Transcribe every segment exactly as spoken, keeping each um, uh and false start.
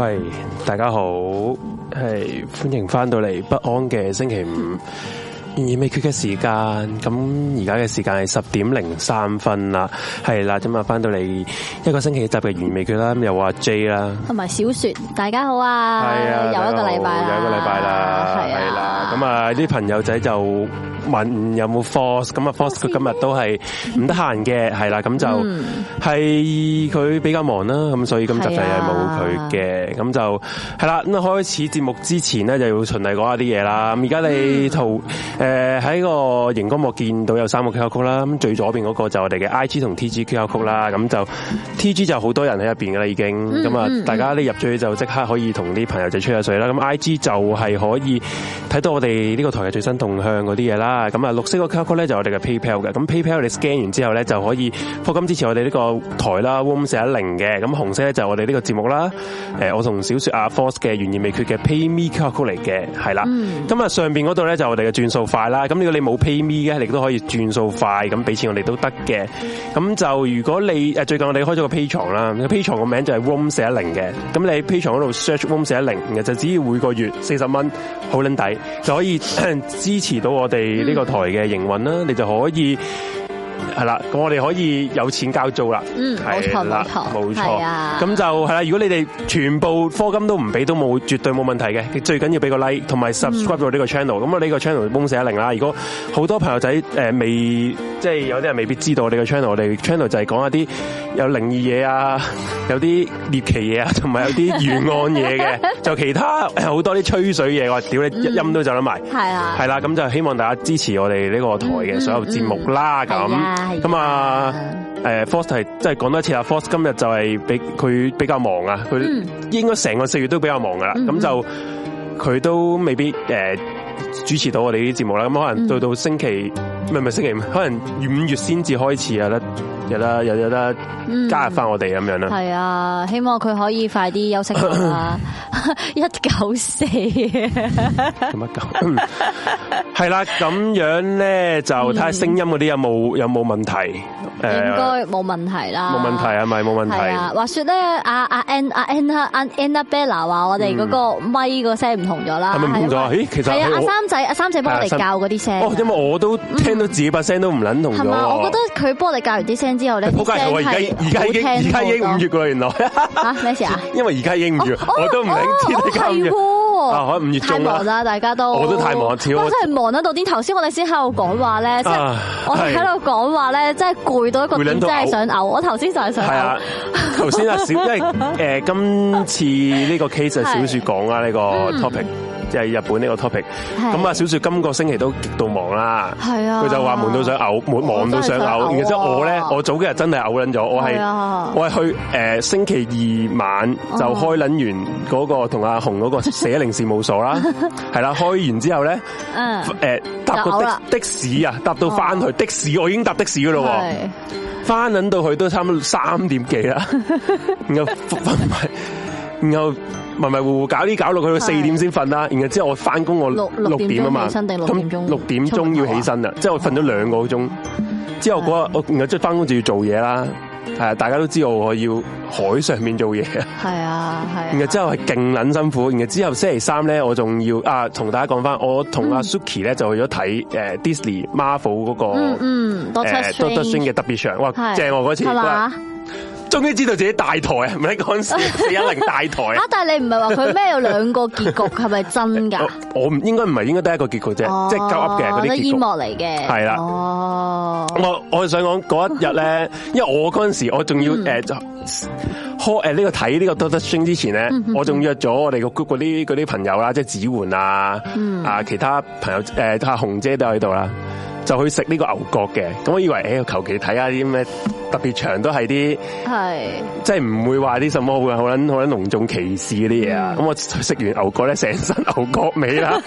喂，大家好，係歡迎翻到嚟不安嘅星期五。懸而未決嘅時間，咁而家嘅時間係十點零三分啦，係啦，咁啊翻到嚟一個星期一集嘅懸而未決啦，咁又話 J 啦， 同埋小雪，大家好啊， 係啊， 又一個禮拜啦， 又一個禮拜啦，係啦，咁啊啲朋友仔就問有冇 Force， 咁啊 Force 佢今日都係唔得閒嘅，係啦，咁就係佢比較忙啦，咁所以今集就係冇佢嘅，咁就係啦，咁開始節目之前咧就要循例講下啲嘢啦，咁而家你圖誒喺個熒光幕見到有三個 Q R code 啦，咁最左邊嗰個就我哋嘅 I G 同 T G Q R code 啦，咁就 T G 就好多人喺入邊噶啦已經，咁啊大家呢入咗去就即刻可以同啲朋友仔吹下水啦，咁 I G 就係可以睇到我哋呢個台嘅最新動向嗰啲嘢啦，咁啊綠色個 Q R code 咧就係我哋嘅 PayPal 嘅，咁 PayPal 你 scan 完之後咧就可以課金支持我哋呢個台啦 ，Room 四一零嘅，咁紅色咧就係我哋呢個節目啦，誒我同小雪阿 Force 嘅懸而未決嘅 PayMe Q R code 嚟嘅，係啦，咁啊上邊嗰度咧就我哋嘅轉數快啦，咁如果你冇 PayMe 嘅，你都可以轉數快咁俾錢我哋都得嘅。咁就如果你誒最近我哋開咗個 Patreon 啦，Patreon 個名就係 Room 四一零嘅。咁你喺 Patreon 嗰度 search Room 四一零，然後就只要每個月四十蚊，好撚抵，就可以支持到我哋呢個台嘅營運啦。你就可以係啦，咁我哋可以有錢交租啦。 嗯，冇錯冇錯， 冇錯。咁就係啦。如果你哋全部課金都唔俾，都冇絕對冇問題嘅。最緊要俾個 like 同埋 subscribe 到呢個 channel。咁我呢個 channel Room 四一零啦。如果好多朋友仔誒未，即係有啲人未必知道我哋個 channel。我哋 channel 就係講一啲有靈異嘢啊，有啲獵奇嘢啊，同埋有啲懸案嘢嘅。就其他好多啲吹水嘢，我屌你一音都就得埋。係啊，係啦。咁就希望大家支持我哋呢個台嘅所有節目啦。咁。咁啊，誒 Force 係即係講多一次啦。Force 今日就係比佢比較忙啊，佢應該成個四月都比較忙噶啦。咁、嗯、就佢都未必誒主持到我哋啲節目啦。咁可能到到星期唔係唔係星期五，可能五月先至開始有得有得有有得加入翻我哋咁樣啦。係啊， 希望佢可以快啲休息啦。一九四咁乜九？係啦，咁樣咧就睇下聲音嗰啲有冇有冇問題。 應該冇問題啦。 冇問題係咪冇問題？係啊。話說咧，阿阿 Ann 阿 Anna 阿 Annabella 話我哋嗰個咪個聲唔同咗啦。係咪唔同咗？咦，其實係啊，阿三仔阿三仔幫我哋教嗰啲聲。哦，因為我都聽到自己把聲都唔撚同咗。係嘛？我覺得佢幫我哋教完啲聲之後咧，啲聲係好聽好多。而家已經而家已經五月噶啦，原來。吓咩事啊？因為而家已經五月，我都唔領知你咁嘅。啊，可能五月中啦。太忙啦，大家都。我都太忙，我真係忙得到啲。頭先我哋先喺度講話咧，即係我哋喺度講話咧，真係攰到一個點，真係想嘔。我頭先就係想嘔。係啊，頭先阿小，因為誒今次呢個 case 係小雪講啦，呢個 topic 即係日本呢個 topic。咁啊，小雪今個星期都極度忙啦。係啊。佢就話悶到想嘔，忙到想嘔。然之後我咧，我早幾日真係嘔撚咗。我係我係去誒星期二晚就開撚完嗰個同阿紅嗰個四一零事務所啦。係啦，開完之後咧，誒搭個的的士啊，搭到翻去的士，我已經搭的士噶咯。翻撚到去都差唔多三點幾啦，然後瞓埋，然後迷迷糊糊搞啲搞落去到四點先瞓啦，然後之後我翻工我六六點啊嘛，咁六點鐘要起身啦，即係我瞓咗兩個鐘，之後嗰日我然後即係翻工就要做嘢啦。係啊，大家都知道我要海上面做嘢啊。係啊，係。然後之後係勁撚辛苦，然後之後星期三咧，我仲要啊，同大家講翻，我同阿 Suki 咧就去咗睇誒 Disney Marvel 嗰個嗯嗯 Doctor Strange 嘅特別場，哇正我嗰次。係嘛？終於知道自己大台啊！唔係嗰陣時四一零大台啊！但係你唔係話佢咩有兩個結局係咪真㗎？我唔應該唔係應該得一個結局啫，即係鳩噏嘅嗰啲結局。煙幕嚟嘅。係啦。哦。我我想講嗰一日咧，因為我嗰陣時我仲要誒就開誒呢個睇呢個 Doctor Strange 之前咧，我仲約咗我哋個 group 嗰啲嗰啲朋友啦，即係子桓啊，啊其他朋友誒阿紅姐都喺度啦。就去食呢個牛角嘅，咁我以為誒求其睇下啲咩特別場都係啲，係即係唔會話啲什麼好好撚好撚隆重歧視嗰啲嘢啊！咁、嗯、我食完牛角咧，成身牛角味啦，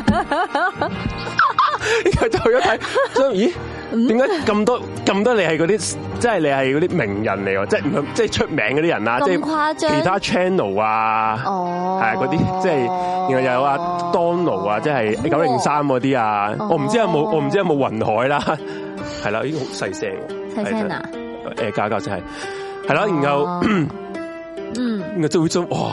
然後就去咗睇，所以咦？點解咁多咁多你係嗰啲，即係你係嗰啲名人嚟喎？即係唔即係出名嗰啲人啊？即係其他 channel 啊，哦，係嗰啲，即係然後又有阿 Donald 啊，即係九零三嗰啲啊，我唔知有冇，我唔知有冇雲海啦，係啦，已經好細聲，細聲啊，誒，教教先係，係啦，然後，嗯，然後就會做哇。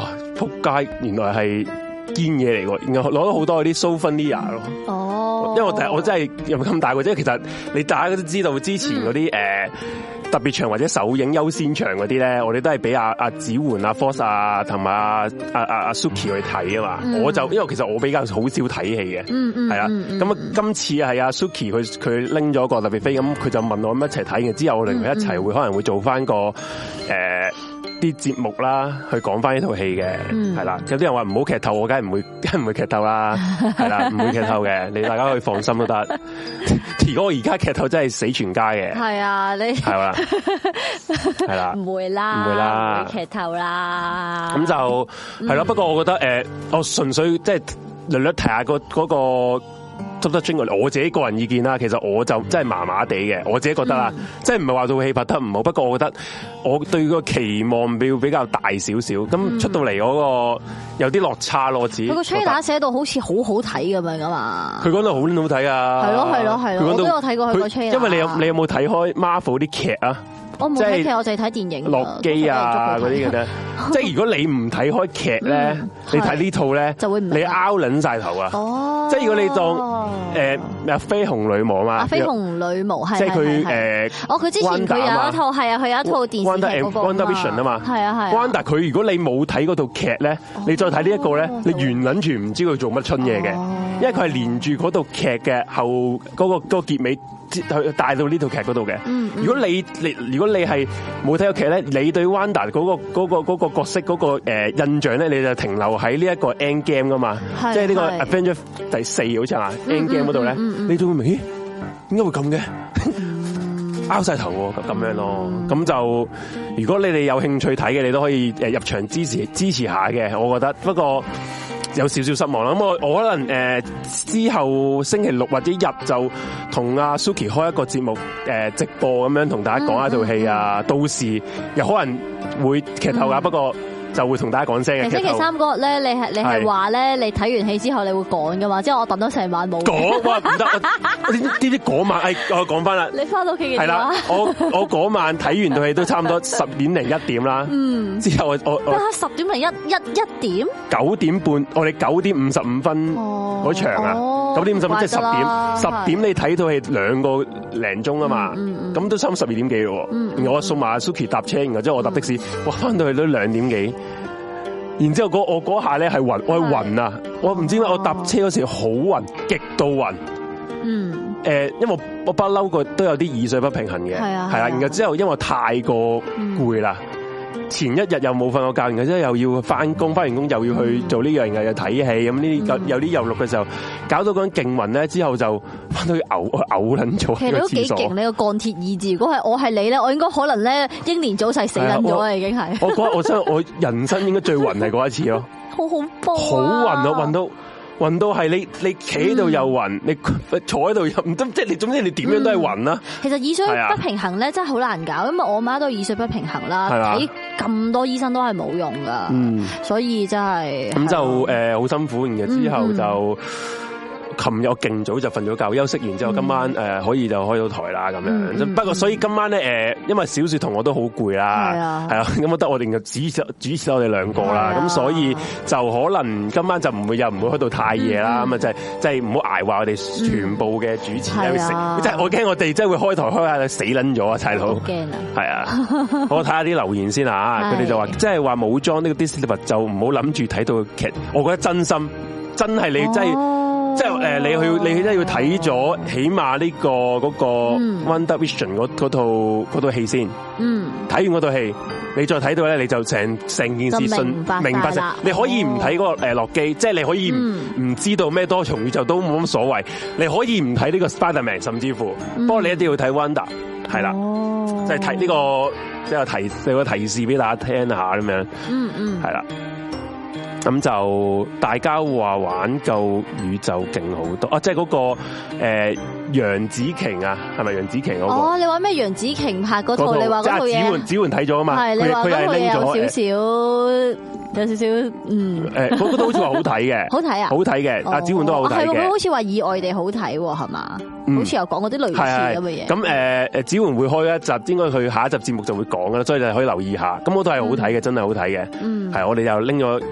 撲街，原來係堅嘢嚟喎，然後攞咗好多嗰啲 souvenir 咯。哦，因為我我真係又咁大個，即係其實你大家都知道之前嗰啲誒特別場或者首映優先場嗰啲咧，我哋都係俾阿阿子桓、阿 Force 啊同埋阿阿阿阿 Suki 去睇啊嘛。嗯、我就因為其實我比較好少睇戲嘅，係啦。咁啊，今次係阿 Suki 佢佢拎咗個特別飛，咁佢就問我咁一齊睇嘅。之後我哋一齊會可能會做翻個誒啲節目啦，去講翻呢套戲嘅，係啦、嗯。有啲人話唔好劇透，我梗係唔會，梗係唔會劇透啦，係啦，唔會劇透嘅，你大家可以放心都得。如果我而家劇透真係死全家嘅，係啊，你係啦，係啦，唔會啦，唔會啦，唔會劇透啦。咁就係咯。不過我覺得誒，我純粹即係略略提下個嗰個。Doctor Strange 我自己個人意見啦，其實我就真係麻麻地嘅，我自己覺得啦，嗯、即係唔係話套戲拍得唔好，不過我覺得我對個期望比比較大少少，咁、嗯、出到嚟嗰個有啲落差咯，自己佢個 trailer 寫到好似好好睇咁樣噶嘛，佢講到好好睇啊，係咯係咯係咯，我都有睇過佢個 trailer，因為你有你有冇睇開 Marvel 啲劇啊？我冇睇劇，我就係睇電影。洛基啊嗰啲嘅啫，即係如果你唔睇開劇咧，你睇呢套咧，就會唔你拗撚晒頭啊！哦，即係如果你當誒咩緋紅女巫嘛，緋紅女巫係即係佢誒，哦佢之前佢有一套係啊，佢有一套電視劇嗰個 WandaVision 啊嘛，係啊係。Wanda 佢如果你冇睇嗰套劇咧，你再睇呢一個咧，你完撚全唔知佢做乜春嘢嘅，因為佢係連住嗰套劇嘅後嗰個嗰個結尾。去帶到呢套劇嗰度嘅。如果你你如果你係冇睇過劇咧，你對 Wanda 嗰個嗰個嗰個角色嗰個誒印象咧，你就停留喺呢一個 End Game 噶嘛，即係呢個 Avengers 第四好似係 End Game 嗰度咧，你都會明，咦？點解會咁嘅？拗晒頭喎，咁樣咯。咁就如果你哋有興趣睇嘅，你都可以誒入場支持支持下嘅，我覺得。不過有少少失望啦，咁我我可能誒之後星期六或者日就同阿 Suki 開一個節目誒直播咁樣同大家講一套戲啊，嗯嗯、到時又可能會劇透噶，嗯、不過就會同大家講聲嘅。星期三嗰日咧，你係你係話咧，你睇完戲之後你會講噶嘛？即係我等咗成晚冇講，哇唔得！呢啲嗰晚誒，我講翻啦。你翻到屋企嘅係啦，我我嗰晚睇完套戲都差唔多十點零一點啦。嗯，之後我我我十點零一一一點九點半，我哋九點五十五分嗰場啊，九點五十分即係十點，十點你睇套戲兩個零鐘啊嘛，咁都差唔多十二點幾咯。然後我送埋阿 Suki 搭車，然後之後我搭的士，哇翻到去都兩點幾。然之後嗰我嗰下咧係暈，我係暈啊！我唔知點解我搭車嗰時好暈，極度暈。嗯。誒，因為我我不嬲個都有啲耳水不平衡嘅，係啊，係啦。然後之後因為我太過攰啦，前一日又冇瞓過覺，然後之後又要翻工，翻完工又要去做呢樣嘢，又睇戲咁呢啲有啲又錄嘅時候，搞到嗰陣勁暈咧，之後就翻到去嘔嘔撚咗。其實你都幾勁，你個鋼鐵意志。如果係我係你咧，我應該可能咧英年早逝死撚咗啊，已經係。我覺得我真係我人生應該最暈係嗰一次咯。好恐怖。好暈啊！暈到。暈到係你你企喺度又暈，你坐喺度又唔得，即係你總之你點樣都係暈啦。其實耳水不平衡咧真係好難搞，因為我媽都耳水不平衡啦，睇咁多醫生都係冇用噶，所以真係咁就誒好辛苦。然後之後就琴日我勁早就瞓咗覺，休息完之後今晚誒可以就開到台啦咁樣。不過所以今晚咧誒，因為小雪同我都好攰啦，係啊，咁我得我哋就主持主持我哋兩個啦，咁所以就可能今晚就唔會又唔會開到太夜啦，咁啊就係即係唔好捱話我哋全部嘅主持喺度食，即係我驚我哋真係會開台開下死撚咗啊，細佬，驚啊，係啊，我睇下啲留言先啊，佢哋就話即係話冇裝呢個 Disney 就唔好諗住睇到劇，我覺得真心真係你真係。即係誒，你去你真係要睇咗，起碼呢個嗰個 WandaVision 嗰嗰套嗰套戲先。嗯，睇完嗰套戲，你再睇到咧，你就成成件事信明白晒。你可以唔睇嗰個誒洛基，即係你可以唔唔知道咩多重宇宙都冇乜所謂。你可以唔睇呢個 Spider-Man， 甚至乎，不過你一定要睇 Wanda， 係啦，即係睇呢個即係提有個提示俾大家聽下咁樣。嗯嗯，係啦。咁就大家話玩救宇宙勁好多啊！即係嗰個誒楊紫瓊啊，係咪楊紫瓊嗰個？哦，你話咩楊紫瓊拍嗰套？你話嗰套嘢？子桓子桓睇咗啊嘛？係，你話嗰套嘢有少少，有少少嗯。誒，嗰個都好似話好睇嘅，好睇啊！好睇嘅，阿子桓都好睇嘅。係喎，佢好似話意外地好睇喎，係嘛？好似有講嗰啲類似咁嘅嘢。咁誒誒，子桓會開一集，應該佢下一集節目就會講噶啦，所以你可以留意下。咁嗰套係好睇嘅，真係好睇嘅。嗯，係我哋又拎咗。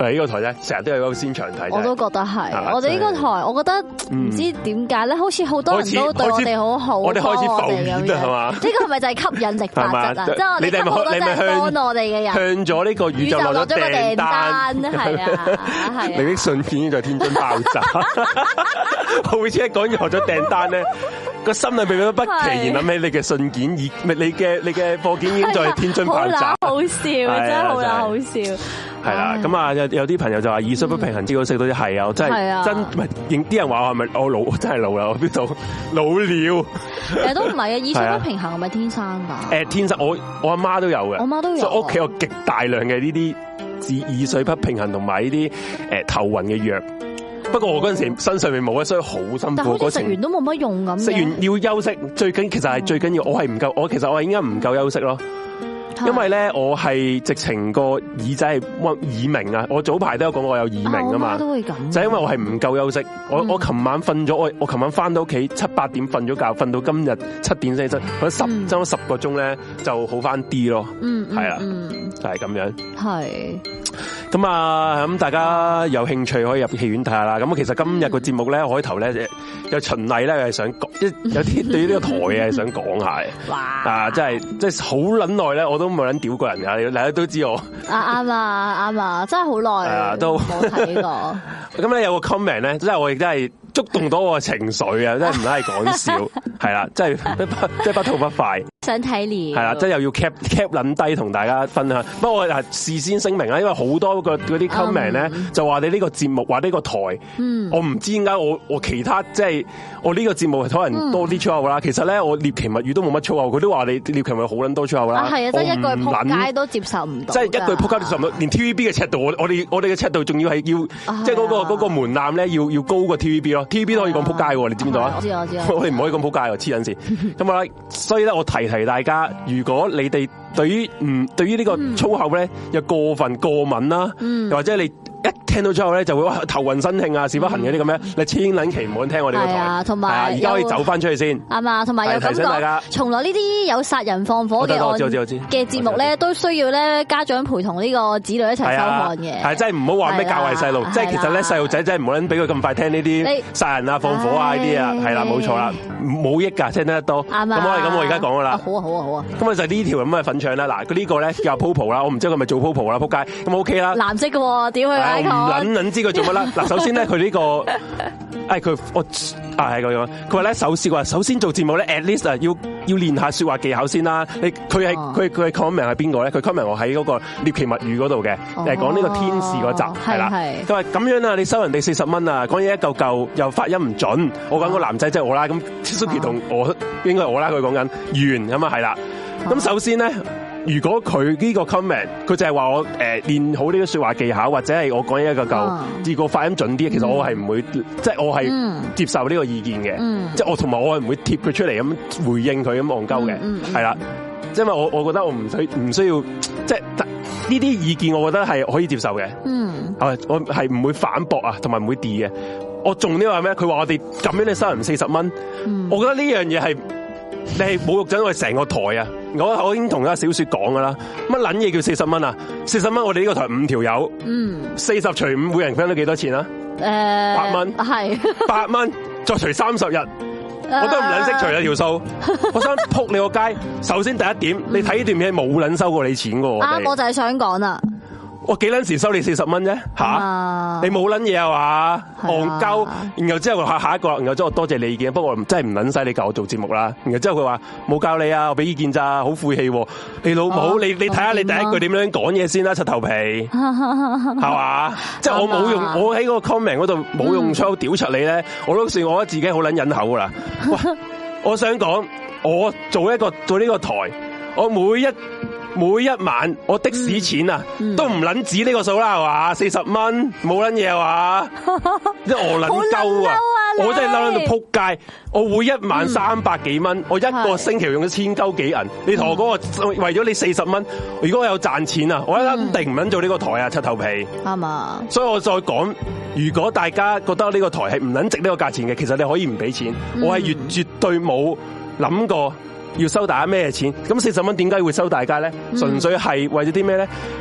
誒呢個台咧，成日都有優先場睇。 我都覺得係，我哋呢個台，我覺得唔知點解咧，好似好多人都對我哋好好， 我哋開始浮現啊，係嘛？ 呢個係咪就係吸引力法則啊？即係我哋好多真係幫我哋嘅人， 向咗呢個宇宙落咗訂單， 係啊，係。 你的信件已經在天津爆炸，好似一講完學咗訂單咧，個心裏邊都不期然諗起你嘅信件，以你嘅你嘅貨件已經在天津爆炸， 好笑，真係好啦，好笑。 係啦，咁啊有有啲朋友就話意識不平衡，知道識到啲係啊，真係真唔係，認啲人話我係咪我老，真係老啦，我邊度老了？ 誒都唔係啊，意識不平衡係咪天生㗎？ 誒天生，我我阿媽都有嘅， 我媽都有， 所以屋企有極大量嘅呢啲耳耳水不平衡同埋呢啲誒頭暈嘅藥。不過我嗰陣時身上面冇啊，所以好辛苦。 嗰食完都冇乜用咁。 食完要休息，最緊其實係最緊要，我係唔夠，我其實我係應該唔夠休息咯。因為咧，我係直情個耳仔係耳鳴啊！我早排都有講我有耳鳴啊嘛，都會咁。就係因為我係唔夠休息，我我琴晚瞓咗，我我琴晚翻到屋企七八點瞓咗覺，瞓到今日七點先起身，嗰十爭咗十個鐘咧就好翻啲咯。嗯，係啊，就係咁樣。係。咁啊，咁大家有興趣可以入戲院睇下啦。咁其實今日個節目咧，開頭咧有循例咧係想講，有啲對於呢個台嘅想講下嘅。哇！啊，真係即係好撚耐咧，我都冇撚屌過人㗎，大家都知我。啊啱啊啱啊，真係好耐啊，都冇睇過。咁咧有個 comment 咧，即係我亦都係觸動到我嘅情緒啊！真係唔係講笑，係啦，真係即係不吐不快。想睇你係啦，即係又要 cap cap 撚低同大家分享。不過我係事先聲明啦，因為好多個嗰啲 comment 咧就話你呢個節目話呢個台，我唔知點解我我其他即係我呢個節目可能多啲粗口啦。其實咧我獵奇物語都冇乜粗口，佢都話你獵奇物語好撚多粗口啦。係啊，即係一句撲街都接受唔到。即係一句撲街接受唔到，連 T V B 嘅尺度，我我哋我哋嘅尺度仲要係要即係嗰個嗰個門檻咧，要要高過 T V B 咯。T V B 都可以講撲街喎，你知唔知道啊？我知我知。我哋唔可以講撲街喎，黐撚線。咁啊，所以咧我提提大家，如果你哋對於唔對於呢個粗口咧有過分過敏啦，又或者你一聽到粗口咧就會哇頭暈身慶啊，屎不痕嗰啲咁樣，你千撚祈唔好聽我哋個台。係啊，同埋而家可以走翻出去先。啱啊，同埋有提醒大家，從來呢啲有殺人放火嘅案嘅節目咧，都需要咧家長陪同呢個子女一齊收看嘅。係，真係唔好話咩教壞細路，即係其實咧細路仔真係唔好撚俾佢咁快聽呢啲殺人啊、放火啊呢啲啊，係啦，冇錯啦，冇益㗎，聽得多。啱啊。咁我係咁，我而家講㗎啦。好啊，好啊，好啊。咁啊就呢條咁嘅粉腸啦，嗱，佢呢個咧叫 Popo 啦，我唔知佢咪做 Popo 啦，撲街。咁 OK 啦。藍色嘅喎，點去？我唔撚撚知佢做乜啦。嗱，首先咧佢呢個，誒佢我啊係咁樣，佢話咧首先話首先做節目咧 at least 啊要要練下説話技巧先啦。你佢係佢佢係 comment 係邊個咧？佢 comment 我喺嗰個獵奇物語嗰度嘅，誒講呢個天使嗰集係啦。佢話咁樣啊，你收人哋四十蚊啊，講嘢一嚿嚿又發音唔準。我講個男仔即係我啦，咁 Suki 同我應該係我啦。佢講緊完咁啊係啦。咁首先咧。如果佢呢個 comment，佢就係話我誒練好呢個説話技巧，或者係我講嘢一個夠，至個發音準啲，其實我係唔會，即係我係接受呢個意見嘅，即係我同埋我係唔會貼佢出嚟咁回應佢咁戇鳩嘅，係啦，因為我我覺得我唔需唔需要，即係呢啲意見，我覺得係可以接受嘅，係我係唔會反駁啊，同埋唔會 D 嘅。我重啲話咩？佢話我哋咁樣你收人四十蚊，我覺得呢樣嘢係。你係侮辱緊我哋成個台啊！我我已經同阿小雪講噶啦，乜撚嘢叫四十蚊啊？四十蚊我哋呢個台五條友，嗯，四十除五，每人分到幾多錢啊？誒、呃，八蚊係八蚊，再除三十日，我都唔撚識除咗條數。我想撲你個街。首先第一點，你睇呢段嘢冇撚收過你錢噶喎。啊，我就係想講啦。我幾撚時收你四十蚊啫？吓、啊，你冇撚嘢啊嘛？戇鳩，然後之後下下一個，然後之後我多謝你意見，不過我真係唔撚使你教我做節目啦。然後之後佢話冇教你啊，我俾意見咋，好晦氣。你老母，哦、你你睇下你第一句點樣講嘢先啦，柒頭皮，係嘛？即係我冇用，我喺嗰個 comment 嗰度冇用粗口屌柒你咧，我都算我覺得自己好撚忍口噶啦。喂，我想講，我做一個做呢個台，我每一。每一晚我的士錢啊，嗯嗯、都唔撚止呢個數啦，係嘛？四十蚊冇撚嘢係嘛？即係我撚鳩啊！我真係嬲到撲街！我每一晚三百幾蚊，嗯、我一個星期用咗千鳩幾銀。你同我講我為咗你四十蚊，如果我有賺錢啊，我一定唔撚做呢個台啊，柒頭皮啱嘛？嗯、所以我再講，如果大家覺得呢個台係唔撚值呢個價錢嘅，其實你可以唔俾錢。嗯、我係越絕對冇諗過。要收大家咩錢？咁四十蚊點解會收大家咧？純粹係為咗啲咩咧？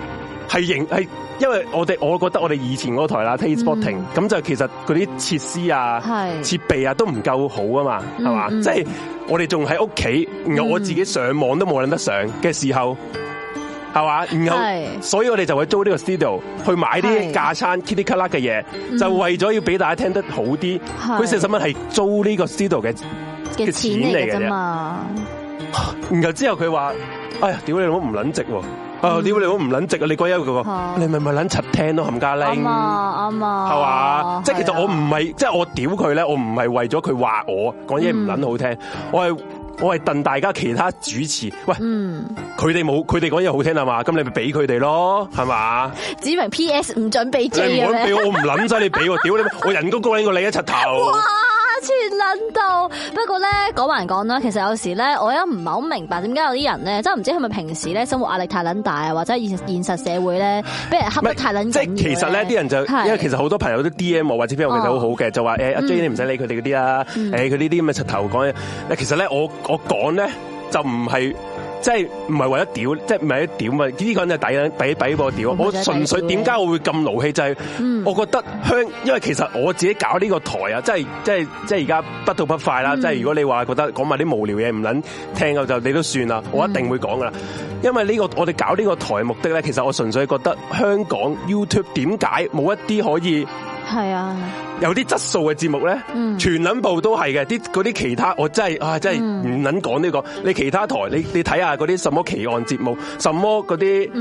係型係，因為我哋我覺得我哋以前嗰台啦 Taste Spotting 咁就其實嗰啲設施啊、設備啊都唔夠好啊嘛，係嘛？即係我哋仲喺屋企，然後我自己上網都冇諗得上嘅時候。係嘛，然後所以我哋就會租呢個 studio 去買啲架撐 kitty 卡啦嘅嘢，就為咗要俾大家聽得好啲。佢四十蚊係租呢個 studio 嘅嘅錢嚟嘅啫嘛。然後之後佢話：哎呀，屌你老母唔撚值喎！啊，屌你老母唔撚值啊！你嗰一個，你咪咪撚柒聽咯，冚家拎。啱啊，啱啊。係嘛？即係其實我唔係，即係我屌佢咧，我唔係為咗佢話我講嘢唔撚好聽，我係。我係戥大家其他主持，喂，佢哋冇，佢哋講嘢好聽啊嘛，咁你咪俾佢哋咯，係嘛？指明 P S 唔准俾 J 啊！你唔好俾我，我唔諗晒你俾我，屌你！我人工高過你一柒頭。哇！全撚到。不過咧，講還講啦，其實有時咧，我又唔係好明白點解有啲人咧，真係唔知係咪平時咧生活壓力太撚大啊，或者現現實社會咧，俾人恰得太撚緊。即係其實咧，啲人就因為其實好多朋友都 D M 我或者 P M 我其實好好嘅，就話誒阿 J 你唔使理佢哋嗰啲啦，誒佢呢啲咁嘅柒頭講嘢。其實咧我我講咧就唔係。即係唔係為咗屌，即係唔係一屌嘛？呢個人就抵抵抵過屌。我純粹點解我會咁勞氣？就係我覺得香，因為其實我自己搞呢個台啊，即係即係即係而家不吐不快啦。即係如果你話覺得講埋啲無聊嘢唔撚聽嘅，就你都算啦。我一定會講噶啦。因為呢個我哋搞呢個台嘅目的咧，其實我純粹覺得香港 YouTube 點解冇一啲可以係啊有啲質素嘅節目咧？全撚部都係嘅，啲嗰啲其他我真係啊真係唔撚講呢個。你其他台你你睇下嗰啲什麼奇案節目，什麼嗰啲誒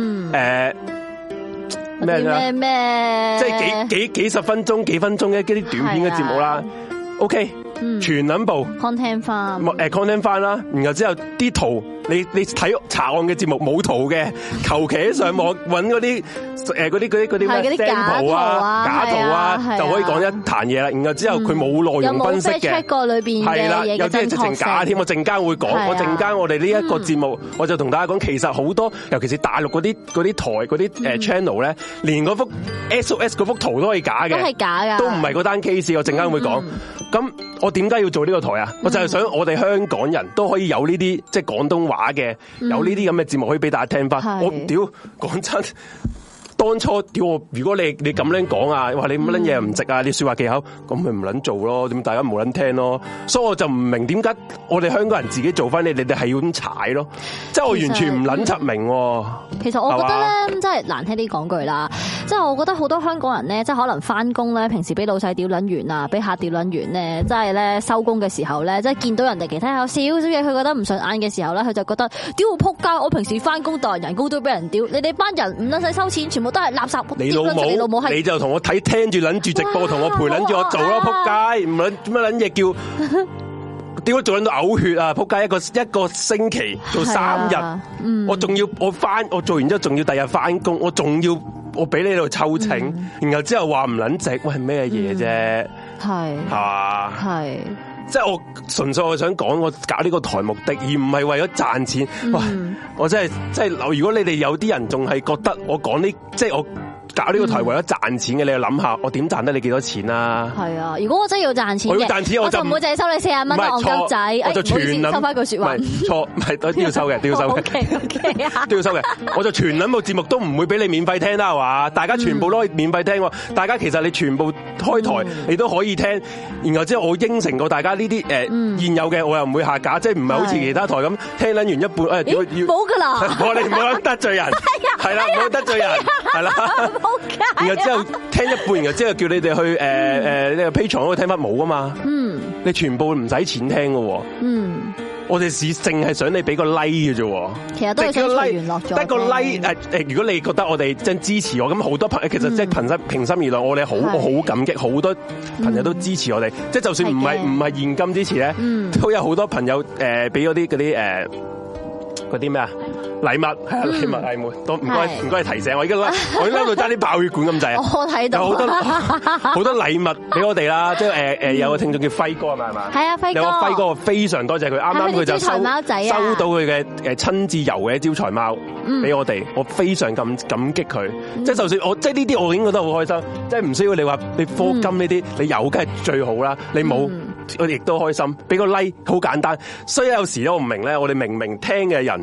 咩咩咩，即係幾幾幾十分鐘、幾分鐘嘅嗰啲短片嘅節目啦。OK，全撚部 content 翻，誒 content 翻啦。然後之後啲圖。你你睇查案嘅節目冇圖嘅，求其喺上網揾嗰啲誒嗰啲嗰啲嗰啲咩 sample 啊假圖啊，就可以講一壇嘢啦。然後之後佢冇內容分析嘅，係啦，有啲係直情假添。我陣間會講，我陣間我哋呢一個節目，我就同大家講，其實好多，尤其是大陸嗰啲嗰啲台嗰啲誒 channel 咧，連嗰幅 S O S 嗰幅圖都係假嘅，都係假㗎，都唔係嗰單 case。我陣間會講。咁我點解要做呢個台啊？我就係想我哋香港人都可以有呢啲即係廣東話嘅，有呢啲咁嘅節目可以俾大家聽翻。我屌講真。當初屌我，如果你你咁樣講啊，話你乜撚嘢唔值啊，你說話技巧，咁咪唔撚做咯，點大家冇撚聽咯，所以我就唔明點解我哋香港人自己做翻你，你哋係要咁踩咯，即係我完全唔撚柒明。其實我覺得咧，真係難聽啲講句啦，即係我覺得好多香港人咧，即係可能翻工咧，平時俾老細屌撚完啊，俾客屌撚完咧，即係咧收工嘅時候咧，即係見到人哋其他有少少嘢，佢覺得唔順眼嘅時候咧，佢就覺得屌我仆街，我平時翻工代人工都俾人屌，你哋班人唔撚使收錢，全部都係垃圾。你老母，你老母你就同我睇聽住撚住直播，同我陪撚住我做咯，仆街唔撚乜撚嘢叫點解做撚到嘔血啊？仆街一個一個星期做三日，嗯、我仲要我翻我做完之後仲要第日翻工，我仲要我俾你喺度抽請，嗯、然後之後話唔撚值，喂係咩嘢啫？係係嘛？係。即係我純粹我想講我搞呢個台目的，而唔係為咗賺錢。喂、嗯，我真係即係，如果你哋有啲人仲係覺得我講呢，即係我搞呢個台為咗賺錢嘅，你就諗下，我點賺得你幾多錢啊？係啊，如果我真係要賺錢嘅，我要賺錢我就唔會淨係收你四十蚊啦，戇鳩仔。我就全收翻句說話。唔係錯，唔係都要收嘅，都要收嘅。OK OK 啊，都要收嘅。我就全撚部節目都唔會俾你免費聽啦，係嘛？大家全部都可以免費聽。大家其實你全部開台你都可以聽。然後之後我應承過大家呢啲誒現有嘅，我又唔會下架，即係唔係好似其他台咁聽撚完一半誒要要冇噶啦。我哋唔好得罪人，係啦，唔好得罪人，係啦。然後之後聽一半，然後之後叫你哋去誒誒呢個 Patreon 嗰度聽翻冇啊嘛，嗯，你全部唔使錢聽噶，嗯，我哋只淨係想你俾個 like 嘅啫，其實都係想隨緣落咗，得個 like 誒誒，如果你覺得我哋真支持我，咁好多朋友其實即係平心平心而論，我哋好我好感激，好多朋友都支持我哋，即係就算唔係唔係現金支持咧，都有好多朋友誒俾嗰啲嗰啲誒嗰啲咩啊？禮物係啊，禮物禮物，都唔該唔該提醒我，而家我而家度揸啲爆血管咁滯啊！我睇到有好多好多禮物俾我哋啦，即係誒誒有個聽眾叫輝哥係咪係嘛？係啊，輝哥有個輝哥非常多謝佢，啱啱佢就收收到佢嘅誒親自油嘅招財貓俾我哋，我非常感感激佢。即係就算我即係呢啲我已經覺得好開心，即係唔需要你話你課金呢啲，你有梗係最好啦，你冇我亦都開心，俾個 like 好簡單。所以有時咧我唔明咧，我哋明明聽嘅人。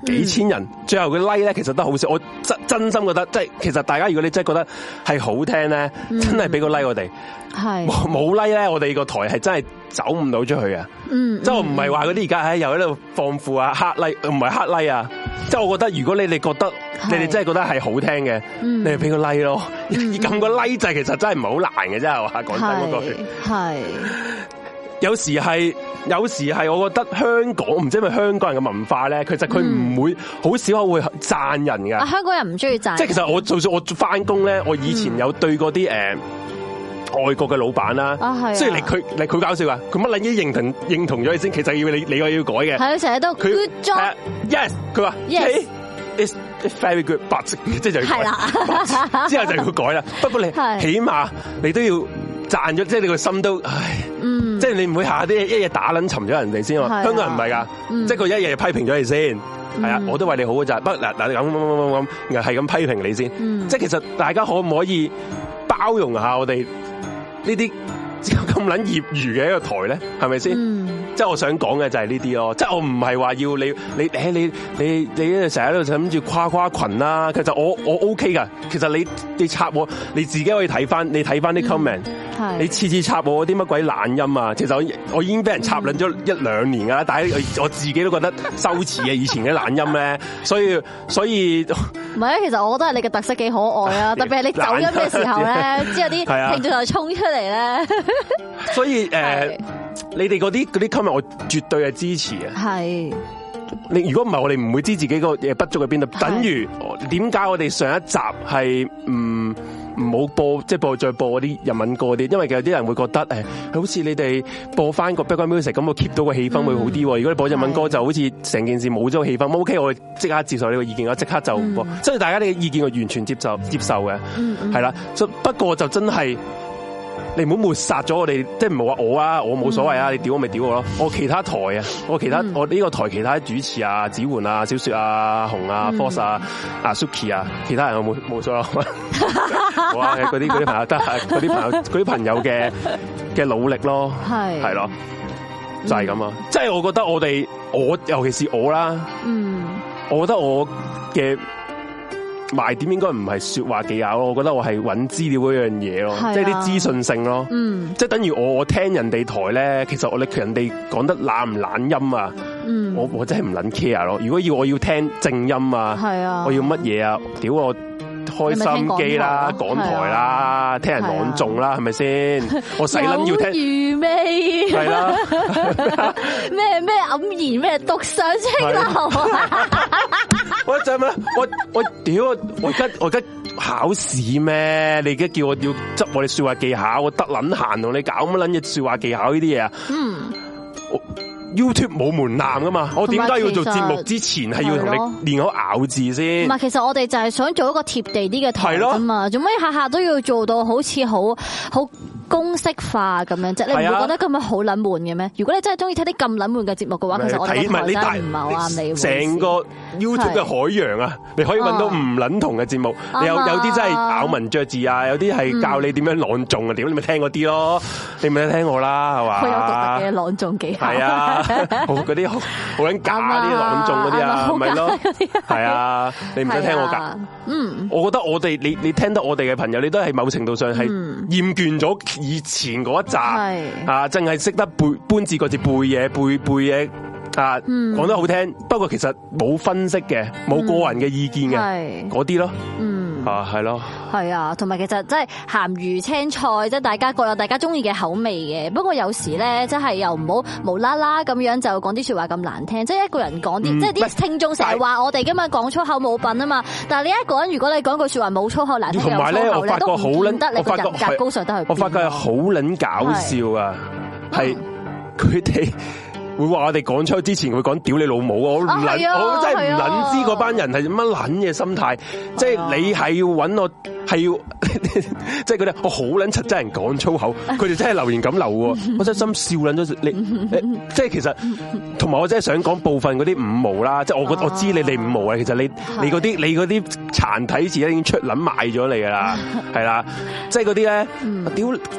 幾千人，最後嘅 like 咧其實都好少。我真真心覺得，即係其實大家如果你真係覺得係好聽咧，真係俾個 like 我哋。係冇冇 like 咧，我哋個台係真係走唔到出去啊！嗯，即係我唔係話嗰啲而家喺又喺度放負啊黑 like，唔係黑 like 啊！即係我覺得如果你哋覺得你哋真係覺得係好聽嘅，你哋俾個 like 咯，撳個 like 掣其實真係唔係好難嘅啫，係嘛？講真嗰句係。有時係，有時係，我覺得香港唔知係咪香港人嘅文化咧，其實佢唔會好少會讚人㗎。啊，香港人唔中意讚。即係其實我就算我翻工咧，我以前有對過啲誒外國嘅老闆啦，即係你佢你佢搞笑啊，佢乜撚嘢認同認同咗你先，其實要你你個要改嘅。係啊，成日都 good job。Yes， 佢話 yes it's very good，but 即係就要改。之後就要改啦。不過你起碼你都要讚咗，即係你個心都唉。嗯，即係你唔會下下啲一日打撚沉咗人哋先喎，香港人唔係噶，即係佢一日批評咗你先，係啊，我都為你好嘅咋，不嗱嗱咁咁咁咁咁，係咁批評你先，即係其實大家可唔可以包容下我哋呢啲咁撚業餘嘅一個台咧，係咪先？即係我想講嘅就係呢啲咯，即係我唔係話要你你誒你你你成日喺度諗住誇誇群啦，其實我我 OK 噶，其實你你插我你自己可以睇翻，你睇翻啲 comment。你次次插我啲乜鬼懶音啊！其實我我已經俾人插撚咗一兩年噶啦，但係我自己都覺得羞恥啊！以前嘅懶音咧，所以所以唔係啊！其實我覺得係你嘅特色幾可愛啊！特別係你走音嘅時候咧，之後啲聽眾就衝出嚟咧。所以誒，你哋嗰啲嗰啲 comment 我絕對係支持啊！係你如果唔係我哋唔會知自己個嘢不足喺邊度。等於點解我哋上一集係唔？唔好播，即係播再播嗰啲日文歌啲，因為有啲人會覺得誒，好似你哋播翻個 background music 咁，我 keep 到個氣氛會好啲。嗯、如果你播日文歌，就好似成件事冇咗個氣氛。O K，我即刻接受呢個意見，我即刻就播。嗯、所以大家呢個意見我完全接受接受嘅，係啦、嗯。不過就真係你唔好抹殺咗我哋，即係唔好話我啊，我冇所謂啊，嗯、你屌我咪屌我咯。我其他台啊，我其他、嗯、我呢個台其他主持啊，子桓啊，小雪啊，紅啊 Force 啊，啊 Suki 啊，其他人我冇冇所謂。好啊，嗰啲嗰啲朋友得，嗰啲朋友嗰啲朋友嘅嘅努力咯，係係咯，就係咁啊！即係我覺得我哋我尤其是我啦，嗯，我覺得我嘅賣點應該唔係說話技巧咯，我覺得我係揾資料嗰樣嘢咯，即係啲資訊性咯，嗯，即係等於我我聽人哋台咧，其實我哋人哋講得懶唔懶音啊，嗯，我我真係唔撚 care 咯。如果要我要聽正音啊，係啊，我要乜嘢啊？屌我！開心機啦，港台啦，聽人朗誦啦，係咪先？我使撚要聽餘味，係啦，咩咩黯然咩獨上青樓，我就咩？我我屌我而家我而家考試咩？你而家叫我要執我哋說話技巧，我得撚閒同你搞乜撚嘢說話技巧呢啲嘢啊？嗯。YouTube 冇門檻噶嘛，我點解要做節目之前係要同你練好咬字先？唔係，其實我哋就係想做一個貼地啲嘅台啫嘛，做咩下下都要做到好似好好公式化咁樣啫？你唔會覺得咁樣好撚悶嘅咩？如果你真係中意睇啲咁撚悶嘅節目嘅話，其實我哋台真係唔係好啱你。成個 YouTube 嘅海洋啊，你可以揾到唔撚同嘅節目，你有有啲真係咬文嚼字啊，有啲係教你點樣朗誦啊，點你咪聽嗰啲咯，你咪聽我啦，係嘛？佢有獨特嘅朗誦技巧。係啊。好嗰啲好好撚假啲朗誦嗰啲啊，係咪咯？係啊，你唔使聽我噶。嗯，我覺得我哋你你聽得我哋嘅朋友，你都係某程度上係厭倦咗以前嗰一集啊，淨係識得背搬字個字背嘢背背嘢啊，講得好聽。不過其實冇分析嘅，冇個人嘅意見嘅嗰啲咯。嗯。啊，係咯，係啊，同埋其實真係鹹魚青菜，即係大家各有大家中意嘅口味嘅。不過有時咧，真係又唔好無啦啦咁樣就講啲說話咁難聽。即係一個人講啲，嗯、即係啲聽眾成日話我哋今日講粗口冇品啊嘛。但係你一個人如果你講句說話冇粗口難聽，同埋咧，我發覺好撚得你個人格高尚得去。我發覺係好撚搞笑啊，係佢哋。會話我哋講出之前會講屌你老母啊！我唔捻，我真係唔捻知嗰班人係乜捻嘅心態。即係你係要搵我，係要即係佢哋我好捻柒真人講粗口，佢哋真係留言咁留喎。我真心笑捻咗你，即係其實同埋我真係想講部分嗰啲五毛啦。即係我我知你哋五毛啊，其實你你嗰啲你嗰啲殘體字已經出捻賣咗你噶啦，係啦，即係嗰啲咧屌。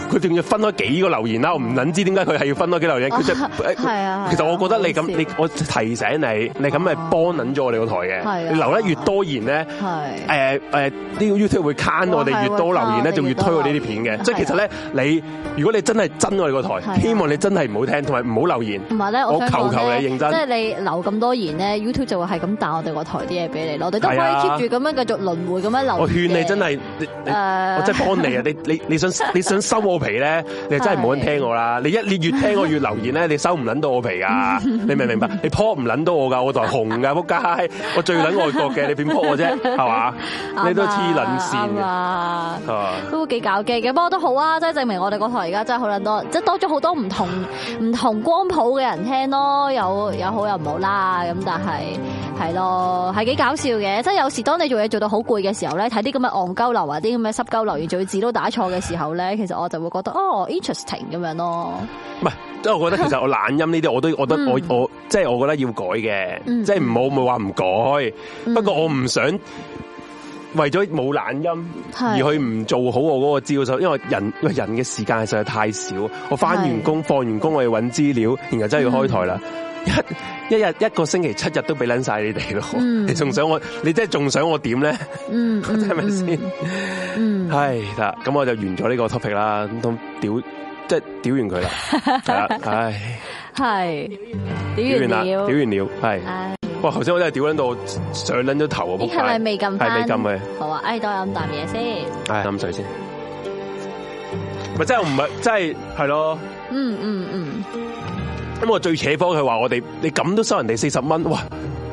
佢仲要分開幾個留言啦，我唔撚知點解佢係要分開幾個留言。佢就係啊，其實我覺得你咁，你我提醒你，你咁咪幫撚咗我哋個台嘅。你留得越多言咧，誒誒呢個 YouTube 會 can 我哋越多留言咧，就越推我呢啲片嘅。即係其實咧，你如果你真係憎我哋個台，希望你真係唔好聽，同埋唔好留言。同埋咧，我求求你認真，即係你留咁多言咧 ，YouTube 就會係咁彈我哋個台啲嘢俾你咯。我哋都可以 keep 住咁樣繼續輪迴咁樣留。我勸你真係，我真係幫你啊！你你你想你想收我皮咧，你真係唔好聽我啦！你一你越聽我越留言咧，你收唔撚到我皮噶，你明唔明白？你撲唔撚到我噶，我台紅噶，仆街！我最撚外國嘅，你點撲我啫？係嘛？你都黐撚線嘅，係嘛？都幾搞基嘅，不過都好啊！即係證明我哋個台而家真係好撚多，即係多咗好多唔同唔同光譜嘅人聽咯，有有好有唔好啦。咁但係係咯，係幾搞笑嘅。即係有時當你做嘢做到好攰嘅時候咧，睇啲咁嘅戇鳩流啊，啲咁嘅濕鳩留言，仲要字都打錯嘅時候咧，其實我就會覺得哦 interesting 咁樣咯。唔係，即係我覺得其實我懶音呢啲，我都我覺得我我即係我覺得要改嘅，即係唔好唔好話唔改。不過我唔想為咗冇懶音而去唔做好我嗰個招數，因為人人嘅時間實在太少。我翻完工放完工我要揾資料，然後真係要開台啦。一一日一個星期七日都俾撚晒你哋咯，你仲想我？你真係仲想我點咧？嗯，係咪先？嗯，係啦，咁我就完咗呢個 topic 啦，咁都屌，即係屌完佢啦，係啦，唉，係屌完啦，屌完了，係。哇！頭先我真係屌撚到上撚咗頭啊！仆街，係咪未撳翻？係未撳嘅。好啊，唉，多飲啖嘢先。唉，飲水先。咪真係唔係，真係係咯。嗯嗯嗯。咁我最扯火佢話我哋，你咁都收人哋四十蚊，哇！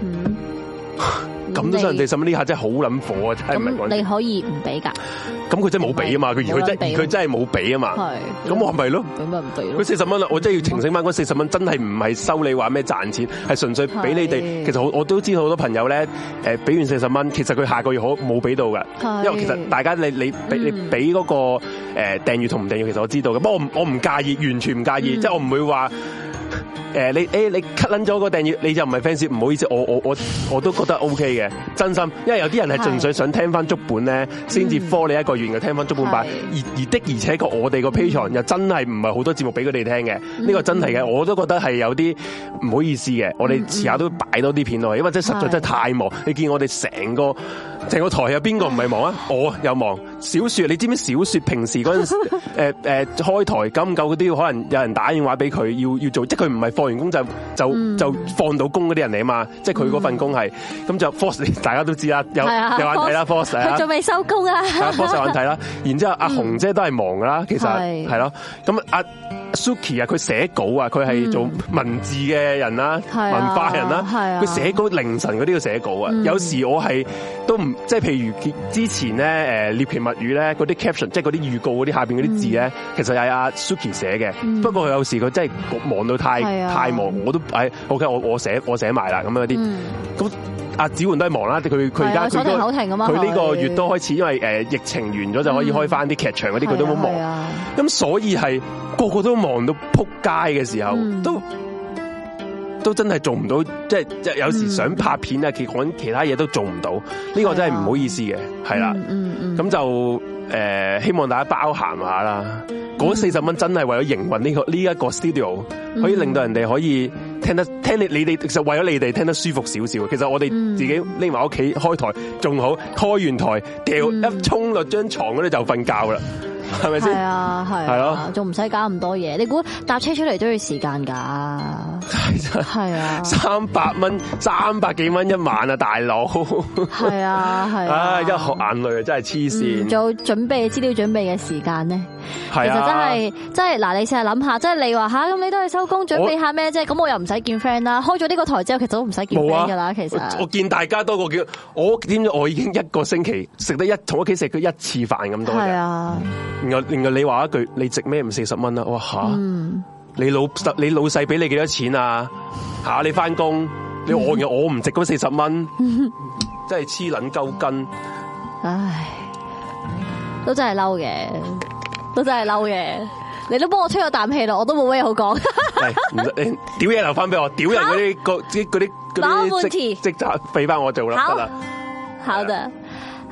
咁都收人哋四十蚊，呢下真係好撚火啊！真係唔係講。你可以唔俾㗎？咁佢真係冇俾啊嘛！佢而佢真而佢真係冇俾啊嘛！係。咁我係咪咯？咁咪唔俾咯？佢四十蚊啦，我真係要澄清翻嗰四十蚊，真係唔係收你話咩賺錢，係純粹俾你哋。其實我我都知道好多朋友咧，誒俾完四十蚊，其實佢下個月可冇俾到㗎。因為其實大家你你俾你俾嗰個誒訂閱同唔訂閱，其實我知道嘅。不過我我唔介意，完全唔介意，即係我唔會話。誒，你誒，你 cut 撚咗個訂閱，你就唔係 fans，唔好意思，我我我我都覺得 O K 嘅，真心，因為有啲人係純粹想聽翻足本咧，先至 follow 你一個月嘅聽翻足本版，而而的而且確我哋個 Patreon 又真係唔係好多節目俾佢哋聽嘅，呢個真係嘅，我都覺得係有啲唔好意思嘅，我哋遲下都擺多啲片落去，因為真係實在真係太忙，你見我哋成個成個台有邊個唔係忙啊？我有忙，小說你知唔知小說平時嗰陣時誒誒開台久唔久嗰啲，可能有人打電話俾佢要要做，即係佢唔係放完工就就、嗯、就放到工嗰啲人嚟啊嘛，即係佢嗰份工係，咁、嗯、就 Force 大家都知啦，有有眼睇啦 Force， 佢仲未收工啊 ，Force 有眼睇啦，然之後阿紅姐都係忙噶啦，其實係咯，咁阿 Suki 啊，佢寫稿啊，佢係做文字嘅人啦，嗯、文化人啦，佢寫稿凌晨嗰啲要寫稿啊，嗯、有時我係都唔即係譬如之前咧誒獵奇物語咧嗰啲 caption， 即係嗰啲預告嗰啲下邊嗰啲字咧，嗯、其實係阿 Suki 寫嘅，嗯、不過佢有時佢真係忙到太太忙，我都誒 OK， 我我寫我寫埋啦咁樣啲，咁阿子桓都係忙啦，佢佢而家佢佢呢個月都開始，因為誒疫情完咗就可以開翻啲劇場嗰啲，佢都好忙，咁所以係個個都忙到撲街嘅時候，嗯、都都真係做唔到，即係即係有時想拍片啊，其講其他嘢都做唔到，呢、呢個真係唔好意思嘅，係啦，咁、嗯嗯嗯、就誒、呃、希望大家包涵下啦。嗰四十蚊真係為咗營運呢個呢一個 studio，可以令到人哋可以聽得聽你你哋，其實為咗你哋聽得舒服少少。其實我哋自己匿埋屋企開台仲好，開完台掉一衝落張床嗰度就瞓覺啦。係咪先？係啊，係。係咯，仲唔使搞咁多嘢？你估搭車出嚟都要時間噶？係啊，三百蚊，三百幾蚊一晚啊，大佬。係啊，係。啊，一學眼淚啊，真係黐線。做準備資料準備嘅時間咧，其實真係真係嗱，你試下諗下，即係你話吓咁，你都係收工準備下咩啫？咁我又唔使見 friend 啦。開咗呢個台之後，其實都唔使見 friend 噶啦。其實我見大家多過叫我，點知我已經一個星期食得一同屋企食咗一次飯咁多嘅。係啊。然後，然後你話一句，你值咩唔四十蚊啊？哇吓！嗯、你老你老細俾你幾多錢啊？吓你翻工，你我嘅我唔值嗰四十蚊，真係黐捻鳩筋。唉，都真係嬲嘅，都真係嬲嘅。你都幫我吹咗啖氣咯，我都冇咩好講。係，屌嘢留翻俾我，屌人嗰啲嗰啲嗰啲嗰啲職職責俾翻我做啦，得啦。好的。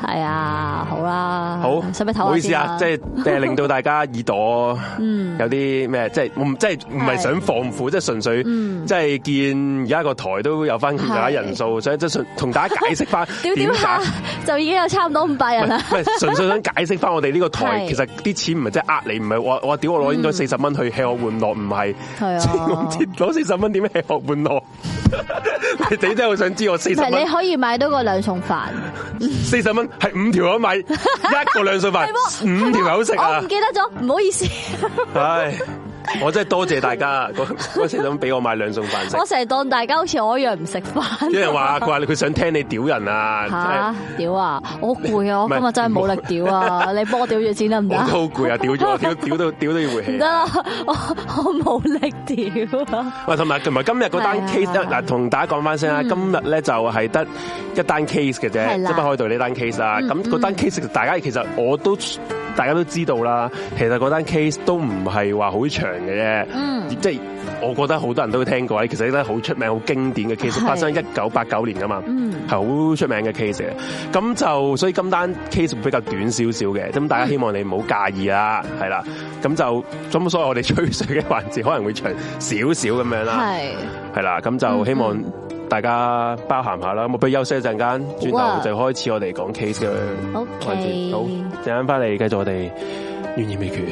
係啊，好啦， 好， 使唔使唞下先？ 唔好意思啊，即係誒令到大家耳朵有啲咩，即係唔即係唔係想放負，即係純粹即係見而家個台都有翻咁大家人數，所以即係同大家解釋翻點解就已經有差唔多五百人啦。 唔係純粹想解釋翻我哋呢個台，其實啲錢唔係即係呃你，唔係我我屌我攞應該四十蚊去吃喝玩樂，唔係攞四十蚊點吃喝玩樂？你真係好想知我四十蚊？ 你可以買到個兩餸飯， 四十蚊係五條友買一個兩餸飯，五條友食啊！ 我唔記得咗，唔好意思。 唉，我真係多謝大家，嗰時想俾我買兩餸飯食。 我成日當大家好似我一樣唔食飯。 有人話佢話佢想聽你屌人啊！ 嚇屌啊！我好攰啊！我今日真係冇力屌啊！你幫我屌住先得唔得？ 我都好攰啊！屌咗我屌屌到屌到要回氣。 唔得啦！我我冇力屌啊！ 喂，同埋同埋今日嗰單 case 嗱，同大家講翻先啦。今日咧就係得一單 case 嘅啫，即係北海道呢單 case 啦。咁嗰單 case 大家其實我都大家都知道啦。其實嗰單 case 都唔係話好長嘅啫。嗯，即係我覺得好多人都聽過，其實都好出名、好經典嘅 case， 發生喺一九八九年噶嘛，係好出名嘅 case 嘅。咁就所以今單 case 會比較短少少嘅，咁大家希望你唔好介意啦，係啦。咁就咁，所以我哋吹水嘅環節可能會長少少咁樣啦，係係啦。咁就希望大家包涵下啦。咁我不如休息一陣間，轉頭就開始我哋講 case 嘅環節。好，陣間翻嚟繼續我哋懸疑未決。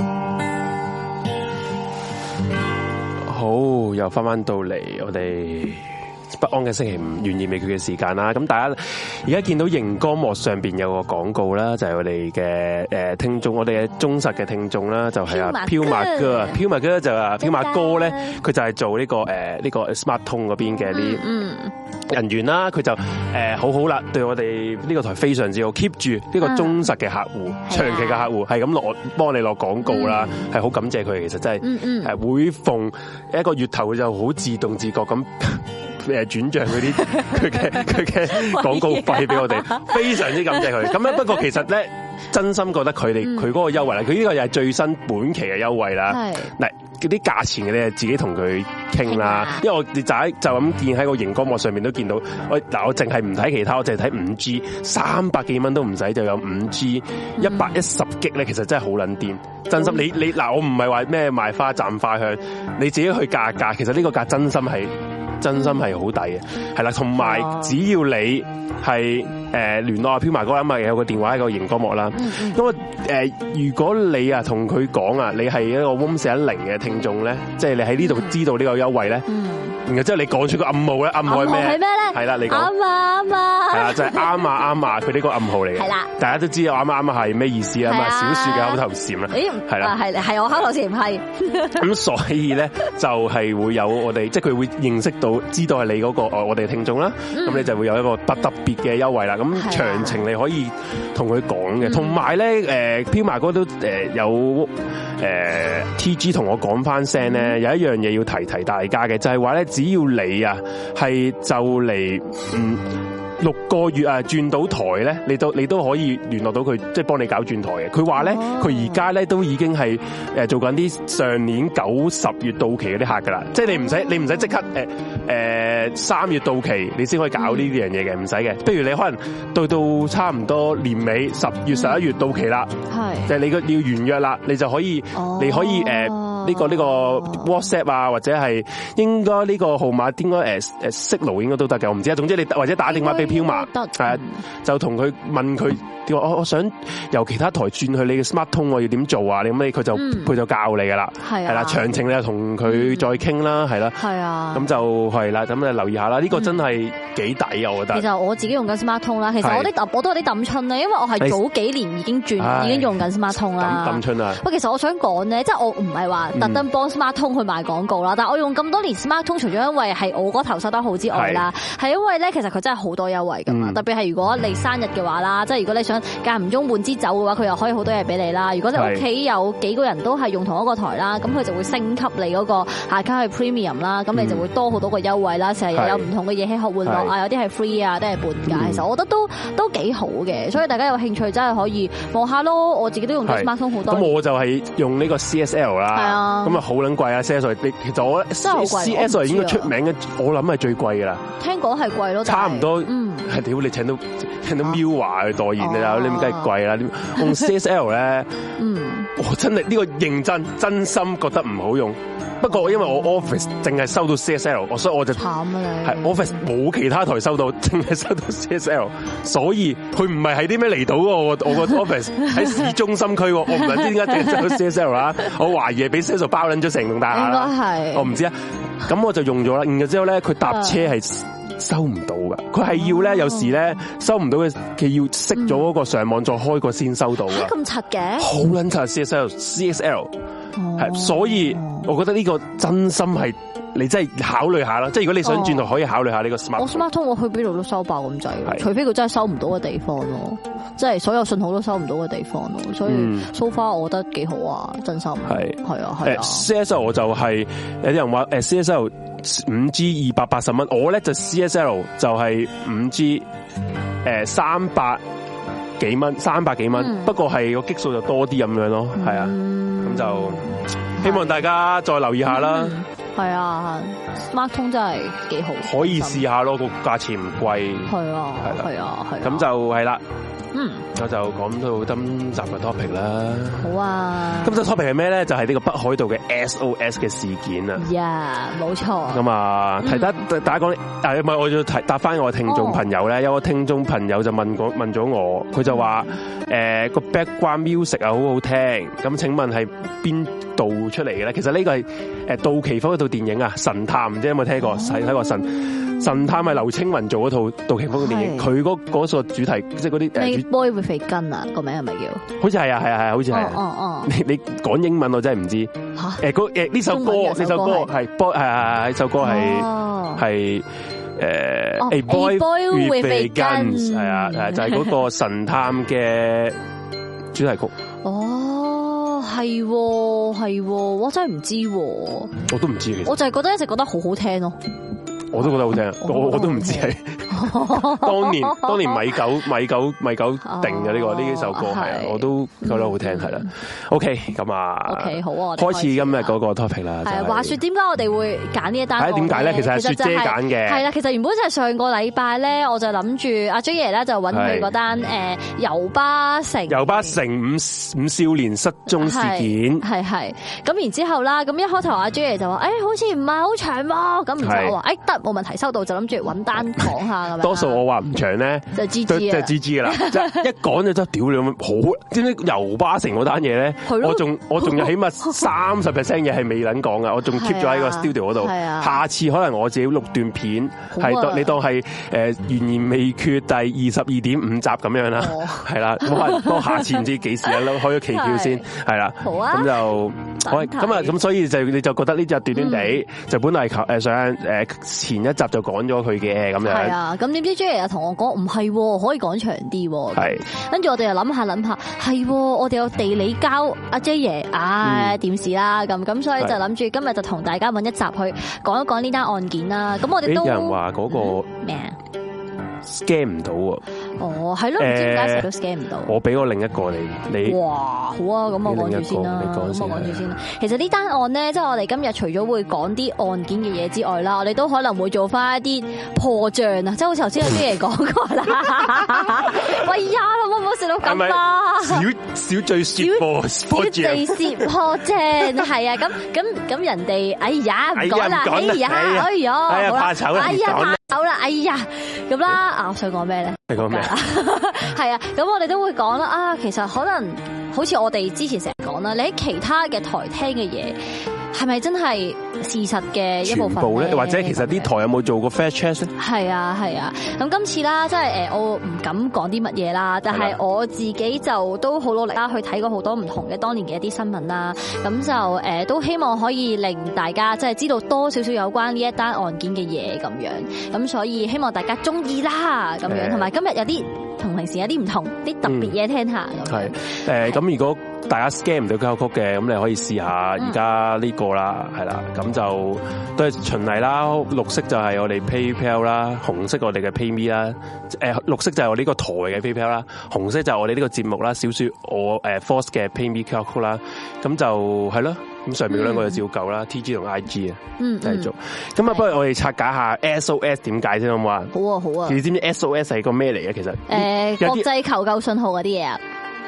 好， 又翻翻到嚟我哋不安嘅星期五，懸疑未決嘅時間啦。咁大家而家見到熒光幕上邊有個廣告啦，就係、是、我哋嘅誒聽眾，我哋嘅忠實嘅聽眾啦，就係啊飄馬哥啊，飄馬哥就啊飄馬哥咧，佢就係做呢、這個誒呢、呃這個 Smart 通嗰邊嘅啲人員啦，佢就誒、呃、好好啦，對我哋呢個台非常之好 ，keep 住呢個忠實嘅客戶，嗯、長期嘅客戶係咁落幫你落廣告啦，係、嗯、好感謝佢，其實真係誒會逢一個月頭就好自動自覺咁。誒轉賬嗰啲佢嘅佢嘅廣告費俾我哋，非常之感謝佢。咁咧不過其實咧，真心覺得佢哋佢嗰個優惠啦，佢呢個又係最新本期嘅優惠啦。嗱，嗰啲價錢嘅你自己同佢傾啦，因為我哋就喺就咁見喺個熒光幕上面都見到。我嗱我淨係唔睇其他，我淨係睇五 G， 三百幾蚊都唔使就有五 G， 一百一十 G 咧，其實真係好撚癲。真心你你嗱，我唔係話咩賣花讚花香，你自己去價價，其實呢個價真心係。真心係好抵嘅，係啦，同埋只要你係誒聯絡阿飄埋哥，因為有個電話喺個熒光幕啦。咁啊誒，如果你啊同佢講啊，你係一個 room 四一零嘅聽眾咧，即係你喺呢度知道呢個優惠咧。然後之後你講出個暗號咧，暗號係咩？係咩咧？係啦，你講啱啊啱啊，係啦，就係啱啊啱啊，佢呢個暗號嚟嘅。係啦，大家都知道啱啊啱啊係咩意思啊？咁啊，小樹嘅口頭禪啦。係啦，係係我口頭禪係。咁所以咧就係會有我哋，即係佢會認識到，知道係你嗰個我哋聽眾啦。咁你就會有一個特特別嘅優惠啦。咁詳情你可以同佢講嘅。同埋咧，誒飄埋哥都誒有誒 T G 同我講翻聲咧，有一樣嘢要提提大家嘅，就係話咧。只要你啊係就嚟嗯六個月啊轉到台咧，你都你都可以聯絡到佢，即係幫你搞轉台嘅。佢話咧，佢而家咧都已經係誒做緊啲上年九十月到期嗰啲客噶啦，即係你唔使你唔使即刻誒誒三月到期你先可以搞呢啲樣嘢嘅，唔使嘅。不如你可能到到差唔多年尾十月十一月到期啦，係就係你個要完約啦，你就可以你可以誒。呢、這個呢、這個 WhatsApp 啊，或者係應該呢個號碼應該誒誒 Signal 應該都得嘅，我唔知啊。總之你或者打電話俾飄馬，係啊，就同佢問佢，我我我想由其他台轉去你嘅 Smart 通，我要點做啊？你咁你佢就佢、嗯、就教你噶啦，係啦，詳情你就同佢再傾啦，係啦，係啊，咁就係啦，咁你留意下啦。呢、這個真係幾抵啊，我覺得。其實我自己用緊 Smart 通啦，其實我啲我都有啲抌春咧，因為我係早幾年已經轉，已經用緊 Smart 通啦。抌春啊！喂，其實我想講咧，即係我唔係話。特登幫 Smart 通去賣廣告啦，但係我用咁多年 Smart 通，除咗因為係我嗰頭收得好之外啦，係因為咧其實佢真係好多優惠噶嘛，特別係如果你生日嘅話啦，即係如果你想間唔中換支酒嘅話，佢又可以好多嘢俾你啦。如果你屋企有幾個人都係用同一個台啦，咁佢就會升級你嗰個下卡去 Premium 啦，咁你就會多好多個優惠啦，成日有唔同嘅嘢吃喝玩樂啊，有啲係 free 啊，都係半價。其實我覺得都都幾好嘅，所以大家有興趣真係可以望下咯。我自己都用咗 Smart 通好多。咁我就係用呢個 C S L 啦，係啊，咁啊好撚貴啊 C S L， 其實我 C S L 應該出名嘅，我諗係最貴㗎啦。聽講係貴咯，差唔多。嗯，係屌你請到請到 Mirror 去代言啊，你咁梗係貴啦。用 C S L 咧，嗯，我真係呢個認真真心覺得唔好用。不過因為我 Office 淨係收到 C S L， 所以我就慘啊你。係 Office 冇其他台收到，淨係收到 C S L， 所以佢唔係喺啲咩離島喎。我我個 Office 喺市中心區，我唔知點解淨係收到 C S L 啦。我懷疑係俾 C S L 包撚咗成棟大廈啦。應該係，我唔知啊。咁我就用咗啦，然後之後咧，佢搭車係收唔到噶，佢係要咧，有時咧收唔到嘅，佢要熄咗嗰個上網再開個先收到嘅。咁柒嘅，好撚柒 C S L，C S L 係，所以我覺得呢個真心係你真係考慮下啦。即係如果你想轉台，可以考慮下呢個 Smart。我 Smart 通我去邊度都收爆咁滯，除非佢真係收唔到嘅地方咯，即係所有信號都收唔到嘅地方咯。所以 so far 我覺得幾好啊，真心係係啊係啊。C S L 我就係有啲人話誒 C S L。五 G 二百八十蚊，我咧就 C S L 就係五 G， 誒三百幾蚊，三百幾蚊，不過係個激數就多啲咁樣咯，係啊，咁就希望大家再留意下啦。係啊 ，Smart 通真係幾好，可以試下咯，個價錢唔貴。係啊，係啊，係。咁就係啦。嗯，我就講到今集嘅 topic 啦。好啊，今集 topic 係咩咧？就係、是、呢個北海道嘅 S O S 嘅事件啊。呀，冇錯。咁啊，提得大家講，但係唔係我要提答翻我聽眾朋友咧。有個聽眾朋友就問過問咗我，佢就話誒個 background music 啊好好聽。咁請問係邊度出嚟嘅咧？其實呢個係誒杜琪峰嗰套電影啊，神探，唔知有冇聽過？睇睇過神。 神探係劉青雲做嗰套杜琪峰嘅電影，佢嗰嗰個主題即係嗰啲誒 Boy 會肥根啊，個名係咪叫？ 好似係啊係啊係啊，好似係。哦哦。你你講英文我真係唔知。嚇。誒嗰誒呢首歌呢首歌係 Boy 係係係首歌係係。誒、uh, ，A boy with a gun 係啊，係就係嗰個神探嘅主題曲。 哦，係係，我真係唔知， 我都唔知嘅。 我就係覺得一直覺得好好聽咯。 我都覺得好聽，我我都唔知係。當年當年米九米九米九定嘅呢個呢幾首歌係啊，我都覺得好聽係啦。OK， 咁啊，OK 好啊，開始今日嗰個 topic 啦。係話說點解我哋會揀呢一單？點解咧？其實係雪姐揀嘅。 係啦，其實原本就係上個禮拜咧，我就諗住阿 J 爺咧就揾佢嗰單誒油巴城油巴城五五少年失蹤事件。 係係咁然之後啦，咁一開頭阿 J 爺就話誒好似唔係好長喎，咁然之後我話誒得冇問題收到，就諗住揾單講下咁樣。 多數我話唔長咧， 就 G G 即係 G G 噶啦，即係一講就真係屌你咁好。知唔知油巴城嗰單嘢咧？我仲我仲有起碼三十 percent 嘢係未撚講噶，我仲 keep 咗喺個 studio 嗰度。下次可能我自己錄段片，係當你當係誒懸疑未決第二十二點五集咁樣啦，係啦。咁可能下次唔知幾時啊，開咗期票先，係啦。好啊，咁就咁啊，咁所以就你就覺得呢集短短地，就本來誒想誒前一集就講咗佢嘅咁樣。係啊， 咁點知 J 又同我講唔係，可以講長啲。 係， 跟住我哋又諗下諗下，係我哋有地理交阿 J 爺，唉，點事啦咁咁，所以就諗住今日就同大家揾一集去講一講呢單案件啦。咁我哋都有人話嗰個咩啊？scan 唔到喎。哦，係咯，唔知點解成日都 scan 唔到。我俾我另一個你，你哇，好啊，咁我講住先啦，咁我講住先啦。其實呢單案咧，即係我哋今日除咗會講啲案件嘅嘢之外啦，我哋都可能會做翻一啲破帳啊，即係好似頭先有啲嘢講過啦。喂呀，可唔可以笑到咁啊？ 小小罪説破破帳， 小罪説破帳，係啊，咁咁咁人哋，哎呀，唔講啦，哎呀，哎呀， 哎呀，怕醜啦， 哎呀，怕醜啦，哎呀，咁啦。啊！我想講咩咧？ 你講咩？ 係啊，咁我哋都會講啦。啊，其實可能好似我哋之前成日講啦，你喺其他嘅台聽嘅嘢，係咪真係事實嘅一部分咧？ 或者其實啲台有冇做過 fact check 咧？ 係啊，係啊。咁今次啦，即係誒，我唔敢講啲乜嘢啦。但係我自己就都好努力啦，去睇過好多唔同嘅當年嘅一啲新聞啦。咁就誒，都希望可以令大家即係知道多少少有關呢一單案件嘅嘢咁樣。咁所以希望大家中意啦，咁樣。同埋今日有啲同平時有啲唔同，啲特別嘢聽下。 係誒，咁如果大家 scan 唔到交曲嘅，咁你可以試下而家呢個啦，係啦，咁就都係循例啦。綠色就係我哋 PayPal 啦，紅色我哋嘅 PayMe 啦，誒綠色就係我呢個台嘅 PayPal 啦，紅色就係我哋呢個節目啦，小說我誒 Force 嘅 PayMe 交曲啦，咁就係咯，咁上面嗰兩個就照舊啦、嗯、，T G 同 I G 啊，嗯，繼續。咁啊，不如我哋拆解下 S O S 點解先好唔好啊？好啊，好啊。你知唔知 S O S 係個咩嚟嘅？其實誒、 呃，國際求救信號嗰啲嘢啊。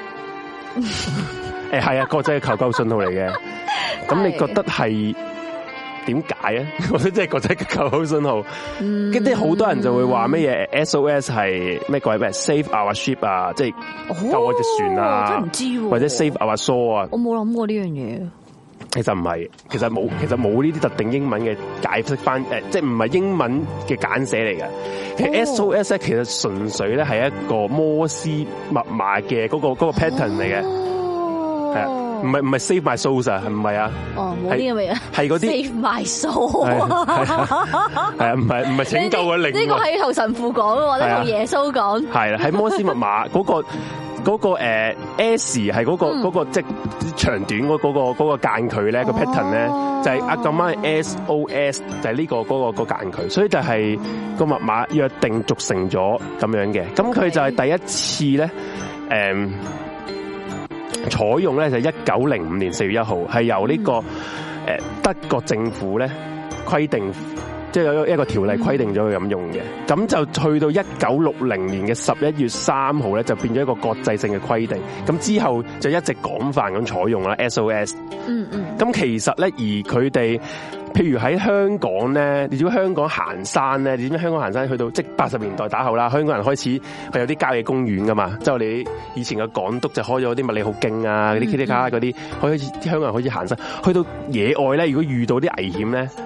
誒，係啊，國際求救信號嚟嘅。咁你覺得係點解啊？我覺得即係國際求救信號。跟啲好多人就會話乜嘢 S O S 係咩鬼咩 Save our ship 啊，即係救我隻船啊， 真唔知， 或者 Save our soul 啊。 我冇諗過呢樣嘢。 其實唔係，其實冇，其實冇呢啲特定英文嘅解釋翻，誒，即係唔係英文嘅簡寫嚟嘅。其實 S O S 咧，其實純粹咧係一個摩斯密碼嘅嗰個嗰個 pattern 嚟嘅。係啊，唔係唔係 save my soul 啊，係唔係啊？哦，冇呢個嘢，係嗰啲 save my soul，係啊，唔係唔係拯救嘅靈。呢個係同神父講嘅，呢同耶穌講。係啦，喺摩斯密碼嗰個嗰個誒 S 係嗰個嗰個即係長短嗰嗰個嗰個間距咧個 pattern 咧就係啊咁啱 S O S 就係呢個嗰個個間距，所以就係個密碼約定俗成咗咁樣嘅。咁佢就係第一次咧誒。採用咧就一九零五年四月一號，係由呢個誒德國政府咧規定，即係有一個條例規定咗佢咁用嘅。咁就去到一九六零年嘅十一月三號咧，就變咗一個國際性嘅規定。咁之後就一直廣泛咁採用啦 S O S。嗯嗯。咁其實咧，而佢哋。譬如喺香港咧，你知唔知香港行山咧？你知唔知香港行山去到即係八十年代打後啦，香港人開始係有啲郊野公園噶嘛，即係我哋以前嘅港督就開咗啲麥理浩徑啊，嗰啲 K T 卡嗰啲，開始啲香港人開始行山，去到野外咧，如果遇到啲危險咧，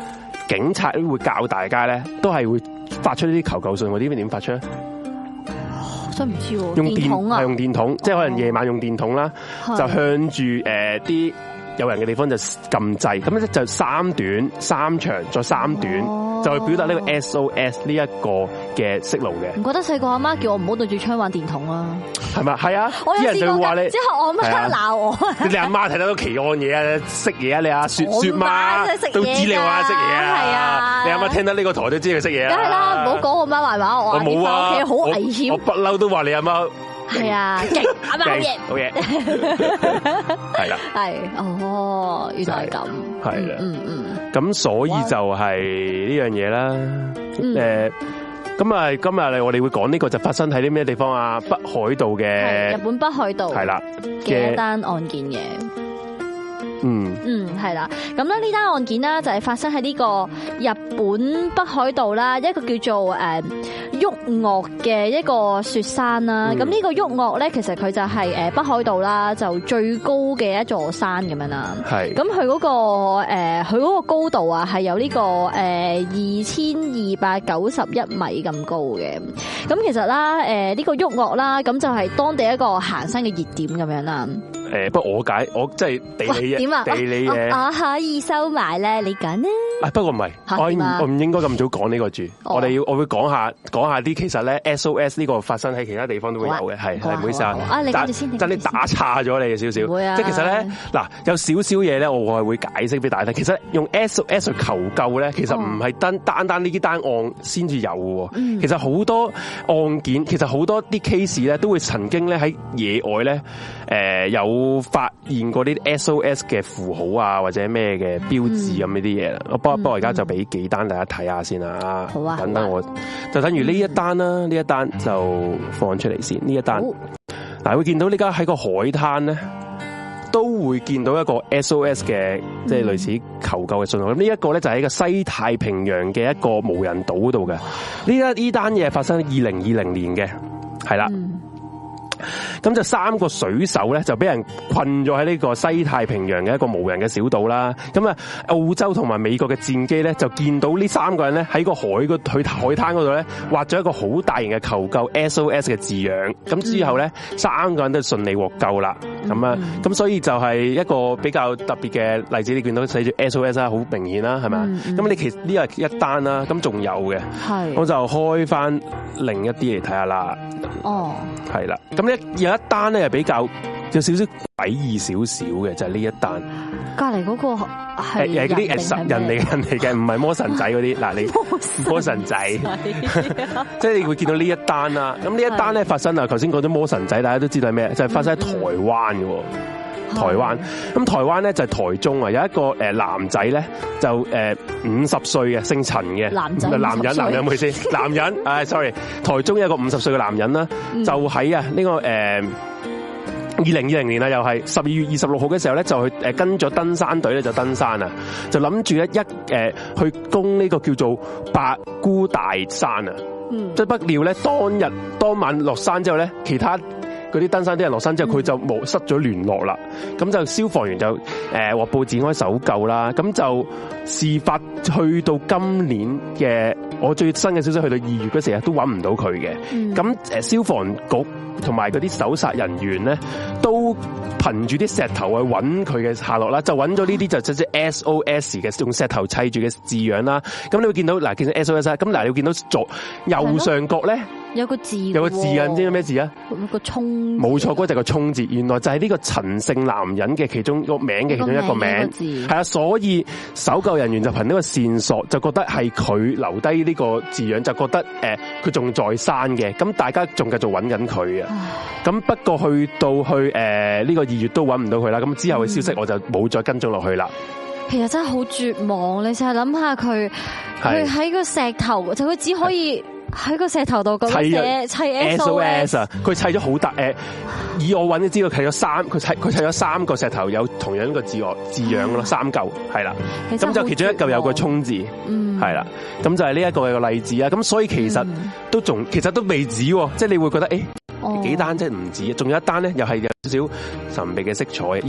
警察會教大家咧，都係會發出呢啲求救信，我啲點發出咧？ 真唔知喎， 用電筒啊， 係用電筒，即係可能夜晚用電筒啦，就向住誒啲有人嘅地方就撳掣，咁咧就三短三長再三短，就去表達呢個 S O S 呢一個嘅息路嘅。 唔覺得細個阿媽叫我唔好對住窗玩電筒啊？係咪？係啊， 我有人就話你， 之後我阿媽鬧我。 你阿媽睇到奇案嘢啊，識嘢啊，你阿雪雪媽都知你話識嘢啊。係啊，你阿媽聽到呢個台都知佢識嘢啊。梗係啦，唔好講我媽壞話，我冇啊， 屋企好危險。 我不嬲都話你阿媽。 係啊，勁阿媽好嘢， 好嘢，係啦， 係哦，原來係咁， 係啦， 嗯嗯， 咁所以就係呢樣嘢啦，誒，咁啊，今日我哋會講呢個就發生喺啲咩地方啊？北海道嘅日本北海道係啦嘅一單案件嘅。嗯嗯係啦，咁咧呢單案件啦就係發生喺呢個日本北海道啦，一個叫做誒旭岳嘅一個雪山啦。咁呢、嗯、個旭岳咧，其實佢就係誒北海道啦，就最高嘅一座山咁樣啦。係，咁佢嗰個誒佢嗰個高度啊，係有呢個誒二千二百九十一米咁高嘅。咁其實啦，誒呢個旭岳啦，咁就係當地一個行山嘅熱點咁樣啦。誒，不過我解我即係地理嘢，地理嘢，我可以收埋咧，你講啦。啊，不過唔係，我我唔應該咁早講呢個住，我哋要我會講下講下啲其實咧 S O S 呢個發生喺其他地方都會有嘅，係係唔好意思啊。啊，你跟住先，真係打岔咗你嘅少少。會啊，即係其實咧嗱，有少少嘢咧，我係會解釋俾大家聽。其實用 S O S 去求救咧，其實唔係單單單呢啲單案先至有嘅。其實好多案件，其實好多啲 case 咧，都會曾經咧喺野外咧，誒有。發現過啲 S O S 嘅符號啊，或者咩嘅標誌咁呢啲嘢啦。不過不過而家就俾幾單大家睇下先啦。好啊，等等我就等於呢一單啦，呢一單就放出嚟先。呢一單嗱，會見到呢家喺個海灘咧，都會見到一個 S O S 嘅即係類似求救嘅信號。咁呢一個咧就喺個西太平洋嘅一個無人島度嘅。呢一呢單嘢發生喺二零二零年嘅，係啦。咁就三個水手咧就俾人困咗喺呢個西太平洋嘅一個無人嘅小島啦。咁啊，澳洲同埋美國嘅戰機咧就見到呢三個人咧喺個海嗰去海灘嗰度咧畫咗一個好大型嘅求救 S O S 嘅字樣。咁之後咧三個人都順利獲救啦。咁啊，咁所以就係一個比較特別嘅例子。你見到寫住 S O S 啦，好明顯啦，係咪？咁你其實呢個一單啦，咁仲有嘅，我就開翻另一啲嚟睇下啦。哦，係啦，咁咧有一單咧係比較有少少詭異少少嘅，就係、是、呢一單。隔籬嗰個係誒嗰啲誒人嚟人嚟嘅，唔係魔神仔嗰啲。嗱，你魔神仔，即係你會見到呢一單啦。咁呢一單咧發生啊，頭先講咗魔神仔，大家都知道係咩？就係、是、發生喺台灣嘅。台灣咁台灣咧就係台中啊，有一個誒男仔咧就誒五十歲嘅，姓陳嘅男仔，男人男人唔好意思，男人，誒 sorry，台中有一個五十歲嘅男人啦，就喺啊呢個誒二零二零年啊，又係十二月二十六號嘅時候咧，就去誒跟咗登山隊咧就登山啊，就諗住一一誒去攻呢個叫做白姑大山啊，即係不料咧當日當晚落山之後咧，其他嗰啲登山啲人落山之後，佢就冇失咗聯絡啦。咁就消防員就誒獲報展開搜救啦。咁就事發去到今年嘅我最新嘅消息，去到二月嗰時啊，都揾唔到佢嘅。咁誒消防局同埋嗰啲搜查人員咧，都憑住啲石頭去揾佢嘅下落啦。就揾咗呢啲就即係 S O S 嘅用石頭砌住嘅字樣啦。咁你會見到嗱，其實 S O S 啦。咁嗱，你會見到左右上角咧。有個字，有個字啊，唔知咩字啊？個衝，冇錯，嗰就係個衝字。原來就係呢個陳姓男人嘅其中個名嘅其中一個名，係啊。所以搜救人員就憑呢個線索，就覺得係佢留低呢個字樣，就覺得誒佢仲在生嘅。咁大家仲繼續揾緊佢啊。咁不過去到去誒呢個二月都揾唔到佢啦。咁之後嘅消息我就冇再跟蹤落去啦。其實真係好絕望，你成日諗下佢，佢喺個石頭，就佢只可以。喺個石頭度咁寫砌 S O S 啊！佢砌咗好大誒，以我揾嘅資料砌咗三，佢砌佢砌咗三個石頭有同樣個字樣字樣咯，三嚿係啦。咁就其中一嚿有個衝字，係啦。咁就係呢一個嘅例子啊。咁所以其實都仲其實都未止，即係你會覺得誒幾單即係唔止，仲有一單咧，又係有少少神秘嘅色彩。而呢一單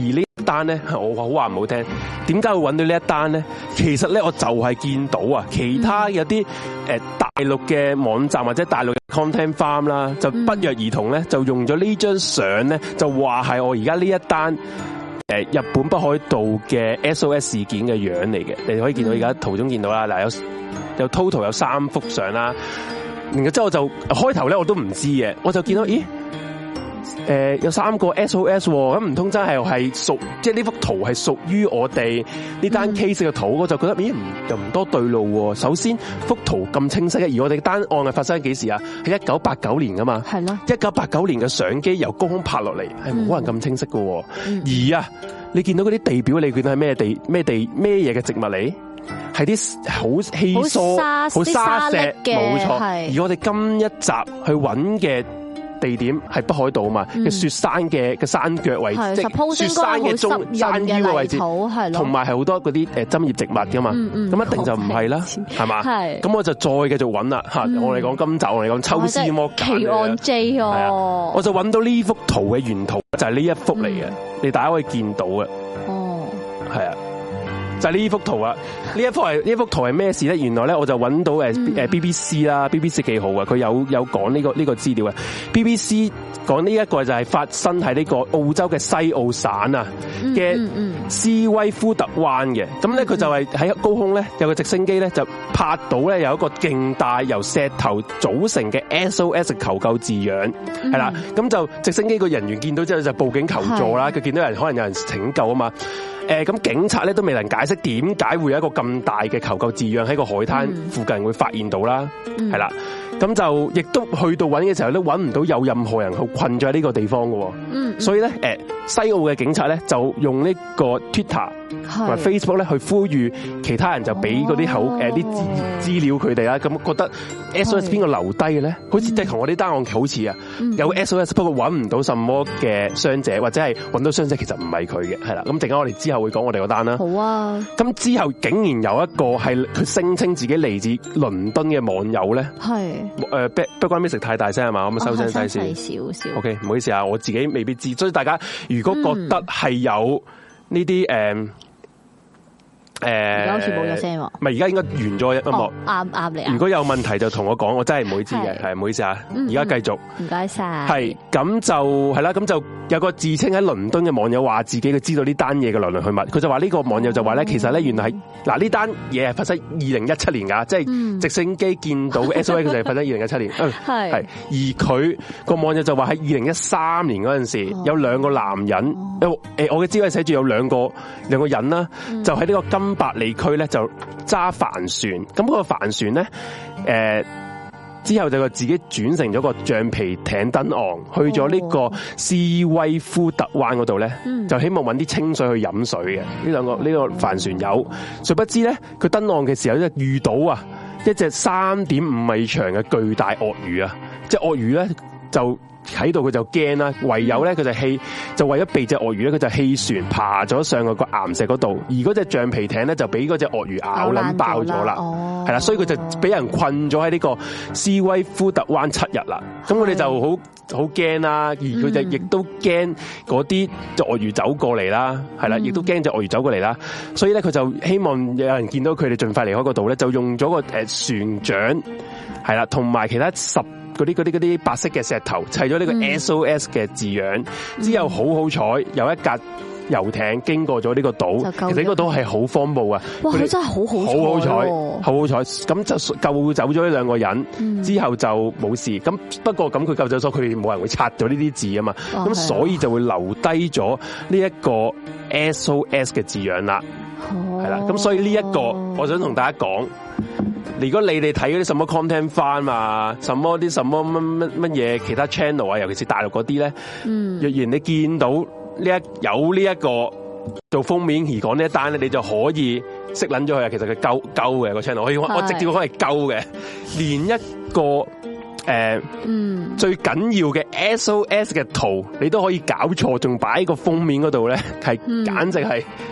單咧，我好話唔好聽，點解會揾到呢一單咧？其實咧，我就係見到啊，其他有啲誒大陸嘅網站或者大陸嘅 content farm 啦，就不約而同咧，就用咗呢張相咧，就話係我而家呢一單誒日本北海道嘅 S O S 事件嘅樣嚟嘅。你可以見到而家圖中見到啦，嗱有有 total 有三幅相啦。然之後我就開頭咧我都唔知嘅，我就見到咦。誒、呃，有三個 S O S 咁唔通真係係屬，即係呢幅圖係屬於我哋呢單 case 嘅圖，嗯、我就覺得咦唔又唔多對路。首先幅圖咁清晰嘅，而我哋單案係發生喺幾時啊？係一九八九年噶嘛？係咯。一九八九年嘅相機由高空拍落嚟，係冇可能咁清晰嘅。嗯、而啊，你見到嗰啲地表，你見到係咩地咩地咩嘢嘅植物嚟？係啲好稀疏、好沙石嘅，冇錯。而我哋今一集去揾嘅地點係北海道啊嘛，嘅、嗯、雪山嘅嘅山腳位置，即雪山嘅中山腰嘅位置，同埋係好多嗰啲誒針葉植物噶嘛，咁、嗯嗯、一定就唔係啦，係嘛？咁我就再繼續揾啦吓，我哋講今集，我哋講抽絲剝繭奇案 J 哦，我就揾到呢幅圖嘅原圖就係呢一幅嚟嘅，嗯、你大家可以見到嘅，哦，係啊。就係呢幅圖啊！呢一幅係呢幅圖係咩事咧？原來咧我就揾到誒誒 B B C 啦、嗯、，B B C 幾好啊！佢有有講呢個呢個資料啊。B B C 講呢一個就係發生喺呢個澳洲嘅西澳省啊嘅斯威夫特灣嘅。咁咧佢就係喺高空咧有個直升機咧就拍到咧有一個勁大由石頭組成嘅 S O S 求救字樣係啦。咁、嗯、就直升機個人員見到之後就報警求助啦。佢見到人可能有人拯救啊嘛。誒，咁警察咧都未能解釋點解會有一個咁大嘅求救字樣喺個海灘附近會發現到啦，係啦、嗯，咁就亦都去到揾嘅時候都揾唔到有任何人去困咗喺呢個地方嘅，嗯，所以咧，誒，西澳嘅警察咧就用呢個 Twitter 同埋 Facebook 咧去呼籲其他人就俾嗰啲口誒啲資資料佢哋啦，咁覺得 S O S 邊個留低嘅咧？好似即係同我啲單案好似啊，有 S O S 不過揾唔到什麼嘅傷者，或者係揾到傷者其實唔係佢嘅，係啦，咁陣間我哋之後會講我哋個單啦。好啊，咁之後竟然有一個係佢聲稱自己嚟自倫敦嘅網友咧，係誒 background music 太大聲係嘛？我咪收聲細先，少少。OK， 唔好意思啊，我自己未必知，所以大家如果覺得係有呢啲誒。誒，而家好似冇咗聲喎。唔係，而家應該完咗音樂。啱啱你。如果有問題就同我講，我真係唔會知嘅，係唔好意思啊。而家繼續。唔該晒。係咁就係啦，咁就有個自稱喺倫敦嘅網友話自己佢知道呢單嘢嘅來來去去，佢就話呢個網友就話咧，其實咧原來係嗱呢單嘢係發生二零一七年噶，即係直升機見到 S O S 就係發生二零一七年。係係。而佢個網友就話喺二零一三年嗰陣時有兩個男人，誒我嘅資料寫住有兩個兩個人啦，就喺呢個金百里區咧就揸帆船，咁嗰個帆船咧，誒、呃、之後就自己轉成咗個橡皮艇登岸，去咗呢個斯威夫特灣嗰度咧，就希望搵啲清水去飲水嘅。呢兩個呢、呢個帆船友，殊不知咧佢登岸嘅時候咧遇到啊一隻三點五米長嘅巨大鱷魚啊，即係鱷魚咧就。喺度佢就驚啦，唯有咧佢就棄，就為咗避隻鱷魚咧，佢就棄船爬咗上個個岩石嗰度，而嗰隻橡皮艇咧就俾嗰隻鱷魚咬撚爆咗啦，係啦，所以佢就俾人困咗喺呢個斯威夫特灣七日啦。咁我哋就好好驚啦，而佢就亦都驚嗰啲鱷魚走過嚟啦，係啦，亦都驚隻鱷魚走過嚟啦。所以咧佢就希望有人見到佢哋盡快離開嗰度咧，就用咗個誒船槳係啦，同埋其他十。嗰啲嗰啲嗰啲白色嘅石頭砌咗呢個 S O S 嘅字樣，嗯、之後好好彩有一架遊艇經過咗呢個島，其實呢個島係好荒蕪啊！哇，佢真係好好好好彩，好好彩，咁就救走咗呢兩個人，嗯、之後就冇事。咁不過咁佢救走咗，佢哋冇人會拆咗呢啲字啊嘛，咁、哦、所以就會留低咗呢一個 S O S 嘅字樣啦，係啦、哦。咁所以呢一個，我想同大家講。如果你哋睇嗰啲什麼 content farm 啊，什麼啲什麼乜乜乜嘢其他 channel 啊，尤其是大陸嗰啲咧，嗯、若然你見到呢一有呢一個做封面而講呢一單咧，你就可以識捻咗佢啊。其實佢鳩鳩嘅個 channel，我我我直接講係鳩嘅，連一個誒，呃嗯、最緊要嘅 S O S 嘅圖，你都可以搞錯，仲擺喺個封面嗰度咧，係簡直係。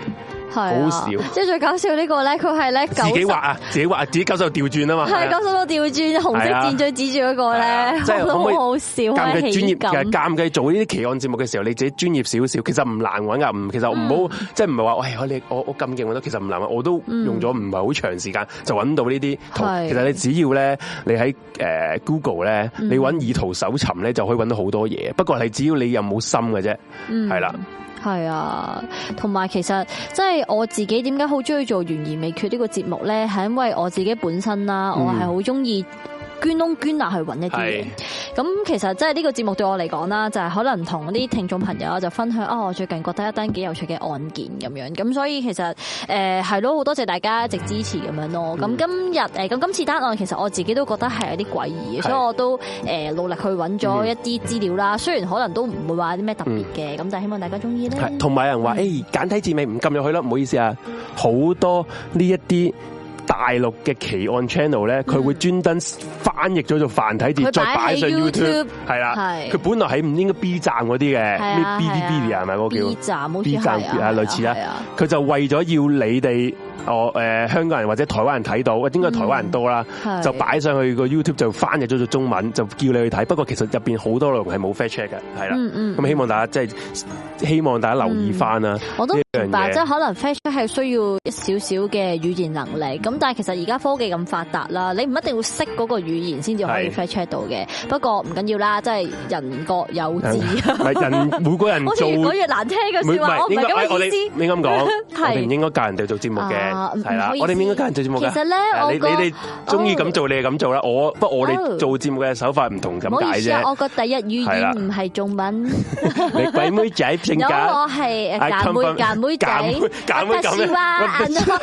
好笑。 即係最搞笑呢個咧，佢係咧自己畫啊，自己畫自己九十度調轉啊嘛。 係九十度調轉，紅色箭嘴指住嗰個咧， 即係可唔可以好好笑。 尷尬專業嘅尷尬做呢啲奇案節目嘅時候，你自己專業少少，其實唔難揾噶。唔，其實唔好即係唔係話喂，我你我我咁勁揾到，其實唔難揾。我都用咗唔係好長時間就揾到呢啲圖。其實你只要咧，你喺誒 Google 咧，你揾以圖搜尋咧，就可以揾到好多嘢。不過係只要你有冇心嘅啫，係啦。 係啊，同埋其實即係我自己點解好中意做懸疑未決呢個節目咧，係因為我自己本身啦，我係好中意捐窿捐罅去揾一啲嘢。咁其實即係呢個節目對我嚟講啦，就係可能同啲聽眾朋友就分享啊，我最近覺得一單幾有趣嘅案件咁樣。咁所以其實誒係咯，好多謝大家一直支持咁樣咯。咁今日誒咁今次單案其實我自己都覺得係有啲詭異嘅，所以我都誒努力去揾咗一啲資料啦。雖然可能都唔會話啲咩特別嘅，咁但係希望大家中意咧。同埋有人話誒簡體字尾唔撳入去啦，唔好意思啊，好多呢一啲大陸嘅奇案 channel 咧，佢會專登翻譯咗做繁體字，再擺上 YouTube， 係啦。佢本來喺唔應該 B 站嗰啲嘅，咩 Bilibili 係咪嗰個叫 B 站？好似 B 站啊，類似啦。佢就為咗要你哋哦誒香港人或者台灣人睇到，應該台灣人多啦，就擺上去個 YouTube 就翻譯咗做中文，就叫你去睇。不過其實入邊好多內容係冇 fact check 嘅，係啦。咁希望大家即係希望大家留意翻啦。我都明白，即係可能 fact check 係需要一少少嘅語言能力。咁但係其實而家科技咁發達啦，你唔一定要識嗰個語言先至可以 fact check 到嘅。不過唔緊要啦，即係人各有志。唔係人每個人做，好似越講越難聽嘅説話，我唔係咁嘅意思。你咁講，我哋唔應該教人哋做節目嘅，係啦，我哋唔應該教人做節目嘅。其實咧，我你你哋中意咁做，你係咁做啦。我不過我哋做節目嘅手法唔同咁解啫。我個第一語言唔係中文。你鬼妹仔性格，我係揀妹揀妹仔，揀妹咁樣。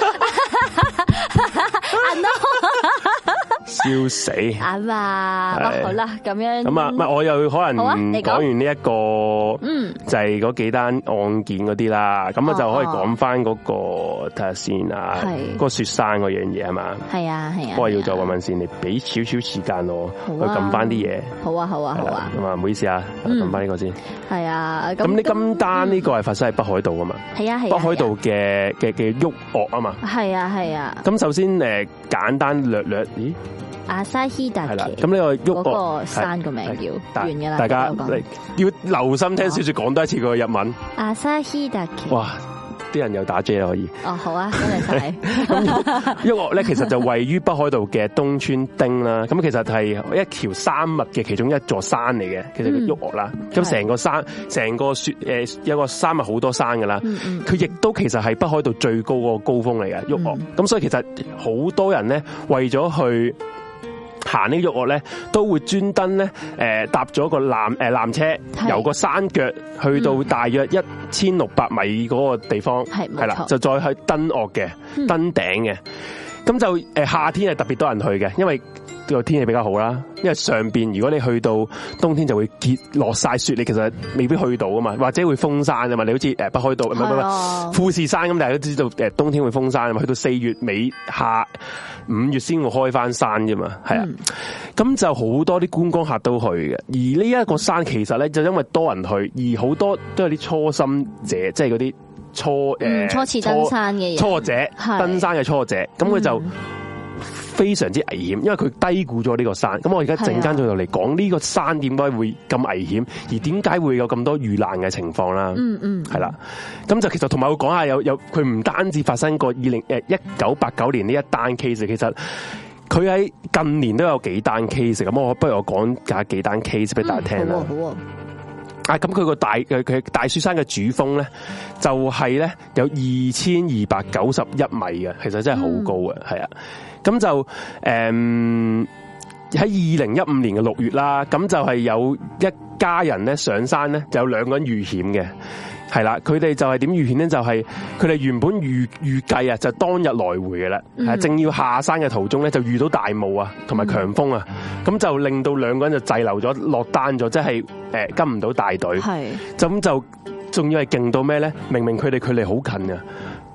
笑死啊嘛！好啦，咁樣咁啊，唔係我又可能講完呢一個，嗯，就係嗰幾單案件嗰啲啦，咁啊就可以講翻嗰個睇下先啊，嗰個雪山嗰樣嘢係嘛？係啊係啊，不過要再問問先，你俾少少時間我去撳翻啲嘢。好啊好啊好啊，咁啊唔好意思啊，撳翻呢個先。係啊，咁你今單呢個係發生喺北海道噶嘛？係啊係啊，北海道嘅嘅嘅旭岳啊嘛。係啊係啊。咁首先誒簡單略略，咦？阿沙希達奇，咁呢個旭岳個山個名叫完噶啦，大家要留心聽小說講多一次個日文。阿沙希達奇，哇！啲人又打 J 啦，可以。哦，好啊，多謝晒。咁旭岳咧，其實就位於北海道嘅東川町啦。咁其實係一條山脈嘅其中一座山嚟嘅，其實叫旭岳啦。咁成個山，成個雪誒，有個山脈好多山噶啦。佢亦都其實係北海道最高個高峰嚟嘅旭岳。咁所以其實好多人咧，為咗去行呢個旭岳咧，都會專登咧，誒搭咗個纜誒纜車，由個山腳去到大約一千六百米嗰個地方，係係啦，就再去登岳嘅，登頂嘅。咁就誒夏天係特別多人去嘅，因為個天氣比較好啦。因為上邊如果你去到冬天就會結落晒雪，你其實未必去到啊嘛，或者會封山啊嘛。你好似誒北海道唔係唔係富士山咁，大家都知道誒冬天會封山啊嘛，去到四月尾下五月先會開翻山啫嘛，係啊。咁、嗯、就好多啲觀光客都去嘅，而呢一個山其實咧就因為多人去，而好多都有啲初心者，即係嗰啲初誒、嗯、初次登山嘅人，初者登山嘅初者，咁佢就非常之危險，因為佢低估咗呢個山。咁我而家陣間就嚟講呢個山點解會咁危險，而點解會有咁多遇難嘅情況啦。嗯嗯，係啦。咁就其實同埋我講下有有佢唔單止發生過二零誒一九八九年呢一單 case， 其實佢喺近年都有幾單 case。咁我不如我講下幾單 case 俾大家聽啦。好啊，好啊。啊，咁佢個大佢佢大雪山嘅主峰咧，就係咧有二千二百九十一米嘅，其實真係好高嘅，係啊。咁就誒喺二零一五年嘅六月啦，咁就係有一家人咧上山咧，就有兩個人遇險嘅，係啦。佢哋就係點遇險咧？就係佢哋原本預預計啊，就當日來回嘅啦，係、嗯、正要下山嘅途中咧，就遇到大霧啊，同埋強風啊，咁、嗯、就令到兩個人就滯留咗，落單咗，即係誒跟唔到大隊。係，咁就仲要係勁到咩咧？明明佢哋距離好近啊！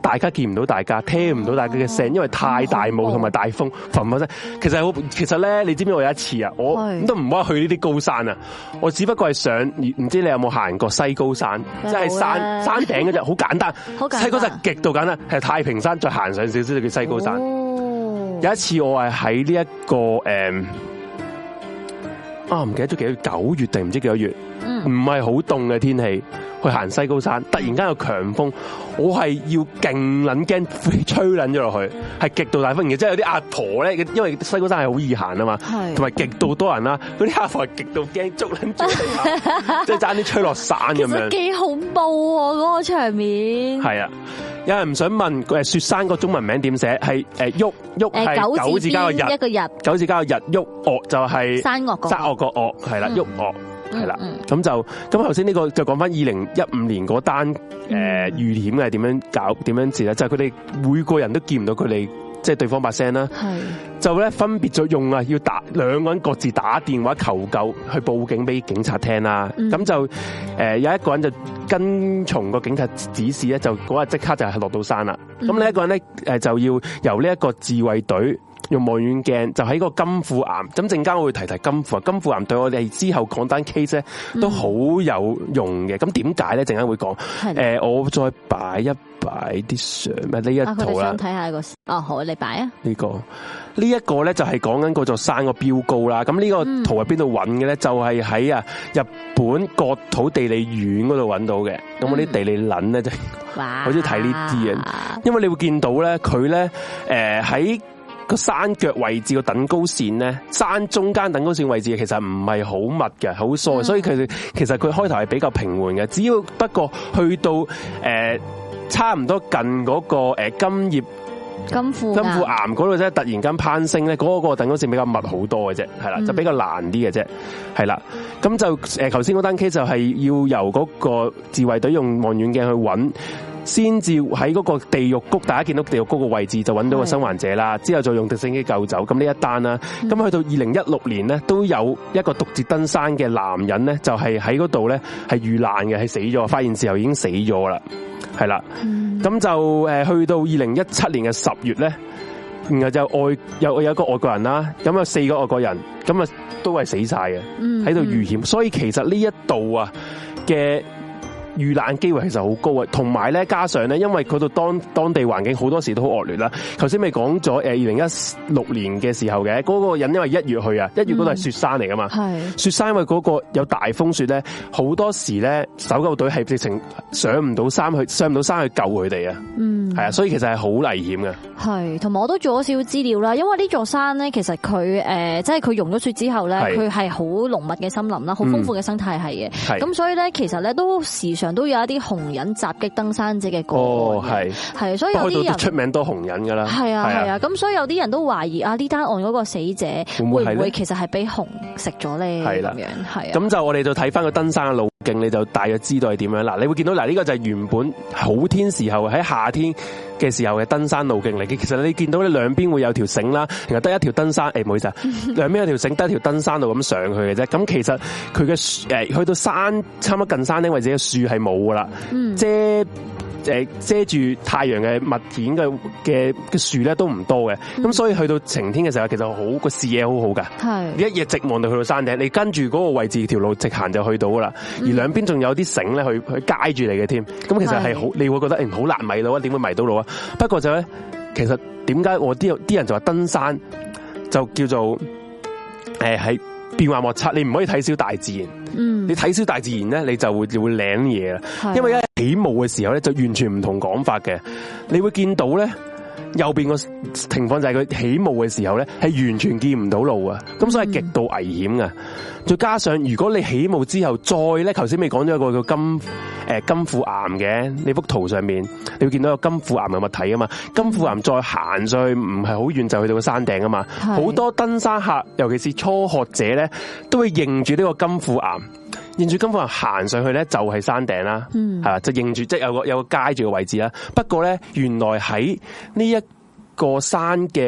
大家見唔到大家，聽唔到大家嘅聲，因為太大霧同埋大風，嘭嘭聲。其實好，其實咧，你知唔知我有一次啊，我都唔好去呢啲高山啊，我只不過係上，唔知你有冇行過西高山，即係山山頂嗰隻，好簡單，西高山極度簡單，係太平山再行上少少就叫西高山。哦、有一次我係喺呢一個誒。嗯啊，唔記得咗幾月，九月定唔知幾多月，唔係好凍嘅天氣，去行西高山，突然間有強風，我係要勁撚驚吹撚咗落去，係極度大風嘅，即係有啲阿婆咧，因為西高山係好易行啊嘛，同埋極度多人啦，嗰啲阿婆係極度驚捉撚住你，即係爭啲吹落山咁樣， 幾恐怖喎嗰個場面。係啊。有人唔想問誒雪山個中文名點寫？係誒旭旭係九字加個日，一個日九字加個日旭岳就係山岳個山岳個岳係啦，旭岳係啦。咁就咁頭先呢個就講翻二零一五年嗰單誒遇險係點樣搞點樣治咧？就係佢哋每個人都見唔到佢哋即係對方把聲啦，就咧分別咗用啊要打兩個人各自打電話求救去報警俾警察聽啦。咁、嗯、就誒有一個人就跟從個警察指示咧，就嗰日即刻就係落到山啦。咁、嗯、另一個人咧誒就要由呢一個自衛隊用望遠鏡就喺個金庫岩。咁陣間我會提提金庫啊，金庫岩對我哋之後講單 case 咧都好有用嘅。咁點解咧？陣間會講。誒、呃，我再擺一擺啲相咩？呢一圖啦， 睇下個哦，好，你擺啊。 呢、這個呢一個咧就係講緊嗰座山個標高啦。咁呢個圖喺邊度揾嘅咧？就係喺啊日本國土地理院嗰度揾到嘅。咁我啲地理撚咧就好中意睇呢啲嘅，因為你會見到咧佢咧誒喺個山腳位置個等高線咧，山中間等高線位置其實唔係好密嘅，好疏嘅，所以佢其實佢開頭係比較平緩嘅。只要不過去到誒、呃、差唔多近嗰個誒金葉金庫金庫岩嗰度啫，突然間攀升咧，嗰、那個等高線比較密好多嘅啫，係啦，就比較難啲嘅啫，係啦。咁就誒頭先嗰單 case 就係要由嗰個自衛隊用望遠鏡去揾。先至喺嗰個地獄谷，大家見到地獄谷個位置就揾到個生還者啦。之後就用直升機救走。咁呢一單啦，咁、嗯、去到二零一六年咧，都有一個獨自登山嘅男人咧，就係喺嗰度咧係遇難嘅，係死咗。發現時候已經死咗啦，係啦。咁、嗯、就誒去到二零一七年嘅十月咧，然後就外有有一個外國人啦，咁有四個外國人，咁啊都係死晒嘅，喺度遇險。嗯、所以其實呢一度啊嘅遇難機會其實好高啊，同埋咧加上咧，因為嗰度當當地環境好多時都好惡劣啦。頭先咪講咗誒，二零一六年嘅時候嘅嗰、那個人因為一月去啊，一月嗰度係雪山嚟噶嘛，嗯、雪山因為嗰個有大風雪咧，好多時咧搜救隊係直情上唔到山去，上唔到山去救佢哋啊。嗯，係啊，所以其實係好危險嘅。係，同埋我都做咗少少資料啦，因為呢座山咧，其實佢誒，即係佢融咗雪之後咧，佢係好濃密嘅森林啦，好豐富嘅生態系嘅。係、嗯，咁所以咧，其實咧都時常都有一啲紅人襲擊登山者嘅個案。哦，係，係，所以有啲人出名多紅人噶啦。係啊，係啊，咁所以有啲人都懷疑啊，呢單案嗰個死者會唔會，會其實係俾熊食咗咧？係啦，咁樣係啊。咁就我哋就睇翻個登山嘅路徑，你就大約知道係點樣。嗱，你會見到嗱，呢個就係原本好天時候喺夏天嘅時候嘅登山路徑嚟嘅。其實你見到咧兩邊會有條繩啦，然後得一條登山，誒唔好意思啊，兩邊有條繩，得一條登山路咁上去嘅啫。咁其實佢嘅誒去到山差唔多近山頂位置嘅樹係冇噶啦，遮誒遮住太陽嘅物件嘅嘅嘅樹咧都唔多嘅。咁、嗯、所以去到晴天嘅時候，其實好個視野好好噶，你一夜直望到去到山頂，你跟住嗰個位置條路直行就去到噶啦。而兩邊仲有啲繩咧去去街住你嘅添。咁其實係好，你會覺得誒好難迷路啊？點會迷到路啊？不過就咧，其實點解我啲啲人就話登山就叫做誒係變幻莫測，你唔可以睇小大自然。嗯，你睇小大自然咧，你就會就會領嘢啦。因為一起霧嘅時候咧，就完全唔同講法嘅。你會見到咧，右邊個情況就係佢起霧嘅時候咧，係完全見唔到路啊。咁所以極度危險噶。再加上如果你起霧之後再咧，頭先咪講咗一個叫金誒、呃、金庫岩嘅，你幅圖上面你會見到有金庫岩嘅物體啊嘛。金庫岩再行上去唔係好遠就去到個山頂啊嘛。好多登山客，尤其是初學者咧，都會認住呢個金庫岩。認住金庫岩行上去咧，就係山頂啦，係、嗯、嘛，就認住即係有個有個街住嘅位置啦。不過咧，原來喺呢一個山嘅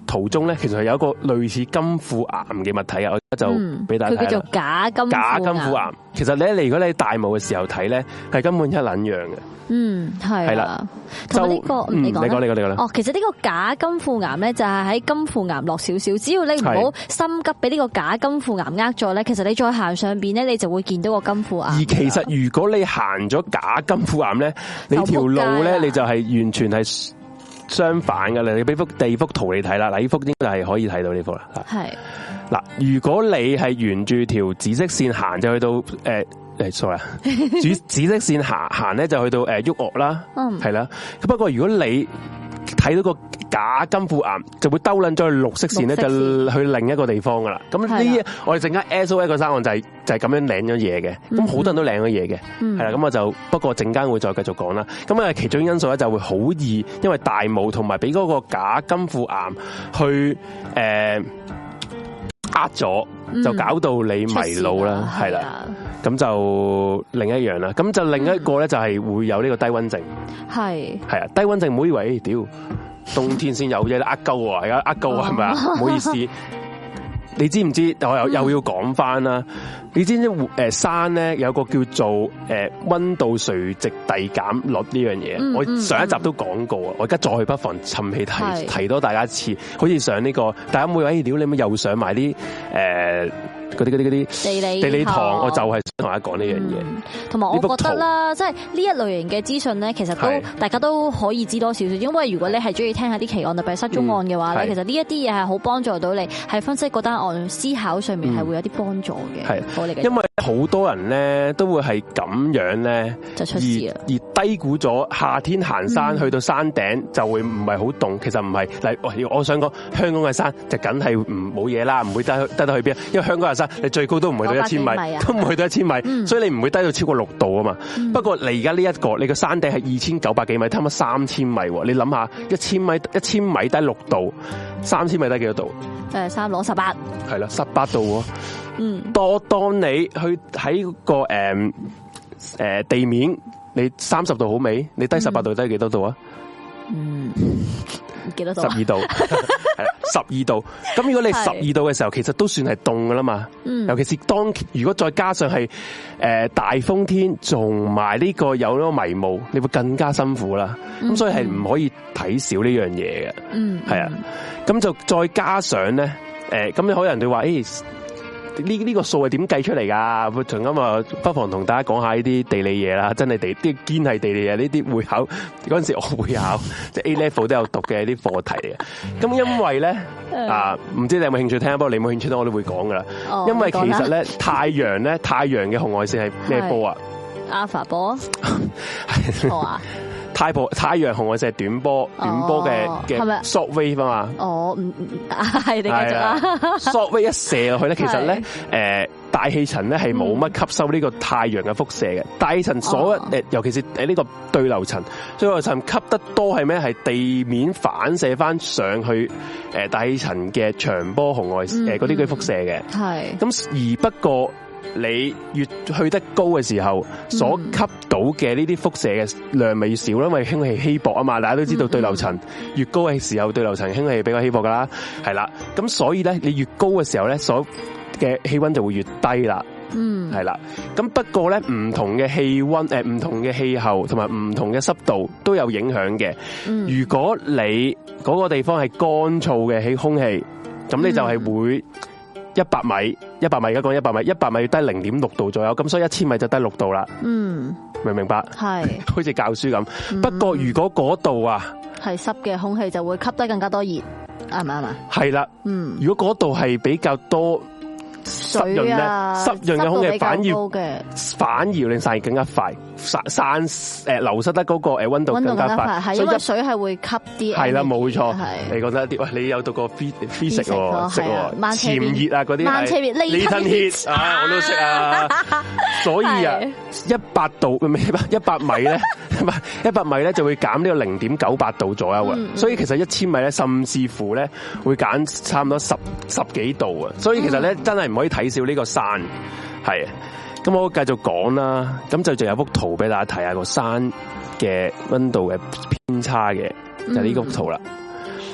途中咧，其實係有一個類似金庫岩嘅物體啊，我而家就俾大家睇啦。 佢叫做假金假金庫岩。其實咧，你如果你喺大霧嘅時候睇咧，係根本一撚樣嘅。 嗯，係係啦。同埋呢個， 嗯，你講，你講，你講啦。 哦，其實呢個假金庫岩咧，就係喺金庫岩落少少，只要你唔好心急俾呢個假金庫岩呃咗咧，其實你再行上邊咧，你就會見到個金庫岩。而其實如果你行咗假金庫岩咧，你條路咧，你就係完全係相反噶啦。你俾幅地幅圖你睇啦，嗱，呢幅應該係可以睇到呢幅啦。係嗱，如果你係沿住條紫色線行，就去到誒。呃誒，sorry 啊，紫紫色線行行咧就去到誒旭岳啦，係啦。咁不過如果你睇到個假金庫岩，就會兜撚咗去綠色線咧，就去另一個地方噶啦。咁呢，我哋陣間 S O A 個山岸就係就係咁樣領咗嘢嘅。咁好多人都領咗嘢嘅，係啦。咁我就不過陣間會再繼續講啦。咁啊，其中因素咧就會好易，因為大霧同埋俾嗰個假金庫岩去誒呃咗，就搞到你迷路啦，係啦。咁就另一樣啦，咁就另一個咧就係會有呢個低溫症，係係啊，低溫症唔好以為，屌冬天先有啫，呃鳩啊，而家呃鳩係咪啊？唔好意思，你知唔知？我又又要講翻啦，你知唔知誒山咧有個叫做誒溫度垂直遞減率呢樣嘢？我上一集都講過啊，我而家再不妨趁氣提提多大家一次，好似上呢個大家每位屌你咪又上埋啲誒。嗰啲嗰啲嗰啲地理地理堂，我就係想同大家講呢樣嘢。同埋我覺得啦，即係呢一類型嘅資訊咧，其實都大家都可以知多少少。因為如果你係中意聽下啲奇案，特別係失蹤案嘅話咧，其實呢一啲嘢係好幫助到你，係分析嗰單案思考上面係會有啲幫助嘅。係，我理解。因為好多人咧都會係咁樣咧，就出事啦。而低估咗夏天行山去到山頂就會唔係好凍，其實唔係。例如我想講香港嘅山就梗係唔冇嘢啦，唔會低低得去邊，因為香港嘅山。你最高都唔去到一千米，都唔去到一千米，嗯、所以你唔會低到超過六度啊嘛。嗯、不過你而家呢一個，你個山頂係二千九百幾米，差唔多三千米。你諗下，一千米一千米低六度，三千米低幾多度？誒，三攞十八，係啦，十八度。嗯，當當你去喺個誒誒、呃、地面，你三十度好未？你低十八度低幾多度啊？嗯。幾多度？十二度，係十二度。咁如果你十二度嘅時候，其實都算係凍噶啦嘛。嗯。尤其是當如果再加上係誒大風天，仲埋呢個有呢個迷霧，你會更加辛苦啦。咁、嗯、所以係唔可以睇少呢樣嘢嘅。嗯。係啊。咁就再加上咧，誒，咁你可能人哋話，誒。呢呢個數係點計出嚟噶？同咁啊，不妨同大家講下呢啲地理嘢啦，真係地啲堅係地理嘢，呢啲會考嗰陣時我會考，即係 A level 都有讀嘅啲課題嚟嘅。咁因為咧啊，唔知你有冇興趣聽？不過你冇興趣聽，我都會講噶啦。因為其實咧，太陽咧，太陽嘅紅外線係咩波啊？Alpha 波。好啊。太波太陽紅外線係短波，短波嘅嘅 short wave 啊嘛。哦，唔唔係你繼續啦。short wave 一射落去咧，其實咧，誒大氣層咧係冇乜吸收呢個太陽嘅輻射嘅。大氣層所誒，尤其是誒呢個對流層，對流層吸得多係咩？係地面反射翻上去誒大氣層嘅長波紅外誒嗰啲嘅輻射嘅。係。咁而不過。你越去得高嘅時候，所吸到嘅呢啲輻射嘅量咪少啦，因為氫氣稀薄啊嘛，大家都知道對流層越高嘅時候，對流層氫氣比較稀薄噶啦，係啦，咁所以咧，你越高嘅時候咧，所嘅氣溫就會越低啦，嗯，係啦，咁不過咧，唔同嘅氣溫誒，唔同嘅氣候同埋唔同嘅濕度都有影響嘅。如果你嗰個地方係乾燥嘅氣空氣，咁你就係會。一百米，一百米而家講一百米，一百米要低零點六度左右，咁所以一千米就低六度啦。嗯，明唔明白？係，好似教書咁。嗯、不過如果嗰度啊係濕嘅空氣，就會吸得更加多熱，啱唔啱啊？係啦，嗯，如果嗰度係比較多。濕潤咧，濕潤嘅空氣反而反而令散熱更加快，散散誒流失得嗰個誒溫度更加快，係因為水係會吸啲。係啦，冇錯，你覺得啲喂，你有讀過 physics 喎，識喎，潛熱啊嗰啲，慢車熱，利吞熱啊，我都識啊。所以啊，一百度唔係一百米咧，唔係一百米咧就會減呢個零點九八度左右啊。所以其實一千米咧，甚至乎咧會減差唔多十十幾度啊。所以其實咧真係。唔可以睇少呢個山，係，咁我繼續講啦，咁就仲有幅圖俾大家睇下個山嘅溫度嘅偏差嘅，就係呢幅圖啦。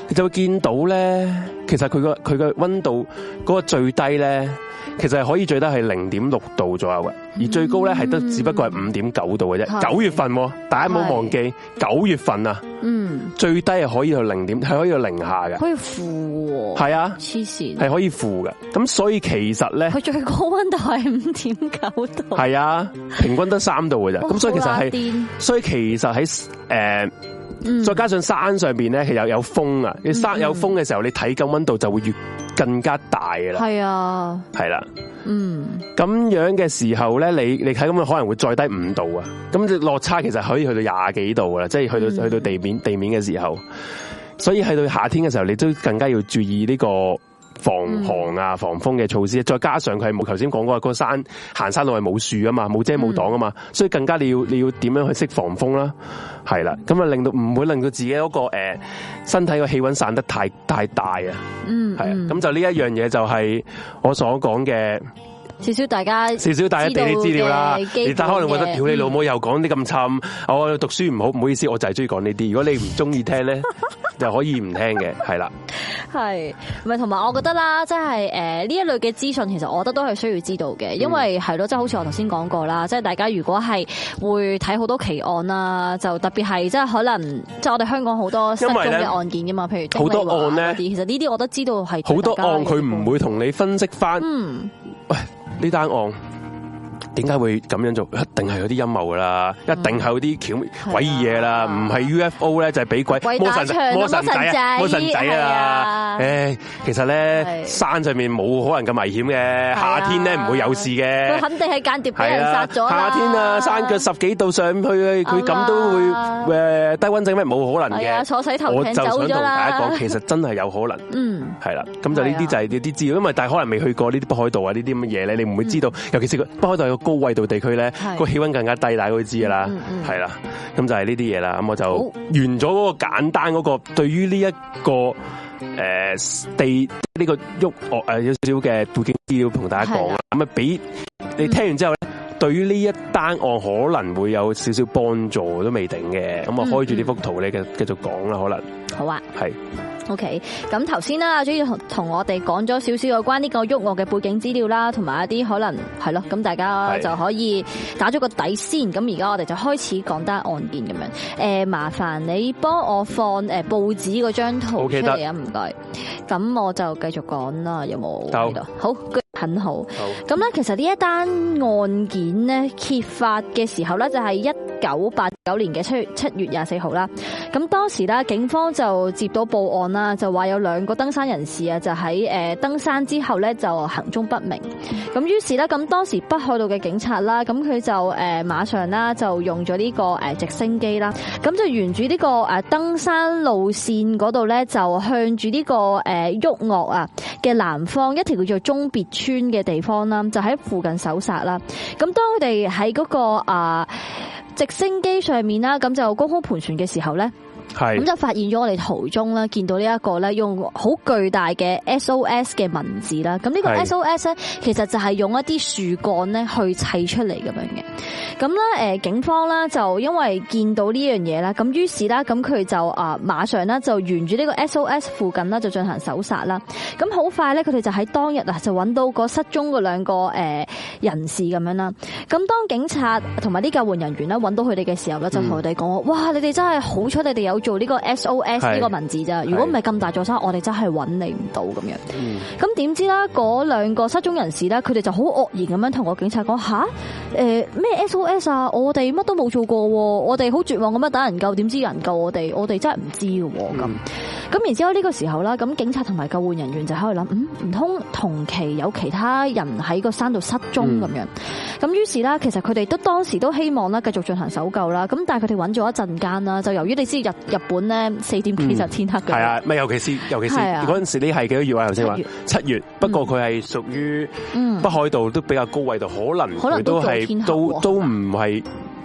你就會見到咧，其實佢個佢個溫度嗰個最低咧，其實係可以最低係零點六度左右嘅，而最高咧係得只不過係五點九度嘅啫。九月份，大家唔好忘記九月份啊，嗯，最低係可以到零點，係可以到零下嘅， 可以負，係啊，黐線， 係可以負嘅。咁所以其實咧， 佢最高溫度係五點九度， 係啊，平均得三度嘅啫。咁所以其實係，所以其實喺誒。呃再加上山上邊咧，其實有風啊！你山有風嘅時候，你體感溫度就會越更加大噶啦。係啊，係啦，嗯，咁樣嘅時候咧，你你睇咁樣可能會再低五度啊！咁落差其實可以去到廿幾度噶啦，即係去到去到地面地面嘅時候，所以去到夏天嘅時候，你都更加要注意呢個防寒啊、防風嘅措施。再加上佢係冇頭先講過，個山行山路係冇樹啊嘛，冇遮冇擋啊嘛，所以更加你要你要點樣去識防風啦？係啦，咁啊令到唔會令到自己嗰個誒身體個氣溫散得太太大啊，嗯，係啊，咁就呢一樣嘢就係我所講嘅少少大家少少大家地理資料啦。你但可能覺得屌你老母又講啲咁沉，我讀書唔好，唔好意思，我就係中意講呢啲。如果你唔中意聽咧，就可以唔聽嘅，係啦。係，咪同埋我覺得啦，即係誒呢一類嘅資訊，其實我覺得都係需要知道嘅，因為係咯，即係好似我頭先講過啦，即係大家如果係會睇好多奇案啦，就特別係即係可能即係我哋香港好多失蹤嘅案件噶嘛，譬如好多案咧，其實呢啲我都知道係好多案，佢唔會同你分析翻，嗯，喂呢單案。點解會咁樣做？一定係有啲陰謀噶啦，一定係有啲巧詭異嘢啦，唔係 U F O 咧就係俾鬼魔神魔神仔啊，魔神仔啊！誒，其實咧山上面冇可能咁危險嘅，夏天咧唔會有事嘅。佢肯定係間諜俾人殺咗。夏天啊，山腳十幾度上去，佢咁都會誒低溫症咩？冇可能嘅。坐洗頭艇走咗啦。我就想同大家講，其實真係有可能。嗯，係啦，咁就呢啲就係呢啲資料，因為但係可能未去過呢啲北海道啊呢啲咁嘅嘢咧，你唔會知道，尤其是個北海道有個高緯度地區咧，個氣溫更加低，大家都知噶啦，係啦，咁就係呢啲嘢啦。咁我就完咗嗰個簡單嗰個對於呢一個誒地呢個喐樂誒有少少嘅背景資料同大家講啦。咁啊俾你聽完之後咧，對於呢一單案可能會有少少幫助都未定嘅。咁啊開住呢幅圖咧，繼繼續講啦，可能好啊，係。OK， 咁頭先啦，主要同同我哋講咗少少有關呢個喐樂嘅背景資料啦，同埋一啲可能係咯，咁大家就可以打咗個底先。咁而家我哋就開始講單案件咁樣。誒，麻煩你幫我放誒報紙嗰張圖出嚟啊，唔該。咁我就繼續講啦，有冇喺度？好，很好。咁咧，其實呢一單案件咧揭發嘅時候咧，就係一九八九年嘅七月七月廿四號啦。咁當時咧，警方就接到報案啦，就話有兩個登山人士啊，就喺誒登山之後咧就行蹤不明。咁於是咧，咁當時北海道嘅警察啦，咁佢就誒馬上啦就用咗呢個誒直升機啦，咁就沿住呢個誒登山路線嗰度咧，就向住呢個誒喐樂啊嘅南方一條叫做中別村嘅地方啦，就喺附近搜查啦。咁當佢哋喺嗰個啊直升機上面啦，咁就高空盤旋嘅時候咧。咁就發現咗我哋途中咧，見到呢一個咧用好巨大嘅 S O S 嘅文字啦。咁呢個 S O S 咧，其實就係用一啲樹幹咧去砌出嚟咁樣嘅。咁咧，誒，警方咧就因為見到呢樣嘢啦，咁於是啦，咁佢就啊馬上咧就沿住呢個 S O S 附近啦，就進行搜查啦。咁好快咧，佢哋就喺當日啊就揾到個失蹤嘅兩個誒人士咁樣啦。咁當警察同埋啲救援人員咧揾到佢哋嘅時候咧，就同佢哋講：哇，你哋真係好彩，你哋有做呢個 S O S 呢個文字咋？如果唔係咁大座山，我哋真係揾你唔到咁樣。咁點知啦？嗰兩個失蹤人士咧，佢哋就好愕然咁樣同個警察講：吓，誒咩 S O S 啊？我哋乜都冇做過，我哋好絕望咁樣等人救，點知有人救我哋？我哋真係唔知嘅咁。咁、嗯、然之後呢個時候啦，咁警察同埋救援人員就喺度諗：嗯，唔通同期有其他人喺個山度失蹤咁樣？咁、嗯、於是啦，其實佢哋都當時都希望啦，繼續進行搜救啦。咁但係佢哋揾咗一陣間啦，就由於你知日日本咧四點幾就天黑嘅，係啊，咪尤其是尤其是嗰陣時你係幾多月啊？頭先話七月，不過佢係屬於北海道都比較高緯度，可能佢都係都都唔係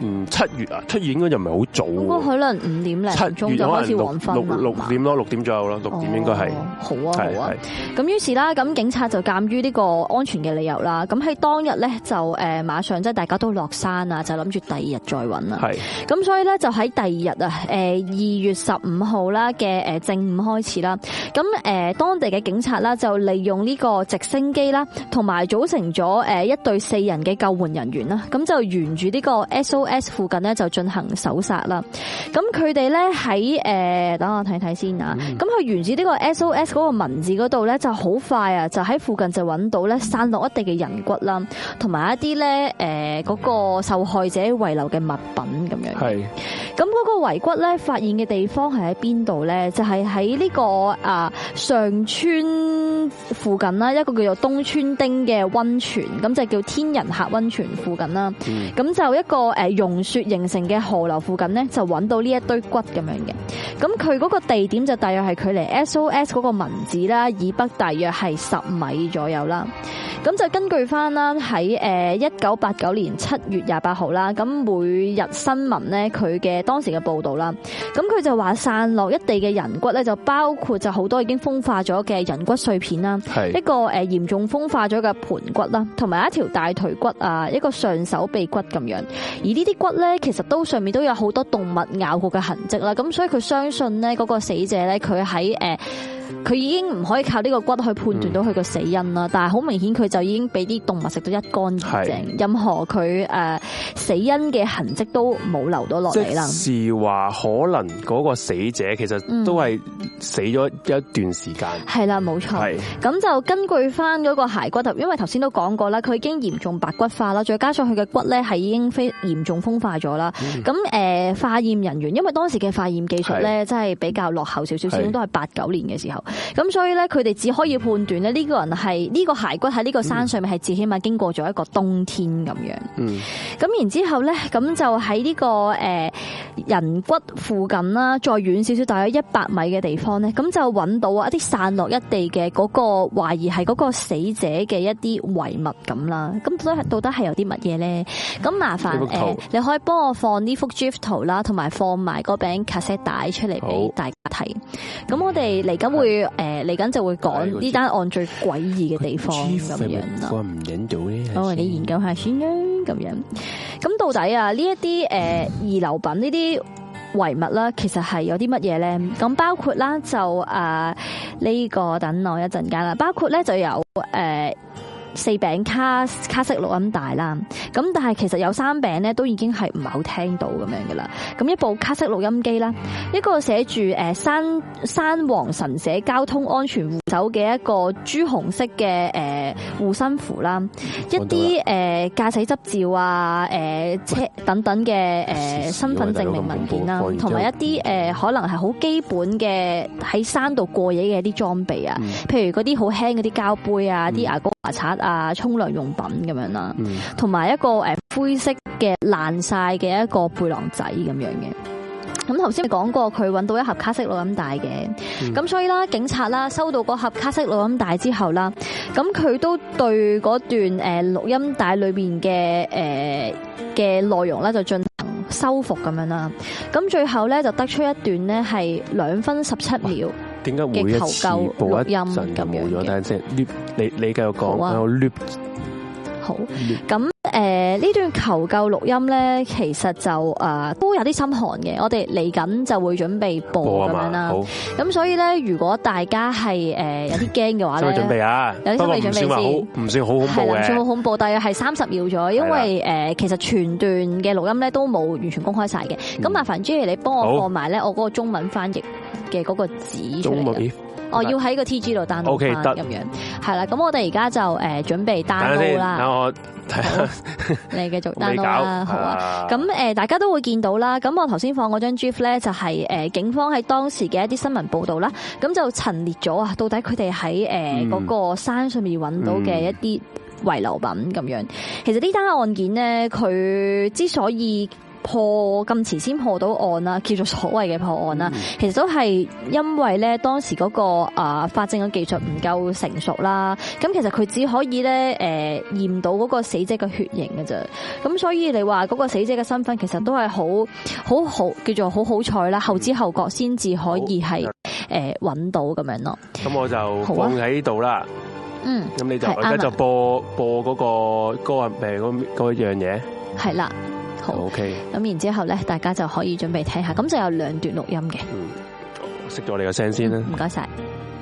嗯七月啊，七月應該就唔係好早。 應該可能五點零鐘就開始黃昏啦。 六六點咯，六點左右咯，六點應該係。 好啊好啊。咁於是啦，咁警察就鑑於呢個安全嘅理由啦，咁喺當日咧就誒馬上即係大家都落山啊，就諗住第二日再揾啦。係。咁所以咧就喺第二日啊，誒二月十五號啦嘅誒正午開始啦，咁誒當地嘅警察啦就利用呢個直升機啦，同埋組成咗誒一隊四人嘅救援人員啦，咁就沿住呢個 S O S 附近咧就進行搜殺啦。咁佢哋咧喺誒等我睇睇先啊。咁佢沿住呢個 S O S 嗰個文字嗰度咧就好快啊，就喺附近就揾到咧散落一地嘅人骨啦，同埋一啲咧誒嗰個受害者遺留嘅物品咁樣。係。咁嗰個遺骨咧發現嘅地方係喺邊度咧？就係喺呢個啊上村附近啦，一個叫做東川町嘅溫泉，咁就叫天人客溫泉附近啦。咁、嗯、就一個誒融雪形成嘅河流附近咧，就揾到呢一堆骨咁樣嘅。咁佢嗰個地點就大約係距離 S O S 嗰個文字啦以北大約係十米左右啦。咁就根據翻啦喺誒一九八九年七月廿八號啦，咁每日新聞咧佢嘅當時嘅報道啦，咁佢就話散落一地嘅人骨咧，就包括就好多已經風化咗嘅人骨碎片啦，一個誒嚴重風化咗嘅盤骨啦，同埋一條大腿骨啊，一個上手臂骨咁樣。而呢啲骨咧，其實都上面都有好多動物咬過嘅痕跡啦，咁所以佢相信咧嗰個死者咧，佢喺誒。佢已經唔可以靠呢個骨去判斷到佢個死因啦，但係好明顯佢就已經俾啲動物食到一乾二淨，任何佢誒死因嘅痕跡都冇留到落嚟啦。即是話可能嗰個死者其實都係死咗一段時間。係啦，冇錯。咁就根據翻嗰個骸骨頭，因為頭先都講過啦，佢已經嚴重白骨化啦，再加上佢嘅骨咧係已經非嚴重風化咗啦。咁誒化驗人員，因為當時嘅化驗技術咧真係比較落後少少，始終都係八九年嘅時候。咁所以咧，佢哋只可以判斷咧，呢個人係呢個骸骨喺呢個山上面係至起碼經過咗一個冬天咁樣。嗯。咁然之後咧，咁就喺呢個誒人骨附近啦，再遠少少，大約一百米嘅地方咧，咁就揾到一啲散落一地嘅嗰個懷疑係嗰個死者嘅一啲遺物咁啦。咁到底到底係有啲乜嘢咧？咁麻煩誒，你可以幫我放呢幅 GIF 圖啦，同埋放埋嗰餅卡式帶出嚟俾大家睇。咁我哋嚟緊會誒嚟緊就會講呢單案最詭異嘅地方咁樣啦。我唔引到咧，我哋研究下先啦，咁樣。咁到底啊呢一啲誒遺留品呢啲遺物啦，其實係有啲乜嘢咧？咁包括啦就誒呢個等我一陣間啦，包括咧就有誒。四餅卡卡式錄音帶啦，咁但係其實有三餅咧都已經係唔係好聽到咁樣噶啦。咁一部卡式錄音機啦，一個寫住誒山山王神社交通安全護手嘅一個朱紅色嘅誒護身符啦，一啲誒駕駛執照啊、誒車等等嘅誒身份證明文件啦，同埋一啲誒可能係好基本嘅喺山度過夜嘅一啲裝備啊，譬如嗰啲好輕嗰啲膠杯啊、啲牙膏牙刷啊、沖涼用品咁樣啦，同埋一個誒灰色嘅爛晒嘅一個背囊仔咁樣嘅。咁頭先講過佢揾到一盒卡式錄音帶嘅，咁所以啦，警察啦收到嗰盒卡式錄音帶之後啦，咁佢都對嗰段誒錄音帶裏邊嘅誒嘅內容咧就進行修復咁樣啦。咁最後咧就得出一段咧係兩分十七秒。點解每一次播一陣就冇咗？但係即係 loop，你你繼續講，我 loop。好，咁誒呢段求救錄音咧，其實就誒都有啲心寒嘅。我哋嚟緊就會準備播咁樣啦。好，咁所以咧，如果大家係誒有啲驚嘅話咧，準備啊，有啲心理準備先。唔算好恐怖嘅，係啦，唔算好恐怖，大約係三十秒咗。因為誒其實全段嘅錄音咧都冇完全公開晒嘅。咁麻煩 Jerry 你幫我放埋咧我嗰個中文翻譯嘅嗰個紙出嚟。哦，要喺個 T G 度 download 翻咁樣，係啦。咁我哋而家就誒準備 download 啦。等我睇下，你繼續 download 啦，好啊。咁誒，大家都會見到啦。咁我頭先放嗰張 GIF 咧，就係誒警方喺當時嘅一啲新聞報導啦。咁就陳列咗啊，到底佢哋喺誒嗰個山上面揾到嘅一啲遺留品咁樣。其實呢單案件咧，佢之所以破咁遲先破到案啦，叫做所謂嘅破案啦，其實都係因為咧當時嗰個啊法證嘅技術唔夠成熟啦。咁其實佢只可以咧誒驗到嗰個死者嘅血型嘅啫。咁所以你話嗰個死者嘅身份其實都係好好好叫做好好彩啦，後知後覺先至可以係誒揾到咁樣咯。咁我就放喺度啦。嗯，咁你就而家就播播嗰個歌誒嗰嗰樣嘢。係啦。好 OK， 咁然之後咧，大家就可以準備聽下，咁就有兩段錄音嘅。 嗯，熄咗你個聲先啦。 唔該晒。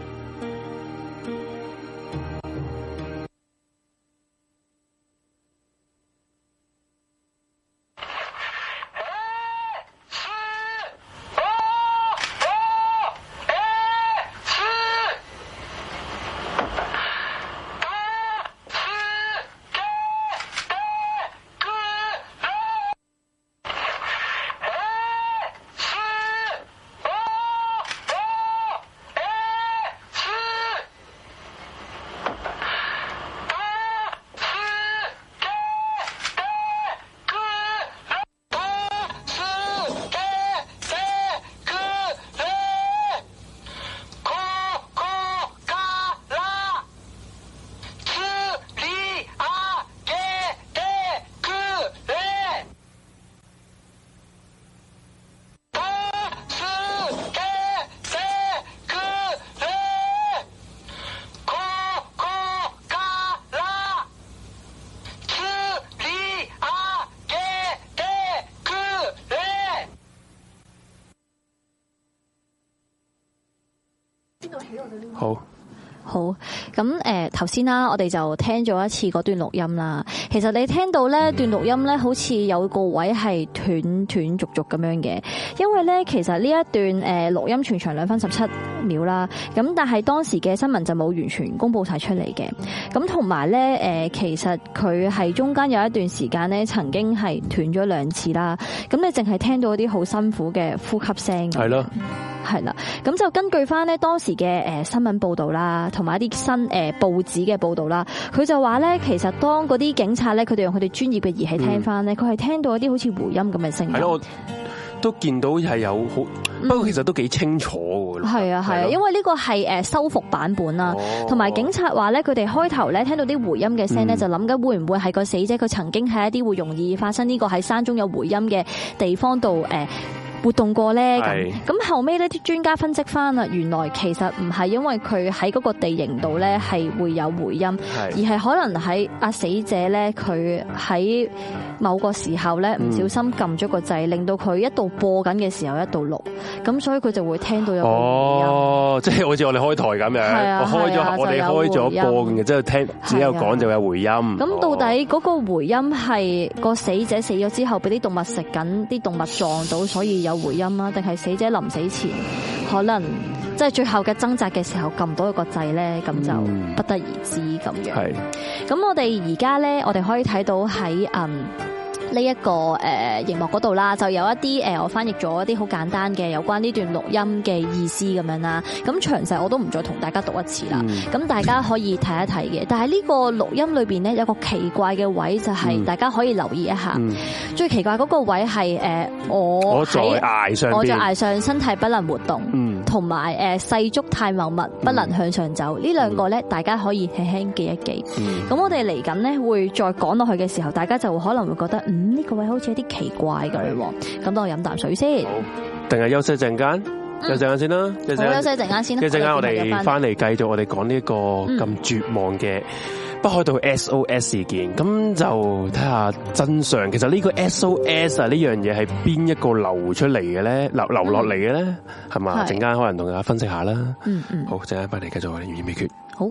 好， 好，咁誒頭先啦，我哋就聽咗一次嗰段錄音啦。其實你聽到咧段錄音咧，好似有個位係斷斷續續咁樣嘅，因為咧其實呢一段誒錄音全長兩分十七秒啦。咁但係當時嘅新聞就冇完全公佈晒出嚟嘅。咁同埋咧誒，其實佢係中間有一段時間咧，曾經係斷咗兩次啦。咁你淨係聽到一啲好辛苦嘅呼吸聲。 係咯。 係啦，咁就根據翻咧當時嘅誒新聞報導啦，同埋一啲新誒報紙嘅報導啦，佢就話咧，其實當嗰啲警察咧，佢哋用佢哋專業嘅儀器聽翻咧，佢係聽到一啲好似回音咁嘅聲音。係咯，我都見到係有好，不過其實都幾清楚㗎。 係啊係啊，因為呢個係誒修復版本啦，同埋警察話咧，佢哋開頭咧聽到啲回音嘅聲咧，就諗緊會唔會係個死者佢曾經喺一啲會容易發生呢個喺山中有回音嘅地方度誒活動過咧，咁咁後尾呢啲專家分析翻啦，原來其實唔係因為佢喺嗰個地形度咧係會有回音，而係可能喺阿死者咧佢喺某個時候咧唔小心撳咗個掣，令到佢一度播緊嘅時候一度錄，咁所以佢就會聽到有回音。 哦，即係好似我哋開台咁樣，我開咗我哋開咗播嘅，之後聽只有講就有回音。咁到底嗰個回音係個死者死咗之後俾啲動物食緊，啲動物撞到，所以有回音啦，定係死者臨死前可能即係最後嘅掙扎嘅時候撳到一個掣咧，咁就不得而知咁樣。係，咁我哋而家咧，我哋可以睇到喺嗯。呢一個誒熒幕嗰度啦，就有一啲誒我翻譯咗一啲好簡單嘅有關呢段錄音嘅意思咁樣啦。咁詳細我都唔再同大家讀一次啦。咁、嗯、大家可以睇一睇嘅。但係呢個錄音裏邊咧有個奇怪嘅位，就係大家可以留意一下。嗯、最奇怪嗰個位係誒我我在崖上， 我在崖上身體不能活動，同埋誒世足太茂密不能向上走。呢、嗯、兩個咧大家可以輕輕記一記。咁、嗯、我哋嚟緊咧會再講落去嘅時候，大家就可能會覺得嗯。呢個位好似有啲奇怪咁喎，咁等我飲啖水先。好， 定係休息陣間？休息陣間先啦。 好，休息陣間先啦。 一陣間我哋翻嚟繼續我哋講呢個咁絕望嘅北海道 S O S 事件，咁就睇下真相。其實呢個 S O S 啊，呢樣嘢係邊一個流出嚟嘅咧？流流落嚟嘅咧，係嘛？陣間可能同大家分析下啦。嗯嗯。好，陣間翻嚟繼續我哋懸疑未決。 好。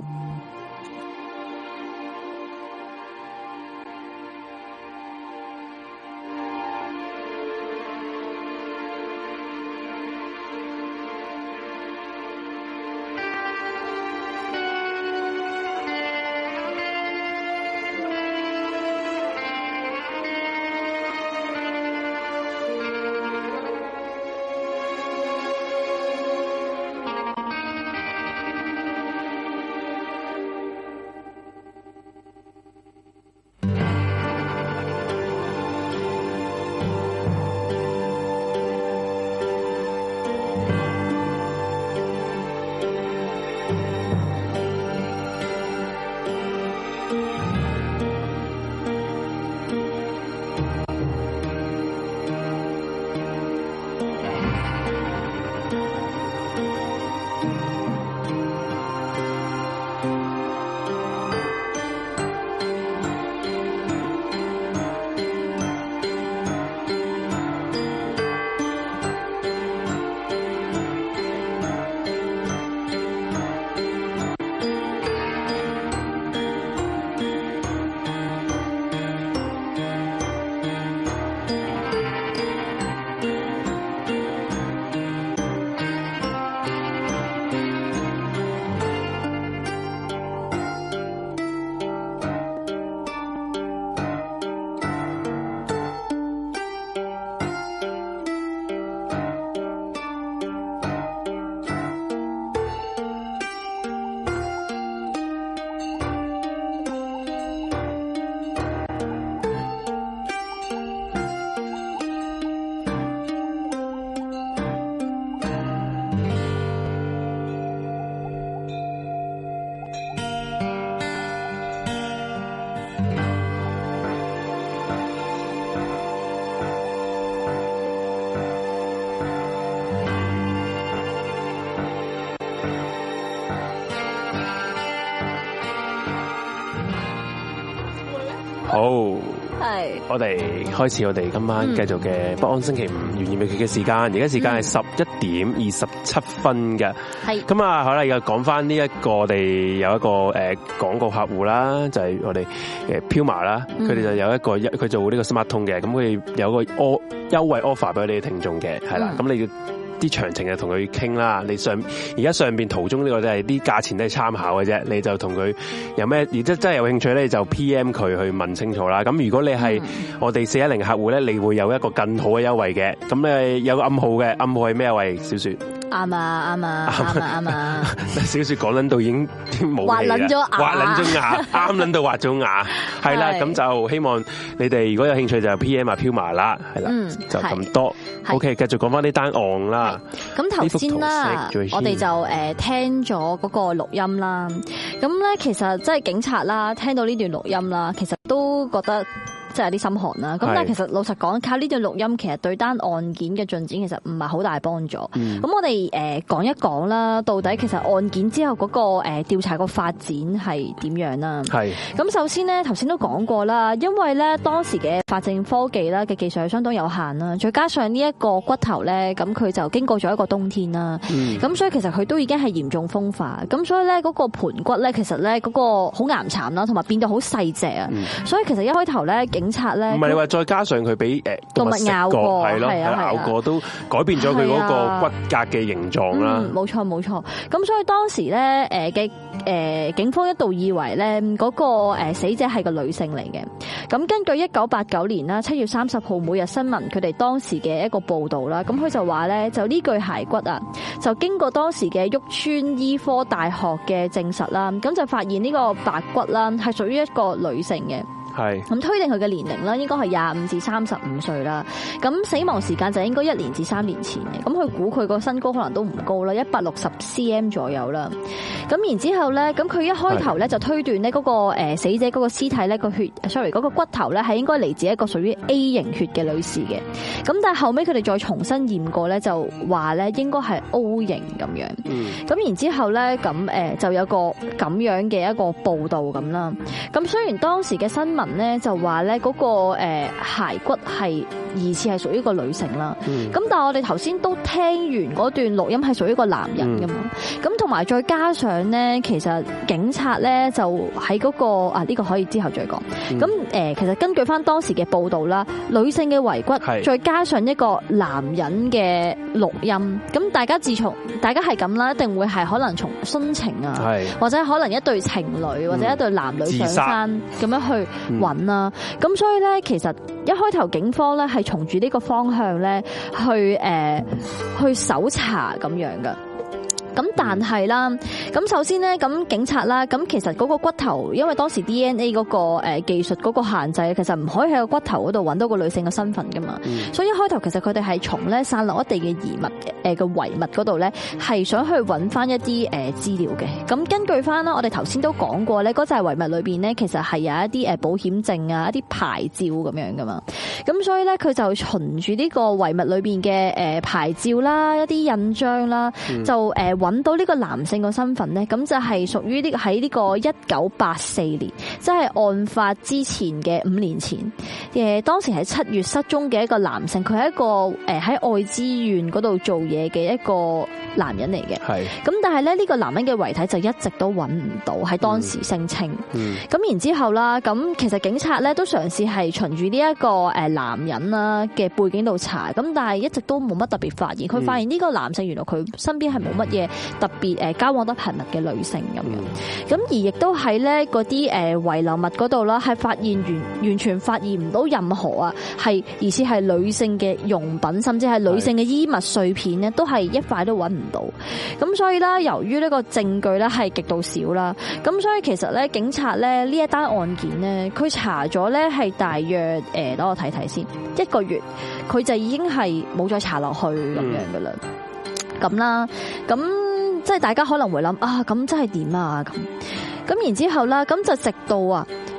好， 係， 我哋開始我哋今晚繼續嘅不安星期五懸疑未決嘅時間，而家時間係十一點二十七分嘅。係，咁啊，好啦，又講翻呢一個我哋有一個誒廣告客戶啦，就係我哋誒 Puma 啦，佢哋就有一個一佢做呢個 Smart 通嘅，咁佢有個 o 優惠 offer 俾你哋聽眾嘅，係啦，咁你要。啲詳情就同佢傾啦，你上而家上邊途中呢個都係啲價錢都係參考嘅啫，你就同佢有咩，而真真係有興趣咧，就 P M 佢去問清楚啦。咁如果你係我哋四一零客戶咧，你會有一個更好嘅優惠嘅。咁咧有個暗號嘅，暗號係咩位？小雪啱啊啱啊啱啊啱啊！ 小雪講撚到已經冇滑撚咗牙， 滑撚咗牙，啱撚到滑咗牙，係啦。咁就希望你哋如果有興趣就 P M 啊 Puma 啦，係啦，就咁多。OK， 繼續講翻呢單案啦。 咁頭先啦，我哋就誒聽咗嗰個錄音啦。咁咧其實即係警察啦，聽到呢段錄音啦，其實都覺得即係有啲心寒啦。咁但係其實老實講，靠呢段錄音，其實對單案件嘅進展其實唔係好大幫助。咁、嗯、我哋誒講一講啦，到底其實案件之後嗰個誒調查個發展係點樣啦？係。咁首先咧，頭先都講過啦，因為咧當時嘅法證科技啦嘅技術係相當有限啦，再加上呢一個骨頭咧，咁佢就經過咗一個冬天啦，咁、嗯、所以其實佢都已經係嚴重風化，咁所以咧嗰個盤骨咧，其實咧嗰個好岩殘啦，同埋變到好細隻啊，所以其實一開頭咧警察咧，唔係你話再加上佢俾誒動物咬過，係咯，咬過都改變咗佢嗰個骨骼嘅形狀啦。冇錯冇錯，咁所以當時咧誒嘅誒警方一度以為咧嗰個誒死者係個女性嚟嘅。咁根據一九八九年啦七月三十號每日新聞佢哋當時嘅一個報道啦，咁佢就話咧就呢具骸骨啊，就經過當時嘅旭川醫科大學嘅證實啦，咁就發現呢個白骨啦係屬於一個女性嘅。係咁推定佢嘅年齡啦，應該係廿五至三十五歲啦。咁死亡時間就應該一年至三年前嘅。咁佢估佢個身高可能都唔高啦，一百六十 cm 左右啦。咁然之後咧，咁佢一開頭咧就推斷咧嗰個誒死者嗰個屍體咧個血，sorry 嗰個骨頭咧係應該嚟自一個屬於 A 型血嘅女士嘅。咁但係後尾佢哋再重新驗過咧，就話咧應該係 O 型咁樣。咁、嗯、然之後咧，咁誒就有個咁樣嘅一個報導咁啦。咁雖然當時嘅新聞咧就話咧嗰個誒骸骨係疑似係屬於一個女性啦，咁、嗯、但係我哋頭先都聽完嗰段錄音係屬於一個男人噶嘛，咁同埋再加上咧，其實警察咧就喺嗰、嗰個啊呢、呢個可以之後再講，咁、嗯、誒其實根據翻當時嘅報道啦，女性嘅遺骨再加上一個男人嘅錄音，咁大家自從大家係咁啦，一定會係可能從殉情啊，或者可能一對情侶或者一對男女上山咁樣去揾啦，咁、嗯、所以咧，其實一開頭警方咧係從住呢個方向咧去誒去搜查咁樣噶。咁但係啦，咁首先咧，咁警察啦，咁其實嗰個骨頭，因為當時 D N A 嗰個誒技術嗰個限制，其實唔可以喺個骨頭嗰度揾到個女性嘅身份噶嘛，嗯、所以一開頭其實佢哋係從咧散落一地嘅遺物誒嘅遺物嗰度咧，係想去揾翻一啲誒資料嘅。咁根據翻啦，我哋頭先都講過咧，嗰隻遺物裏邊咧，其實係有一啲誒保險證啊、一啲牌照咁樣噶嘛。咁所以咧，佢就循住呢個遺物裏邊嘅誒牌照啦、一啲印章啦，嗯、就誒。揾到呢個男性個身份咧，咁就係屬於呢喺呢個一九八四年，即係案發之前嘅五年前，誒當時喺七月失蹤嘅一個男性，佢係一個誒喺愛知縣嗰度做嘢嘅一個男人嚟嘅。係，咁但係咧呢個男人嘅遺體就一直都揾唔到，喺當時聲稱。嗯，咁然之後啦，咁其實警察咧都嘗試係循住呢一個誒男人啦嘅背景度查，咁但係一直都冇乜特別發現。佢發現呢個男性原來佢身邊係冇乜嘢特別誒交往得頻密嘅女性咁樣，咁而亦都喺咧嗰啲誒遺留物嗰度啦，係發現完完全發現唔到任何啊係疑似係女性嘅用品，甚至係女性嘅衣物碎片咧，都係一塊都揾唔到。咁所以啦，由於呢個證據咧係極度少啦，咁所以其實咧警察咧呢一單案件咧，佢查咗咧係大約誒，等我睇睇先，一個月佢就已經係冇再查落去咁樣噶啦，咁啦，咁。即係大家可能會諗啊，咁真係點啊咁，咁然之後啦，咁就直到啊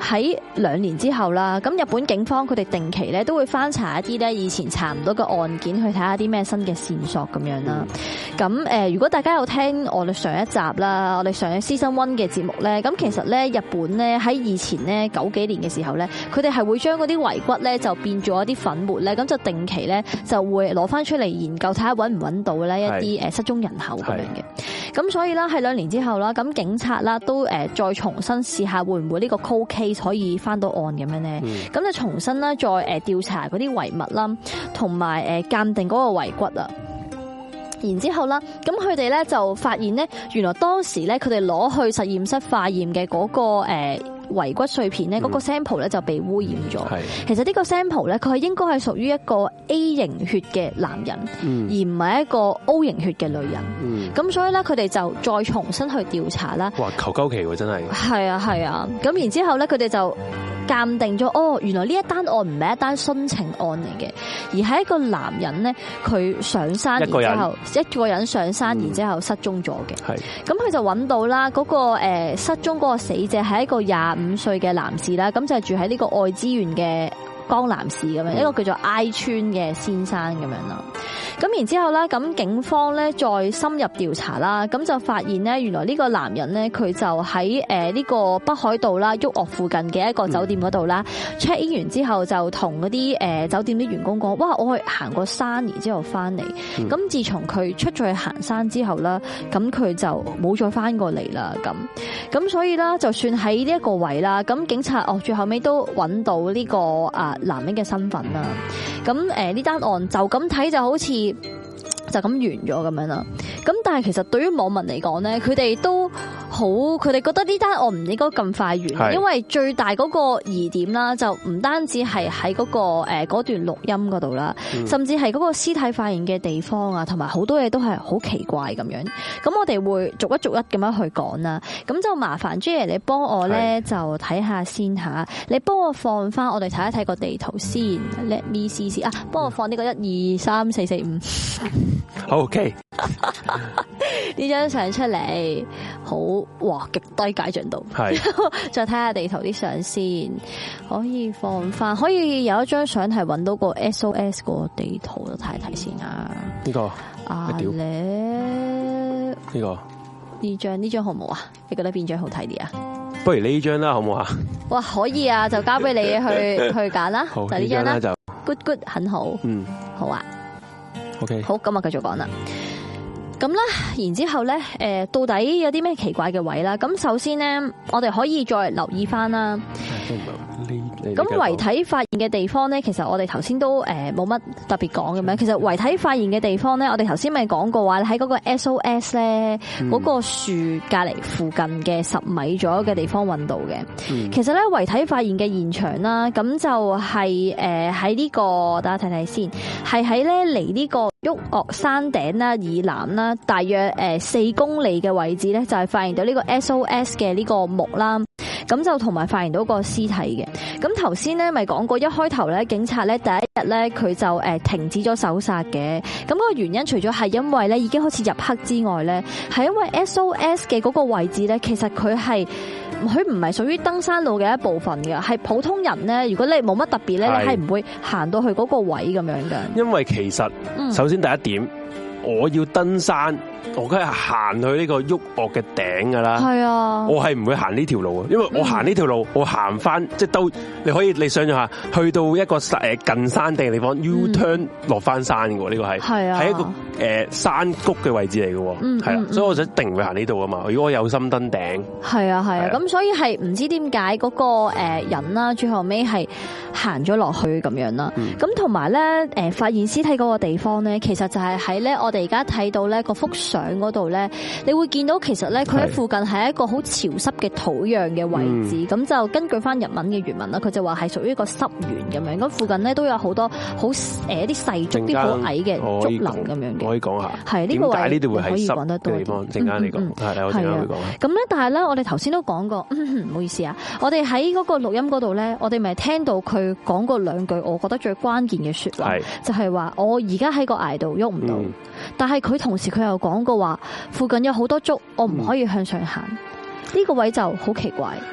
喺兩年之後啦，咁日本警方佢哋定期咧都會翻查一啲咧以前查唔到嘅案件，去睇下啲咩新嘅線索咁樣啦。咁誒，如果大家有聽我哋上一集啦，我哋上一 season one 嘅節目咧，咁其實咧日本咧喺以前咧九幾年嘅時候咧，佢哋係會將嗰啲遺骨咧就變咗一啲粉末咧，咁就定期咧就會攞翻出嚟研究，睇下揾唔揾到咧一啲誒失蹤人口咁樣嘅。咁所以啦，喺兩年之後啦，咁警察啦都誒再重新試下會唔會呢個 cold case 可以翻到案咁樣咧？咁就重新啦再誒調查嗰啲遺物啦，同埋誒鑑定嗰個遺骨啊。然之後啦，咁佢哋咧就發現咧，原來當時咧佢哋攞去實驗室化驗嘅嗰個誒遺骨碎片咧，嗰個 sample 咧就被污染咗。其實呢個 sample 咧，佢係應該係屬於一個 A 型血嘅男人，嗯、而唔係一個 O 型血嘅女人。咁、嗯、所以咧，佢哋就再重新去調查啦。哇！求鳩其喎，真係。係啊，係啊。咁然之後咧，佢哋就鑑定咗，哦，原來呢一單案唔係一單殉情案嚟嘅，而係一個男人咧，佢上山然之後一個人上山，然之後失蹤咗嘅。係。咁佢就揾到啦，嗰個誒失蹤嗰個死者係一個廿五歲嘅男士啦，咁就係住喺呢個愛知縣嘅江南市咁樣，一個叫做 I 村嘅先生咁樣啦。咁然之後咧，咁警方咧再深入調查啦，咁就發現咧，原來呢個男人咧，佢就喺誒呢個北海道啦，旭岳附近嘅一個酒店嗰度啦 check in 完之後就同嗰啲誒酒店啲員工講，哇，我去行過山，然之後翻嚟。咁、嗯、自從佢出咗去行山之後啦，咁佢就冇再翻過嚟啦。咁咁所以啦，就算喺呢一個位啦，咁警察哦最後尾都揾到呢個啊男人嘅身份啦。咁誒呢單案就咁睇就好似就咁完咗咁樣啦。咁但係其實對於網民嚟講咧，佢哋都好，佢哋覺得呢單案唔應該咁快完，因為最大嗰個疑點啦，就唔單止係喺嗰個誒嗰段錄音嗰度啦，甚至係嗰個屍體發現嘅地方啊，同埋好多嘢都係好奇怪咁樣。咁我哋會逐一逐一咁樣去講啦。咁就麻煩 J 爺你幫我咧就睇下先吓，你幫我放翻我哋睇一睇個地圖先。Let me see 先啊，幫我放呢個一二三四四五。好 OK。呢張相出嚟，好哇，極低解像度。係，再睇下地圖啲相先，可以放翻，可以有一張相係搵到個 S O S 個地圖，睇一睇先啊。呢個啊咧，呢個呢張呢張好唔好啊？你覺得邊張好睇啲啊？不如呢張啦，好唔好啊？哇，可以啊，就交俾你去去揀啦。好，就呢張啦，就 good good 很好。嗯，好啊。OK， 好，咁啊，繼續講啦。咁啦，然之後咧，誒，到底有啲咩奇怪嘅位啦？咁首先咧，我哋可以再留意翻啦。咁遺體發現嘅地方咧，其實我哋頭先都誒冇乜特別講咁樣。其實遺體發現嘅地方咧，我哋頭先咪講過話喺嗰個 S O S 咧，嗰個樹隔籬附近嘅十米左右嘅地方揾到嘅。其實咧，遺體發現嘅現場啦，咁就係誒喺呢個，大家睇睇先，係喺咧離呢個旭岳山頂啦以南啦，大約誒四公里嘅位置咧，就係發現到呢個 S O S 嘅呢個木啦。咁就同埋發現到個屍體嘅。咁頭先咧咪講過，一開頭咧警察咧第一日咧佢就誒停止咗搜殺嘅。咁個原因除咗係因為咧已經開始入黑之外咧，係因為 S O S 嘅嗰個位置咧，其實佢係佢唔係屬於登山路嘅一部分嘅，係普通人咧，如果你冇乜特別咧，你係唔會行到去嗰個位咁樣嘅。因為其實首先第一點，我要登山，我梗係行去呢個旭岳嘅頂噶啦。係啊，我係唔會行呢條路啊，因為我行呢條路，我行翻即係都你可以你想象下，去到一個誒近山頂嘅地方 U turn 落翻山嘅呢個係係啊，係一個誒山谷嘅位置嚟嘅，係啦，所以我就一定唔會行呢度啊嘛。如果我有心登頂，係啊係啊，咁所以係唔知點解嗰個誒人啦，最後尾係行咗落去咁樣啦。咁同埋咧誒發現屍體嗰個地方咧，其實就係喺咧我哋而家睇到咧個幅相嗰度咧，你會見到其實咧佢喺附近係一個好潮濕嘅土壤嘅位置，咁、嗯、就根據翻日文嘅原文啦，佢就話係屬於一個濕原咁樣，咁附近咧都有好多好誒啲細竹啲好矮嘅竹林咁樣嘅。可以講下係呢個位呢度會係濕嘅地方，陣間你講係我陣間會講。咁咧，但係咧，我哋頭先都講過，唔好意思啊，我哋喺嗰個錄音嗰度咧，我哋咪聽到佢講過兩句，我覺得最關鍵嘅說話，就係話我而家喺個崖度喐唔到，嗯、但係佢同時佢又講過話，附近有好多竹，我唔可以向上行。呢、嗯、個位就好奇怪。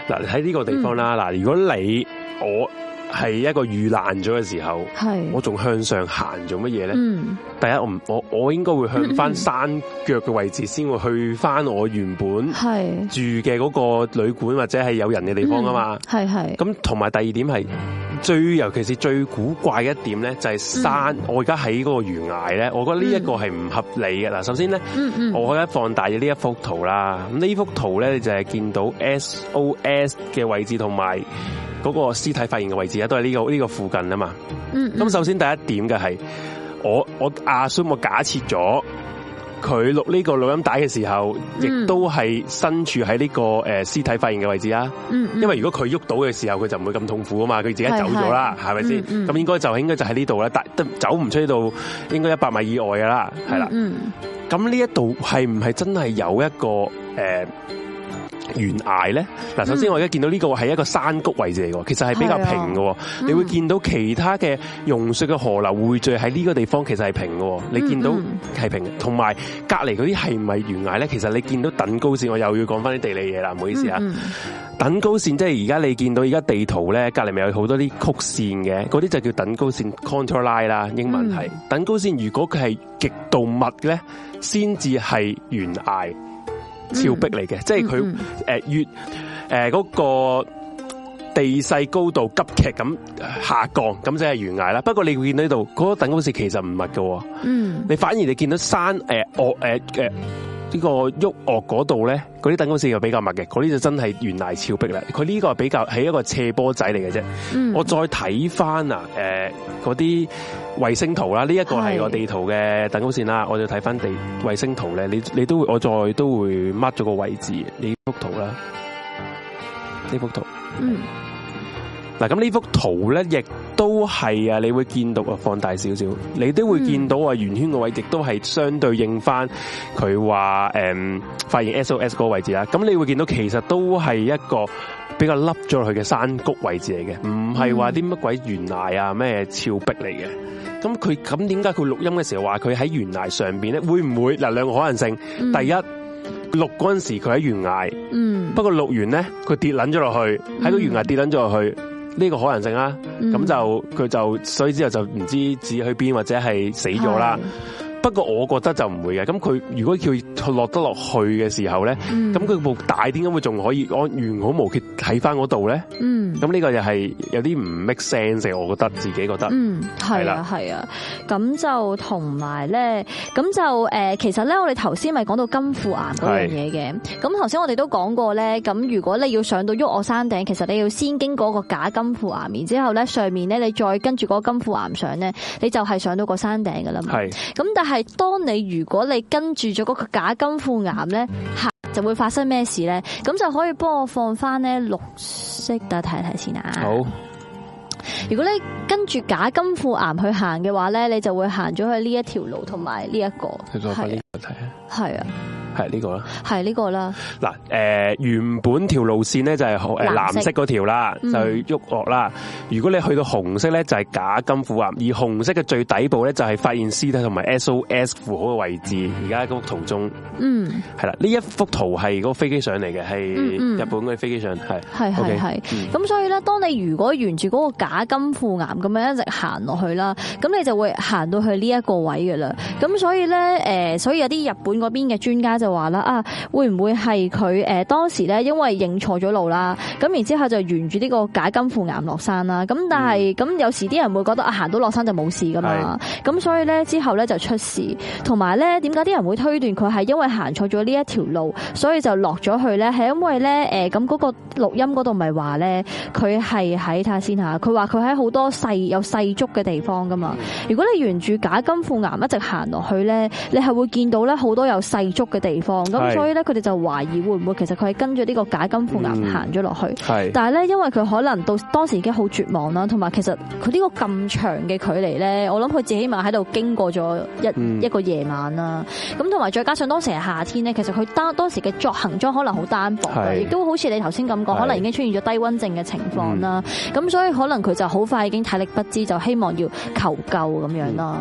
嗱喺呢個地方啦，嗱、嗯、如果你我係一個遇難咗嘅時候，係我仲向上行做乜嘢咧？嗯，第一我唔我我應該會向翻山腳嘅位置先會去翻我原本係住嘅嗰個旅館或者係有人嘅地方啊嘛，係係。咁同埋第二點係最尤其是最古怪嘅一點咧，就係山。嗯、我而家喺嗰個懸崖咧，我覺得呢一個係唔合理嘅。嗱，首先咧，嗯嗯我而家放大咗呢一幅圖啦。咁呢幅圖咧，你就係見到 S O S 嘅位置同埋嗰個屍體發現嘅位置啊，都係呢、這個呢、這個附近啊嘛。嗯，咁首先第一點嘅係，我我阿叔我假設咗佢錄呢個錄音帶嘅時候，亦、嗯、都係身處喺呢個誒屍體發現嘅位置啊。嗯，因為如果佢喐到嘅時候，佢就唔會咁痛苦啊嘛，佢自己走咗啦，係咪先？咁、嗯嗯、應該就應該就喺呢度啦，但都走唔出呢度，應該一百米以外噶啦，係啦。嗯，咁呢一度係唔係真係有一個誒？呃懸崖咧，嗱，首先我而家見到呢個係一個山谷位置嚟嘅，其實係比較平嘅。你會見到其他嘅溶雪嘅河流匯聚喺呢個地方，其實係平嘅。你見到係平，同埋隔籬嗰啲係唔係懸崖咧？其實你見到等高線，我又要講翻啲地理嘢啦，唔好意思啊。嗯嗯等高線即係而家你見到而家地圖咧，隔籬咪有好多啲曲線嘅，嗰啲就叫等高線 contour line 啦，英文係、嗯、等高線。如果佢係極度密咧，先至係懸崖。峭壁嚟嘅，即係佢誒越誒嗰、呃那個地勢高度急劇咁下降，咁即係懸崖啦。不過你會見到呢度嗰個等高線其實唔密嘅，嗯，你反而你見到山誒岳誒誒呢個沃岳嗰度咧，嗰啲等高線又比較密嘅，嗰啲就真係懸崖峭壁啦。佢呢個係比較係一個斜坡仔嚟嘅啫。嗯、我再睇翻啊誒嗰啲衛星圖啦，呢、這、一個係個地圖嘅等高線啦，我就睇翻地衛星圖咧，你你都會我再都會 mark 咗個位置呢幅圖啦，呢幅圖。嗯。嗱，咁呢幅圖咧，亦都係啊，你會見到啊，放大少少，你都會見到啊，圓圈個位亦都係相對應翻佢話誒發現 S O S 嗰個位置啦。咁你會見到其實都係一個比較凹咗落去嘅山谷位置嚟嘅，唔係話啲乜鬼懸崖啊咩峭壁嚟嘅。咁佢咁點解佢錄音嘅時候話佢喺懸崖上邊咧？會唔會嗱兩個可能性？嗯、第一，錄嗰陣時佢喺懸崖，嗯，不過錄完咧佢跌撚咗落去，喺個懸崖跌撚咗落去。呢個可能性啦，咁、嗯、就佢就所以之後就唔知自己去邊或者係死咗啦。不過我覺得就唔會嘅，咁佢如果佢落得落去嘅時候咧，咁佢部大點解會仲可以安完好無缺喺翻嗰度咧？嗯，咁呢個又係有啲唔 make sense，我覺得自己覺得。嗯，係啊，係啊，咁就同埋咧，咁就誒，其實咧，我哋頭先咪講到金庫岩嗰樣嘢嘅。咁頭先我哋都講過咧，咁如果你要上到沃岳山頂，其實你要先經過個假金庫岩，然之後咧上面咧你再跟住嗰個金庫岩上咧，你就係上到個山頂噶啦嘛。係，咁但係。係當你如果你跟住咗嗰個假金庫岩咧，行就會發生咩事咧？咁就可以幫我放翻咧綠色，等睇睇先啊。好，如果你跟住假金庫岩去行嘅話咧，你就會行咗去呢一條路同埋呢一個。你再快啲睇啊！係啊。係呢個啦，係呢個啦。嗱，誒，原本條路線咧就係誒藍色嗰條啦，就去沃岳啦。如果你去到紅色咧，就係假金庫岩，而紅色嘅最底部咧就係發現屍體同埋 S O S 符號嘅位置。而家嗰幅圖中，嗯，係啦，呢一幅圖係嗰個飛機上嚟嘅，係日本嗰啲飛機上，係係係係。咁所以咧，當你如果沿住嗰個假金庫岩咁樣一直行落去啦，咁你就會行到去呢一個位噶啦。咁所以咧，誒，所以有啲日本嗰邊嘅專家就話啦，啊，會唔會係佢誒當時咧，因為認錯咗路啦，咁然之後就沿住呢個假金庫岩落山啦。咁但係咁、嗯、有時啲人會覺得啊，行到落山就冇事噶嘛。咁所以咧之後咧就出事，同埋咧點解啲人會推斷佢係因為行錯咗呢一條路，所以就落咗去咧？係因為咧誒咁嗰個錄音嗰度咪話咧，佢係喺睇下先吓，佢話佢喺好多細有細竹嘅地方噶嘛。如果你沿住假金庫岩一直行落去咧，你係會見到咧好多有細竹嘅地方。咁所以咧，佢哋就懷疑會唔會其實佢係跟住呢個假金庫岩行咗落去。係，但係咧，因為佢可能到當時已經好絕望啦，同埋其實佢呢個咁長嘅距離咧，我諗佢自己起碼喺度經過咗一、嗯、一個夜晚啦。咁同埋再加上當時係夏天咧，其實佢當當時嘅作行裝可能好單薄嘅，亦都好似你頭先咁講，可能已經出現咗低溫症嘅情況啦。咁、嗯、所以可能佢就好快已經體力不支，就希望要求救咁樣啦。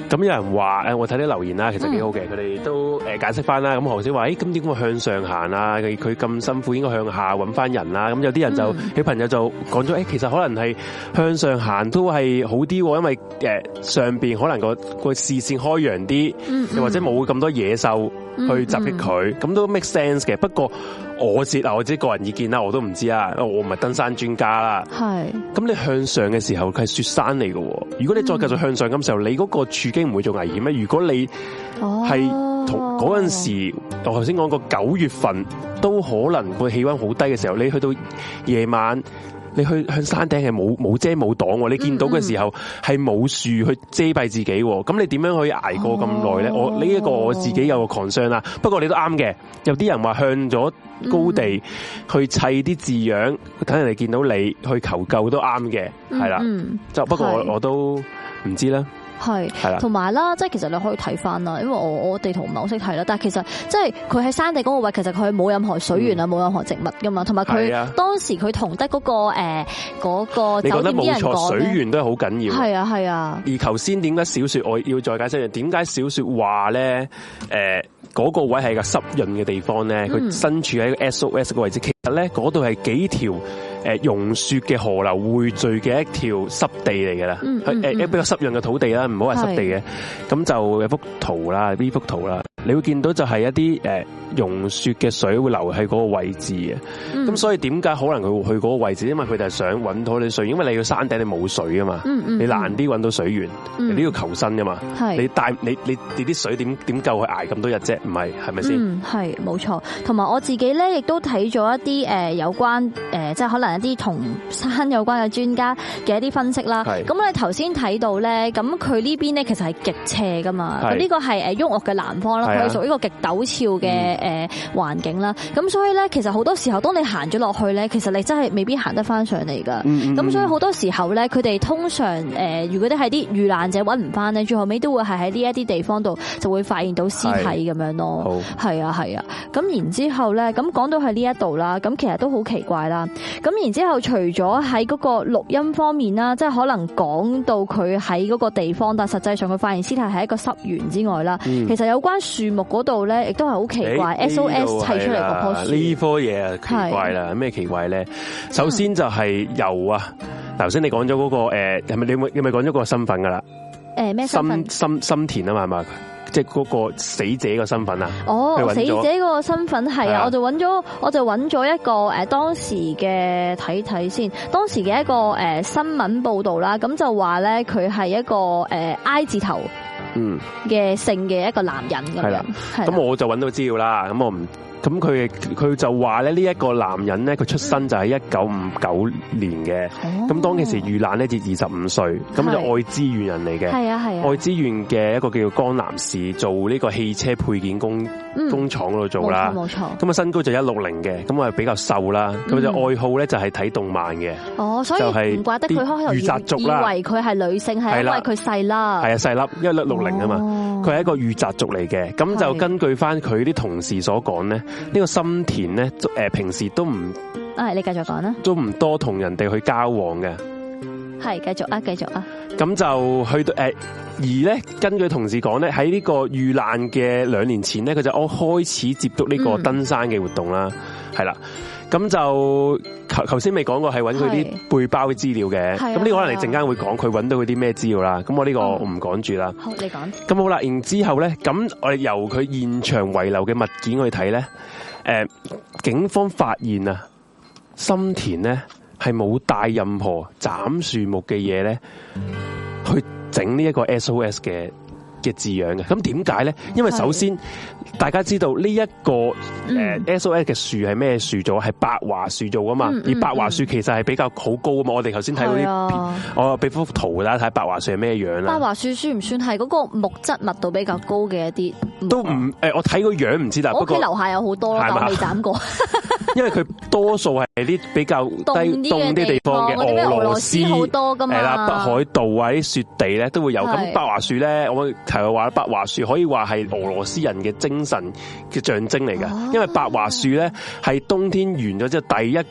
咁有人話誒，我睇啲留言啦，其實幾好嘅，佢哋都誒解釋翻啦。咁何師話，誒咁點解會向上行啊？佢佢咁辛苦，應該向下揾翻人啦。咁有啲人就小朋友就講咗，誒其實可能係向上行都係好啲，因為誒上邊可能個個視線開揚啲，又或者冇咁多野獸去襲擊佢，咁都 make sense 嘅。不過我自啊我自己個人意見啦，我都唔知啊，我唔係登山專家啦。係。咁你向上嘅時候，佢係雪山嚟嘅。如果你再繼續向上咁時候，你嗰個處境唔會做危險咩？如果你係同嗰陣時，我頭先講過九月份都可能個氣溫好低嘅時候，你去到夜晚，你去向山頂係冇冇遮冇擋，你見到嘅時候係冇樹去遮蔽自己，咁你點樣可以捱過咁耐咧？我呢一個我自己有個 concern 啦。不過你都啱嘅，有啲人話向咗高地去砌啲字樣，等人哋見到你去求救都啱嘅，係啦。就不過我我都唔知啦。係，同埋啦，即係其實你可以睇翻啦，因為我我地圖唔係好識睇啦，但係其實即係佢喺山地嗰個位，其實佢冇任何水源啊，冇、嗯、任何植物噶嘛，同埋佢當時佢同得嗰個誒嗰、呃那個酒店啲人講，水源都係好緊要。係啊係啊。而頭先點解小說我要再解釋，點解小說話咧誒嗰個位係個濕潤嘅地方咧？佢身處喺個 S O S 個位置，其實咧嗰度係幾條誒融雪嘅河流匯聚嘅一條濕地嚟嘅啦，誒誒比較濕潤嘅土地啦，唔好話濕地嘅，咁就有幅圖啦，呢幅圖啦，你會見到就係一啲誒融雪嘅水會流喺嗰個位置嘅，咁、嗯、所以點解可能佢會去嗰個位置？因為佢哋係想揾到啲水，因為你要山頂你冇水啊嘛，嗯嗯、你難啲揾到水源，嗯、你都要求生噶嘛，你帶你你你啲水點點夠去捱咁多日啫？唔係係咪先？嗯，係冇錯。同埋我自己咧，亦都睇咗一啲誒有關誒，即係可能一啲同山有關嘅專家嘅一啲分析啦。咁我哋頭先睇到咧，咁佢呢邊咧其實係極斜噶嘛，咁呢個係誒沃岳嘅南方啦，佢係屬於一個極陡峭嘅誒環境啦。咁所以咧，其實好多時候，當你行咗落去咧，其實你真係未必行得翻上嚟噶。咁、嗯嗯、所以好多時候咧，佢哋通常誒，如果你係啲遇難者揾唔翻咧，最後尾都會係喺呢一啲地方度就會發現到屍體咁樣咯。係啊係啊。咁然之後咧，咁講到喺呢一度啦，咁其實都好奇怪啦。咁然之後，除咗喺嗰個錄音方面啦，即係可能講到佢喺嗰個地方，但實際上佢發現屍體係一個濕原之外啦、嗯，其實有關樹木嗰度咧，亦都係好奇怪。S O S 砌出嚟嗰棵樹，呢棵嘢啊奇怪啦，咩奇怪咧？首先就係油啊，頭先你講咗嗰個誒，係咪你咪你咪講咗個身份噶啦？誒咩身份？心心田啊嘛，係嘛？即係嗰個死者個身份啊！哦，死者嗰個身份係啊，我就揾咗，我就揾咗一個誒當時嘅睇睇先，當時嘅一個誒新聞報道啦，咁就話咧佢係一個誒 I 字頭嗯嘅姓嘅一個男人咁樣，咁我就揾到資料啦，咁我唔。咁佢佢就話咧呢一個男人咧，佢出生就係一九五九年嘅，咁當其時遇難咧至二十五歲，咁就愛知縣人嚟嘅，係啊係啊，愛知縣嘅一個叫做江南市做呢個汽車配件工、嗯、工廠嗰度做啦，冇錯，咁啊身高就一六零嘅，咁啊比較瘦啦，咁、嗯、就愛好咧就係睇動漫嘅，哦，所以唔怪得佢開頭以以為佢係女性，係因為佢細粒，係啊細粒，一六六零啊嘛，佢係一個御宅族嚟嘅，咁就根據翻佢啲同事所講咧。呢個心田咧，誒平時都唔，啊，你繼續講啦，都唔多同人哋去交往嘅，係繼續啊，繼續啊，咁就去到誒，而咧根據同事講咧，喺呢個遇難嘅兩年前咧，佢就我開始接觸呢個登山嘅活動啦，係、嗯、啦，咁就頭頭先未講過係揾佢啲背包嘅資料嘅，咁呢個可能你陣間會講佢揾到佢啲咩資料啦，咁我呢個我唔講住啦，好你講，咁好啦，然之後咧，咁我哋由佢現場遺留嘅物件去睇咧。誒，警方發現啊，心田咧係冇帶任何斬樹木嘅嘢咧，去整呢一個 S O S 嘅嘅字樣嘅。咁點解咧？因為首先大家知道呢一個誒 S O S 嘅樹係咩樹做？係白樺樹做噶嘛？嗯嗯、而白樺樹其實係比較好高啊嘛。我哋頭先睇到啲片，我俾幅圖大家睇白樺樹係咩樣啦。白樺樹算唔算係嗰個木質密度比較高嘅一啲？都唔誒，我睇個樣唔知啦。我屋企樓下有好多，但我未斬過。因為佢多數係啲比較低凍啲地方嘅俄羅斯好多噶嘛，係啦，北海道啊啲雪地咧都會有。咁白樺樹咧，我提佢話白樺樹可以話係俄羅斯人嘅精神嘅象徵嚟噶，因為白樺樹咧係冬天完咗之後第一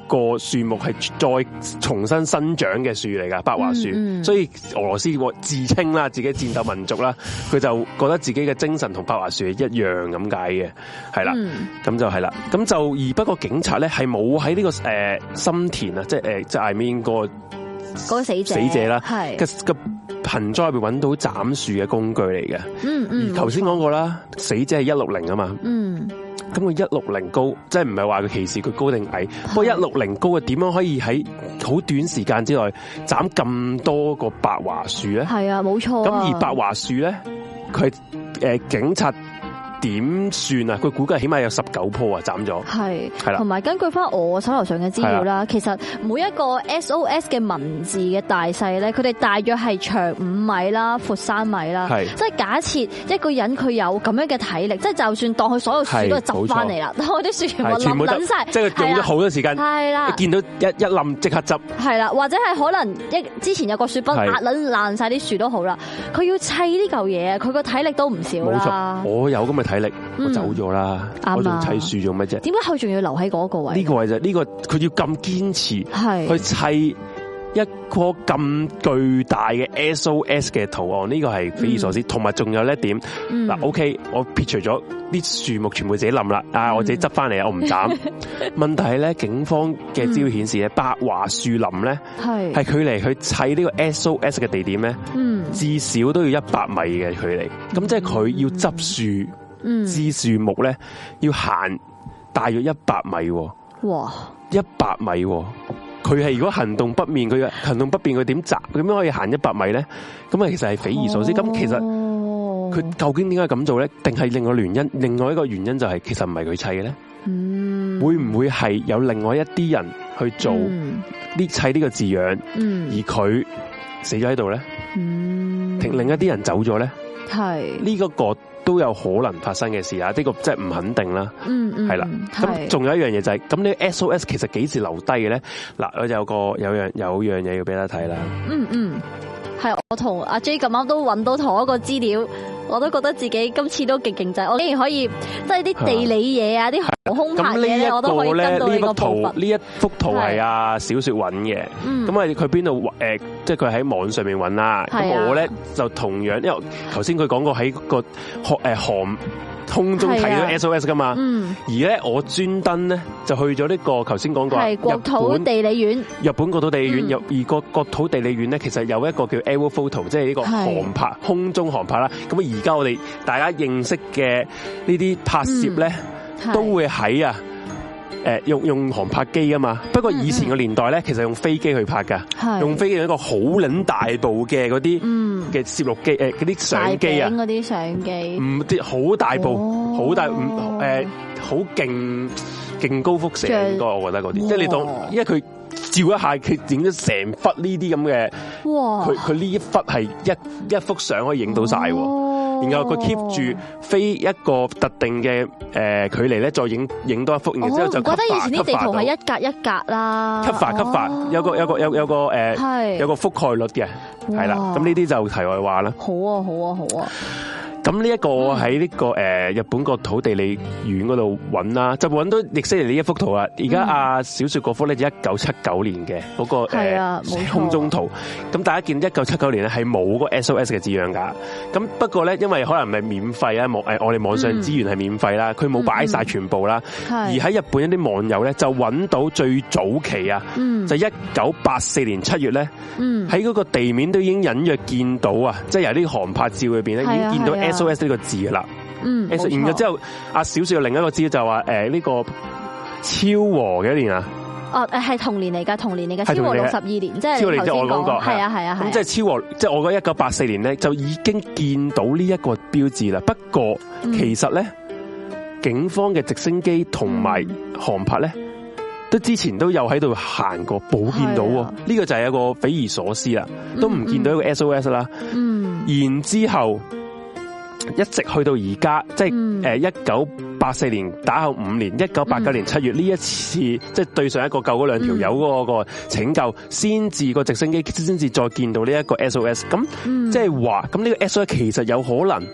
個樹木係再重新生長嘅樹嚟噶，白樺樹。嗯嗯、所以俄羅斯自稱啦，自己戰鬥民族啦，佢就覺得自己嘅精神同白樺樹係一樣咁解嘅，係啦，咁、嗯、就係啦，咁就而不過警察咧係冇喺呢個誒心田啊，即係誒即係 I mean 個嗰個死者死者啦， 係嘅嘅盆栽入邊揾到斬樹嘅工具嚟嘅。嗯嗯，而頭先講過啦，死者係一六零啊嘛。嗯。咁佢一六零高，即係唔係話佢歧視佢高定矮？不過一六零高嘅點樣可以喺好短時間之內斬咁多個白樺樹咧？係啊，冇錯。咁而白樺樹咧，佢誒警察點算啊？佢估計起碼有十九棵啊，斬咗。係係啦，同埋根據翻我手頭上嘅資料啦，其實每一個 S O S 嘅文字嘅大細咧，佢哋大約係長五米啦，闊三米啦。係即係假設一個人佢有咁樣嘅體力，即係就算當佢所有樹都係執翻嚟啦，當佢啲樹全部冧冧晒，即係用咗好多時間。係啦，見到一一冧即刻執。係啦，或者係可能一之前有個雪崩壓撚爛晒啲樹都好啦，佢要砌呢嚿嘢，佢個體力都唔少啦。冇錯，我有咁嘅體力，我走咗啦，我仲砌樹做乜啫？點解佢仲要留喺嗰個位？呢個位就呢個，佢要咁堅持去砌一個咁巨大嘅 S O S 嘅圖案，呢個係匪夷所思。同埋仲有一點，嗱 ，OK，我撇除咗啲樹木全部自己冧啦，啊，我自己執翻嚟啊，我唔斬。問題係咧，警方嘅資料顯示咧，白樺樹林咧係係距離去砌呢個 S O S 嘅地點咧，至少都要一百米嘅距離。咁即係佢要執樹。枝樹木咧要行大約一百米，哇！一百米，佢係如果行動不便，佢行動不便，佢點摘？佢點樣可以行一百米咧？咁啊，其實係匪夷所思。咁、哦、其實佢究竟點解咁做咧？定係另外原因？另外一個原因就係、是、其實唔係佢砌嘅咧。嗯，會唔會係有另外一啲人去做呢砌呢個字樣？嗯，而佢死咗喺度咧？嗯，另另一啲人走咗咧？係呢個個。都有可能發生嘅事啊！呢個即係唔肯定啦。嗯嗯，係啦。咁仲有一樣嘢就係，咁呢 S O S 其實幾時留低嘅咧？嗱，我有個有樣有樣嘢要俾大家睇啦。嗯嗯，係我同阿 J 咁啱都揾到同一個資料，我都覺得自己今次都極勁仔，我竟然可以即係啲地理嘢啊，啲航空拍嘢咧，我都可以跟到呢個部分。呢一幅圖係阿小雪揾嘅，咁啊佢邊度誒？即係佢喺網上面揾啦。咁我咧就同樣，因為頭先佢講過喺個學誒航空中睇到 S O S 噶嘛。而咧我專登咧就去咗呢個頭先講過係國土地理院，日本國土地理院有而個國土地理院咧，其實有一個叫 Aero Photo， 即係呢個航拍空中航拍啦。咁而家我哋大家認識嘅呢啲拍攝咧，都會喺啊。誒，用用航拍機啊嘛，不過以前個年代咧，其實用飛機去拍噶，用飛機用一個好撚大部嘅嗰啲嘅攝錄機，誒嗰啲相機啊，嗰啲相機，唔啲好大部，好、哦、大，唔誒好勁勁高輻射應該，我覺得嗰啲，即係你當，因為佢照一下，佢影咗成忽呢啲咁嘅，佢佢呢一忽係一一幅相可以影到晒。然後佢 keep 住飛一個特定嘅誒距離咧，再影影多一幅，然之後就 cover，我覺得以前啲地圖係一格一格啦，cover cover 有個有個有有個誒有個覆蓋率嘅，係啦，咁呢啲就題外話啦。好啊好啊好啊！咁呢一個喺呢個誒日本國土地理院嗰度揾啦，就揾到亦悉尼呢一幅圖啊！而家阿小雪嗰幅咧就一九七九年嘅嗰個誒空中圖，咁大家見一九七九年咧係冇個 S O S 嘅字樣噶，咁不過咧因為可能係免費啊，網誒我哋網上資源係免費啦，佢冇擺晒全部啦，而喺日本一啲網友咧就揾到最早期啊，就一九八四年七月咧，喺嗰個地面都已經隱約見到啊，即係由啲航拍照裏邊咧已經見到 S O S 呢個字噶啦，嗯，然後之後阿小雪另一個字就話誒呢個昭和幾年啊？哦誒係同年嚟噶，同年嚟噶，昭和六十二年，即係頭先講，係啊係啊，咁即係昭和，即係我覺得一九八四年咧就已經見到呢一個標誌啦。不過其實咧，警方嘅直升機同埋航拍咧，都之前都有喺度行過，冇見到，呢個就係一個匪夷所思啦，都唔見到一個 S O S 啦。嗯，然之後。一直去到而家，即係誒一九八四年打後五年，一九八九年七月呢一次，即係對上一個救嗰兩條友嗰個拯救，先至個直升機先至再見到呢一個 S O S。咁即係話，咁呢個 S O S 其實有可能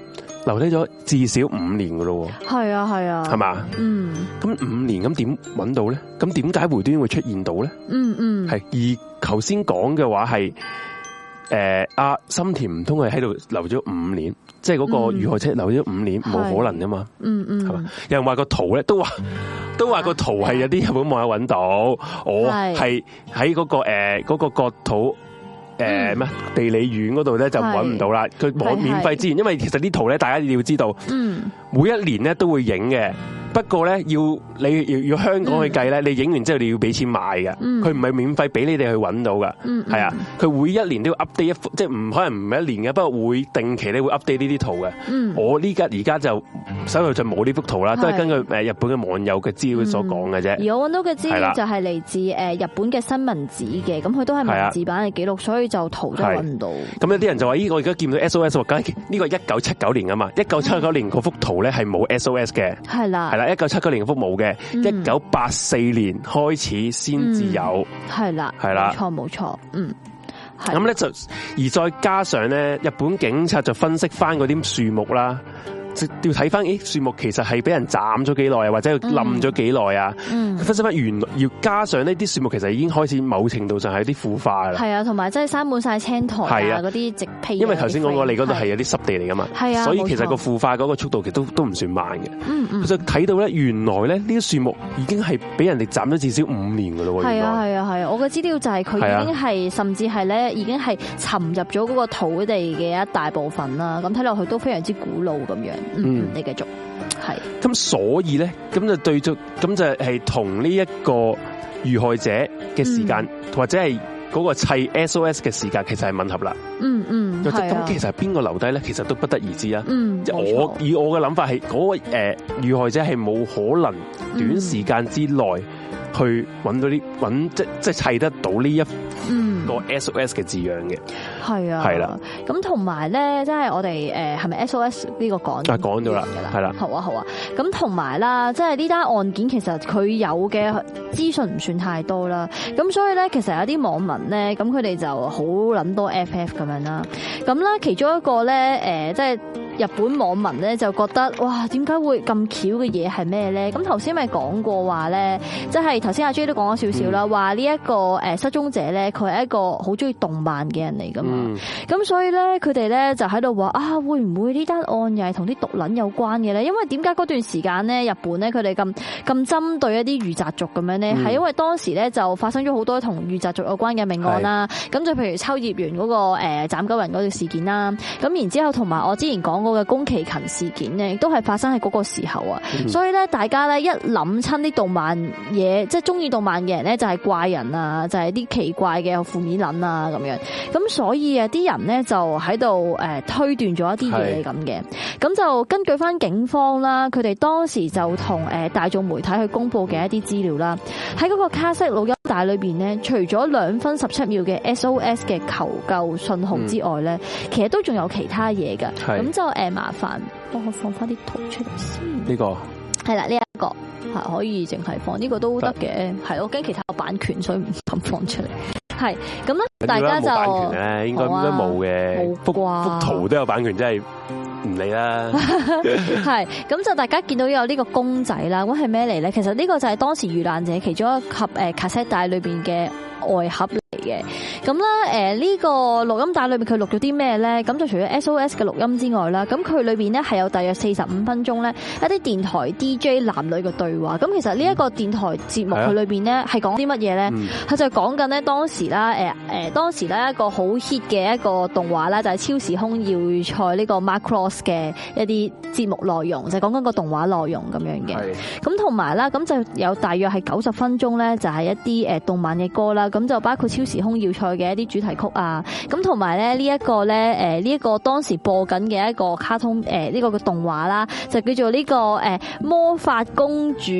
留低咗至少五年噶咯。 係啊係啊， 係嘛？嗯，咁五年咁點揾到咧？咁點解回端會出現到咧？嗯嗯，係而頭先講嘅話係。誒，阿心田唔通係喺度留咗五年，即係嗰個遇害者留咗五年，冇、嗯、可能噶嘛？嗯嗯，係嘛？有人話個圖咧，都話都話個圖係有啲日本網友揾到，我係喺嗰個誒嗰、呃那個國土誒咩、呃、地理院嗰度咧就揾唔到啦。佢網免費資源，因為其實啲圖咧，大家要知道，嗯，每一年咧都會影嘅。不過咧，要你要要香港去計咧，你影完之後你要俾錢買嘅，佢唔係免費俾你哋去揾到噶，係啊，佢每一年都要 update 一幅，即係唔可能唔係一年嘅，不過會定期咧會 update 呢啲圖嘅。我呢家而家就手頭就冇呢幅圖啦，都係根據誒日本嘅網友嘅資料所講嘅啫。而我揾到嘅資料就係嚟自誒日本嘅新聞紙嘅，咁佢都係文字版嘅記錄，所以就圖都揾唔到。咁有啲人就話：咦，我而家見到 S O S， 梗係呢個一九七九年啊嘛，一九七九年嗰幅圖咧係冇 S O S 嘅，係啦，係啦。一九七九年幅冇嘅，一九八四年開始先至有，係啦，係啦，冇錯冇錯，嗯，咁咧就而再加上咧，日本警察就分析翻嗰啲樹木啦。要睇翻，誒，樹木其實係俾人斬咗幾耐啊，或者冧咗幾耐啊？嗯，分析翻原來要加上呢啲樹木，其實已經開始某程度上係啲腐化啦。係啊，同埋即係生滿晒青苔啊，嗰啲植被。因為頭先講過，你嗰度係有啲濕地嚟噶嘛，係啊，所以其實個腐化嗰個速度其實都都唔算慢嘅。嗯嗯，就睇到咧，原來咧呢啲樹木已經係俾人哋斬咗至少五年噶咯。係啊係啊係啊，我嘅資料就係佢已經係甚至係咧已經係沉入咗嗰個土地嘅一大部分啦。咁睇落去都非常之古老咁樣。嗯，你繼續係。咁所以咧，咁就對咗，咁就係同呢一個遇害者嘅時間，嗯、或者係嗰個砌 S O S 嘅時間，其實係吻合啦。嗯嗯，咁、嗯、其實係邊個留低咧？其實都不得而知啊。嗯，我以我嘅諗法係，嗰、嗰個誒遇害者係冇可能短時間之內去揾到啲揾即即係砌得到呢一個 S O S 嘅字樣嘅。係啊，係啦。咁同埋咧，即係我哋誒係咪 S O S 呢個講？啊，講咗啦，係啦。好啊，好啊。咁同埋啦，即係呢單案件其實佢有嘅資訊唔算太多啦。咁所以咧，其實有啲網民咧，咁佢哋就好諗多 F F 咁樣啦。咁啦，其中一個咧，誒，即係日本網民咧就覺得，哇，點解會咁巧嘅嘢係咩咧？咁頭先咪講過話咧，即係頭先阿 J 都講咗少少啦，話呢一個誒失蹤者咧，佢係一個好中意動漫嘅人嚟噶嘛。咁、嗯、所以咧，佢哋咧就喺度話啊，會唔會呢單案又係同啲毒撚有關嘅咧？因為點解嗰段時間咧，日本咧佢哋咁咁針對一啲御宅族咁樣咧，係、嗯、因為當時咧就發生咗好多同御宅族有關嘅命案啦。咁就譬如秋葉原嗰個誒斬狗人嗰個事件啦。咁然之後同埋我之前講過嘅宮崎勤事件咧，亦都係發生喺嗰個時候啊。嗯、所以咧，大家咧一諗親啲動漫嘢，即係中意動漫嘅人咧，就係怪人啊，就係、是、啲奇怪嘅負面撚啊咁樣。咁所以啊，啲人咧就喺度誒推斷咗一啲嘢咁嘅。咁就根據翻警方啦，佢哋當時就同誒大眾媒體去公布嘅一啲資料啦。喺嗰個卡式錄音帶裏邊咧，除咗兩分十七秒嘅 S O S 嘅求救信號之外咧，嗯、其實都仲有其他嘢噶。咁就誒麻煩幫我放翻啲圖出嚟先。呢、這個係啦，呢、這、一個係可以淨係放呢、這個都得嘅。係我驚其他有版權，所以唔敢放出嚟。係咁咧，大家就冇版權咧，應該應該冇嘅。幅幅圖都有版權，真係唔理啦。係咁就大家見到有呢個公仔啦，咁係咩嚟咧？其實呢個就係當時遇難者其中一盒誒卡式帶裏邊嘅外盒嚟嘅。咁咧誒呢個錄音帶裏面佢錄咗啲咩咧？咁就除咗 S O S 嘅錄音之外啦，咁佢裏邊咧係有大約四十五分鐘咧一啲電台 D J 男女嘅對話。咁其實呢一個電台節目佢裏邊咧係講啲乜嘢咧？佢就講緊咧當時啦誒誒當時咧一個好 hit 嘅一個動畫啦，就係超時空要塞呢個 Macross 嘅一啲節目內容，就係講緊個動畫內容咁樣嘅。咁同埋啦，咁就有大約係九十分鐘咧，就係一啲誒動漫嘅歌啦。咁就包括超時空要塞嘅一啲主題曲啊。咁同埋咧呢一個咧誒呢一個當時播緊嘅一個卡通誒呢個嘅動畫啦，就叫做呢個誒魔法公主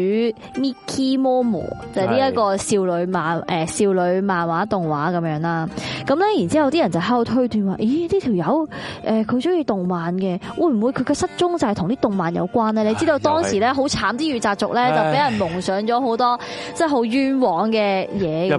Miki Momo， 就係呢一個少女漫誒少女漫畫動畫咁樣啦。咁咧然之後啲人就喺度推斷話，咦呢條友誒佢中意動漫嘅，會唔會佢嘅失蹤就係同啲動漫有關咧？你知道當時咧好慘，啲御宅族咧就俾人蒙上咗好多即係好冤枉嘅嘢咁樣啦。日本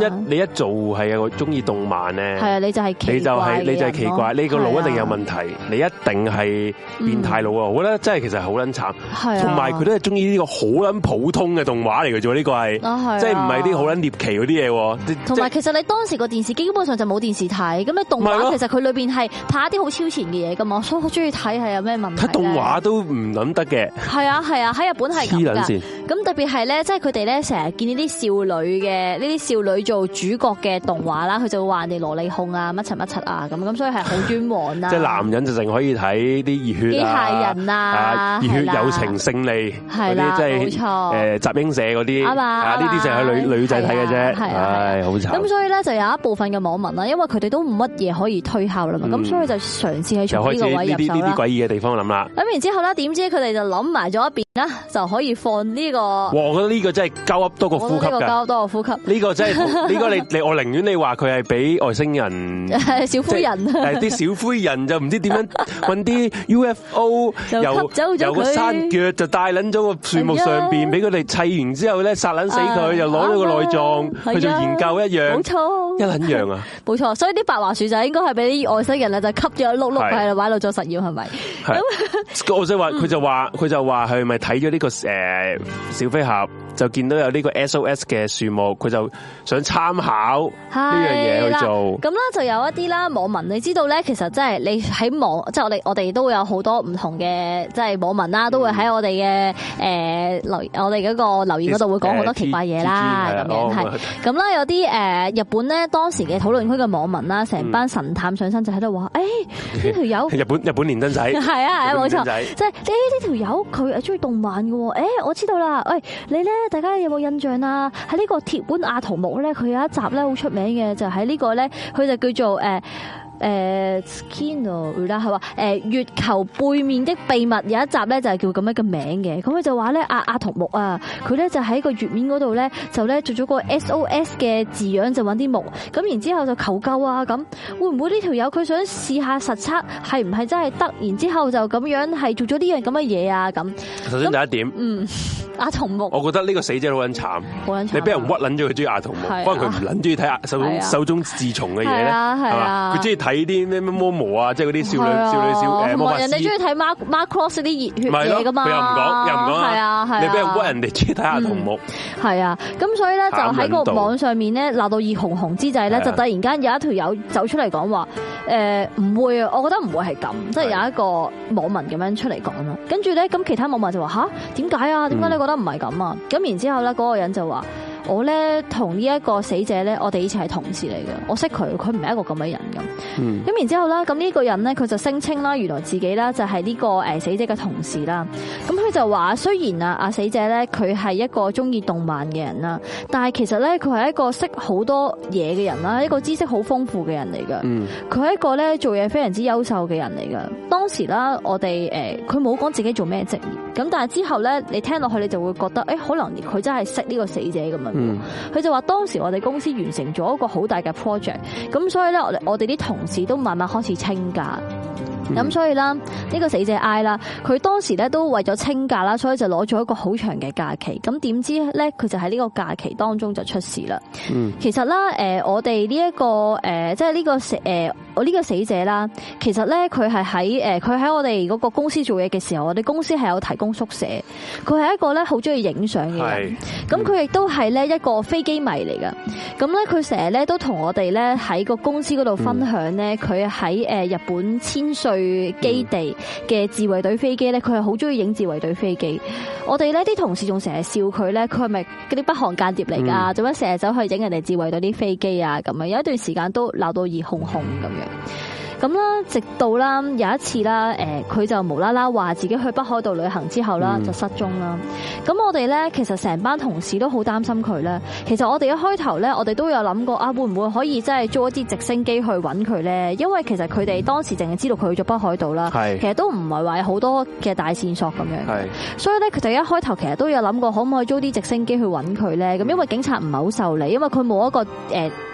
一你一做係有中意動漫咧， 係啊，你就係你就係你就係奇怪，你個腦一定有問題，你一定係變態佬啊！我覺得真係其實好撚慘，同埋佢都係中意呢個好撚普通嘅動畫嚟嘅啫，呢個係即係唔係啲好撚獵奇嗰啲嘢。同埋其實你當時個電視機基本上就冇電視睇，咁你動畫其實佢裏邊係拍一啲好超前嘅嘢噶嘛，所以好中意睇係有咩問題？ 睇動畫都唔諗得嘅。係啊係啊，喺日本係咁噶。咁特別係咧，即係佢哋咧成日見呢啲少女嘅呢啲少女做主角嘅動畫啦，佢就會話人哋蘿莉控啊乜柒乜柒啊咁，咁所以係好專黃啦。 即係男人就淨可以睇啲熱血機械人啊， 熱血友情勝利嗰啲，即係誒集英社嗰啲啊，呢啲就係女女仔睇嘅啫。唉，好慘。咁所以咧就有一部分嘅網民啦，因為佢哋都冇乜嘢可以推敲啦嘛，咁所以就嘗試喺從呢個位入手啦。呢啲呢啲詭異嘅地方諗啦。咁然之後咧，點知佢哋就諗埋咗一邊啦，就可以放呢個。哇！ 我覺得呢個真係鳩噏多過呼吸㗎。 呢個鳩噏多過呼吸。呢個真係呢個你你我寧願你話佢係俾外星人小灰人， 誒啲小灰人就唔知點樣揾啲 U F O 由由個山腳就帶撚咗個樹木上邊，俾佢哋砌完之後咧殺撚死佢，又攞咗個內臟去做研究一樣。冇錯，一撚樣啊！ 冇錯，所以啲白話樹就應該係俾啲外星人咧就吸咗碌碌喺度擺度做實驗，係咪？ 咁我想話佢就話佢就話係咪睇咗呢個誒小飛俠？就見到有呢個 S O S 嘅樹木，佢就想參考呢樣嘢去做。 咁啦，就有一啲啦網民，你知道咧，其實即係你喺網，即係我哋我哋都會有好多唔同嘅即係網民啦，都會喺我哋嘅誒留我哋嗰個留言嗰度會講好多奇怪嘢啦，咁樣係。咁啦，有啲誒日本咧當時嘅討論區嘅網民啦，成班神探上身就喺度話，誒呢條友日本日本連登仔係啊係啊冇錯，即係呢呢條友佢係中意動漫嘅喎，誒我知道啦，喂你咧。大家有冇印象啊？喺呢個鐵腕阿童木咧，佢有一集咧好出名嘅，就喺呢個咧，佢就叫做誒。誒 Skino 啦，係話誒月球背面的秘密有一集咧就係叫咁樣嘅名嘅，咁佢就話咧阿阿童木啊，佢咧就喺個月面嗰度咧就咧做咗個 S O S 嘅字樣，就揾啲木，咁然之後就求救啊，咁會唔會呢條友佢想試下實測係唔係真係得，然之後就咁樣係做咗呢樣咁嘅嘢啊咁。 首先第一點， 嗯，阿童木， 我覺得呢個死者好撚慘，好撚慘，你俾人屈撚咗佢中意阿童木，可能佢唔撚中意睇手中手中自從嘅嘢咧，係嘛，佢中意睇。睇啲咩咩魔魔啊，即係嗰啲少女少女少誒魔法師。人哋中意睇 Mark Macross 啲熱血嘢噶嘛？佢又唔講，又唔講啊！係啊係啊！你俾人屈人哋中意睇下童木。係啊，咁所以咧就喺個網上面咧鬧到熱紅紅之際咧，就突然間有一條友走出嚟講話誒唔會啊，我覺得唔會係咁，即係有一個網民咁樣出嚟講啦。跟住咧，咁其他網民就話吓，點解啊？點解你覺得唔係咁啊？咁然之後咧，嗰個人就話。我咧同呢一個死者咧，我哋以前係同事嚟嘅，我識佢，佢唔係一個咁嘅人咁。嗯。咁然之後啦，咁呢個人咧，佢就聲稱啦，原來自己啦就係呢個誒死者嘅同事啦。咁佢就話，雖然啊，阿死者咧佢係一個中意動漫嘅人啦，但係其實咧佢係一個識好多嘢嘅人啦，一個知識好豐富嘅人嚟噶。嗯。佢係一個咧做嘢非常之優秀嘅人嚟噶。當時啦，我哋誒佢冇講自己做咩職業，咁但係之後咧，你聽落去你就會覺得，誒可能佢真係識呢個死者咁樣。嗯，佢就話當時我哋公司完成咗一個好大嘅 project，咁所以咧我哋我哋啲同事都慢慢開始清假。咁所以啦，呢個死者 I 啦，佢當時咧都為咗清假啦，所以就攞咗一個好長嘅假期。咁點知咧，佢就喺呢個假期當中就出事啦。嗯，其實啦，誒，我哋呢一個誒，即係呢個死誒，我呢個死者啦，其實咧佢係喺誒，佢喺我哋嗰個公司做嘢嘅時候，我哋公司係有提供宿舍。佢係一個咧好中意影相嘅人，咁佢亦都係咧一個飛機迷嚟噶。咁咧佢成日咧都同我哋咧喺個公司嗰度分享咧，佢喺誒日本千歲基地嘅自衛隊飛機咧，佢係好中意影自衛隊飛機。我哋呢啲同事仲成日笑佢咧，佢係咪嗰啲北韓間諜嚟噶？做乜成日走去影人哋自衛隊啲飛機啊？咁樣有一段時間都鬧到熱烘烘咁樣。咁啦，直到啦有一次啦，誒佢就無啦啦話自己去北海道旅行之後啦，就失蹤啦。咁我哋咧其實成班同事都好擔心佢咧。其實我哋一開頭咧，我哋都有諗過啊，會唔會可以真係租一啲直升機去揾佢咧？因為其實佢哋當時淨係知道佢去咗北海道啦，其實都唔係話有好多嘅大線索咁樣。所以咧，佢哋一開頭其實都有諗過，可唔可以租啲直升機去揾佢咧？咁因為警察唔係好受理，因為佢冇一個誒